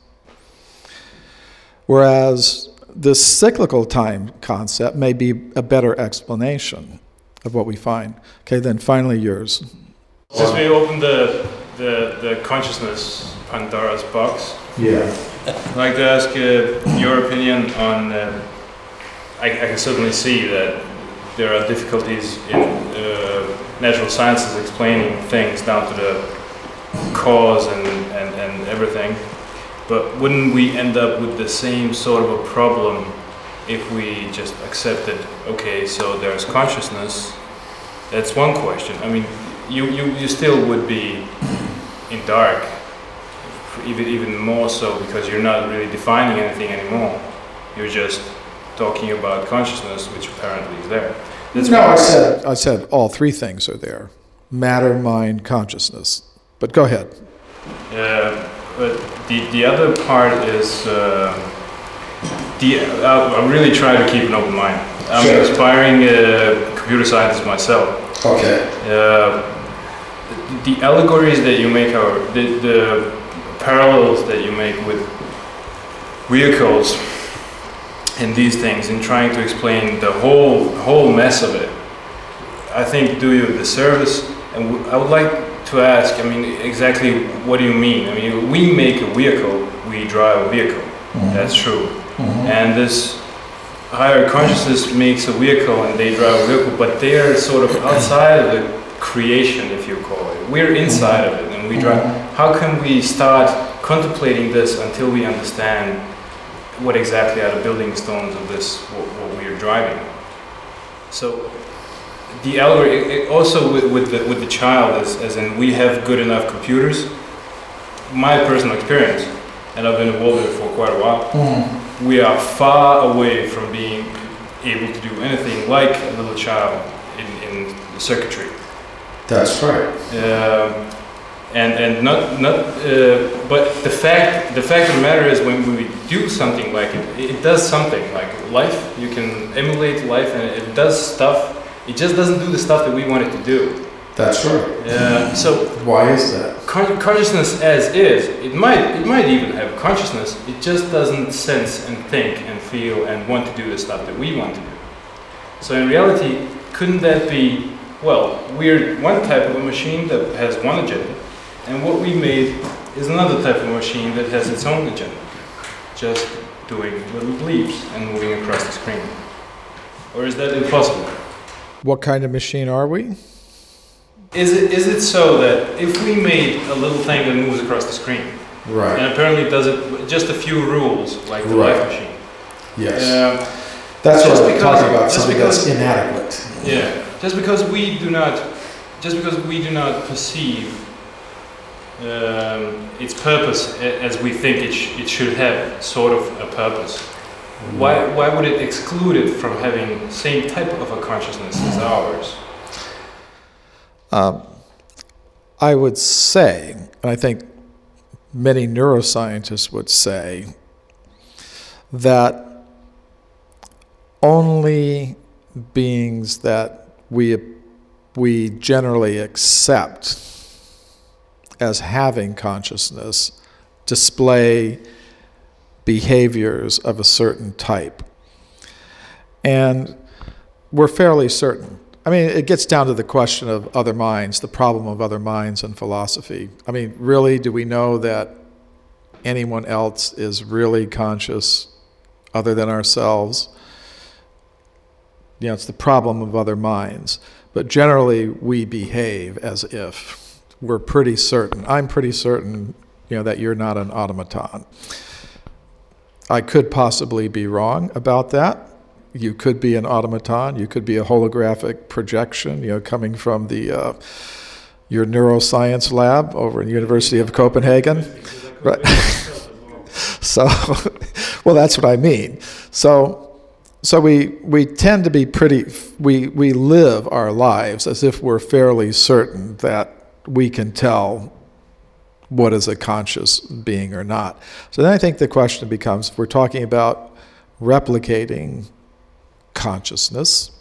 Whereas this cyclical time concept may be a better explanation of what we find. Okay, then finally yours. Since we opened the consciousness Pandora's box, I'd like to ask your opinion on, I can certainly see that there are difficulties in natural sciences explaining things down to the cause and everything, but wouldn't we end up with the same sort of a problem if we just accepted, okay, so there's consciousness? That's one question. I mean, you still would be in dark, even more so, because you're not really defining anything anymore. You're just talking about consciousness, which apparently is there. I said all three things are there: matter, mind, consciousness. But go ahead. But the other part is I really try to keep an open mind. I'm an aspiring computer scientist myself. Okay. The allegories that you make, or the parallels that you make with vehicles and these things, in trying to explain the whole mess of it, I think do you a disservice. And I would like to ask, I mean, exactly what do you mean? I mean, we make a vehicle, we drive a vehicle. That's true. And this higher consciousness makes a vehicle and they drive a vehicle, but they're sort of outside of the creation, if you call it. We're inside of it and we drive. How can we start contemplating this until we understand what exactly are the building stones of this, what we're driving? So the algorithm, also with the child, as in we have good enough computers. My personal experience, and I've been involved in it for quite a while, we are far away from being able to do anything like a little child in the circuitry. That's right. And but the fact of the matter is, when we do something like it does something like life. You can emulate life, and it does stuff. It just doesn't do the stuff that we want it to do. That's right. So why is that? Consciousness as is, it might even have consciousness. It just doesn't sense and think and feel and want to do the stuff that we want to do. So in reality, couldn't that be? Well, we're one type of a machine that has one agenda, and what we made is another type of machine that has its own agenda, just doing little bleeps and moving across the screen. Or is that impossible? What kind of machine are we? Is it so that if we made a little thing that moves across the screen, right, and apparently it does it just a few rules, like the life machine? Yes. That's what I'm talking about. Something that's inadequate. Yeah. Just because we do not perceive its purpose as we think it should have, sort of a purpose. Why would it exclude it from having the same type of a consciousness as ours? I would say, and I think many neuroscientists would say, that only beings that we generally accept as having consciousness display behaviors of a certain type. And we're fairly certain. I mean, it gets down to the question of other minds, the problem of other minds in philosophy. I mean, really, do we know that anyone else is really conscious other than ourselves? You know, it's the problem of other minds. But generally, we behave as if we're pretty certain. I'm pretty certain, that you're not an automaton. I could possibly be wrong about that. You could be an automaton. You could be a holographic projection, coming from your neuroscience lab over in the University of Copenhagen. Right. So, well, that's what I mean. So we tend to be we live our lives as if we're fairly certain that we can tell what is a conscious being or not. So then I think the question becomes, if we're talking about replicating consciousness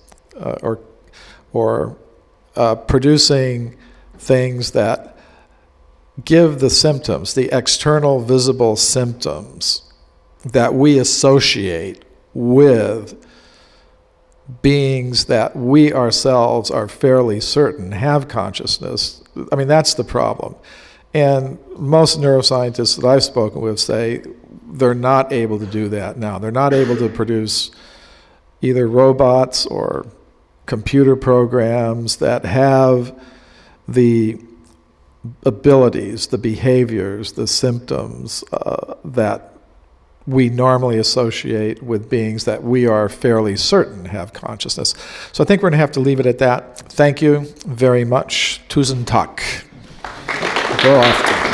or producing things that give the symptoms, the external visible symptoms that we associate with beings that we ourselves are fairly certain have consciousness. I mean, that's the problem. And most neuroscientists that I've spoken with say they're not able to do that now. They're not able to produce either robots or computer programs that have the abilities, the behaviors, the symptoms that we normally associate with beings that we are fairly certain have consciousness. So I think we're going to have to leave it at that. Thank you very much. Tusen tak. Go off.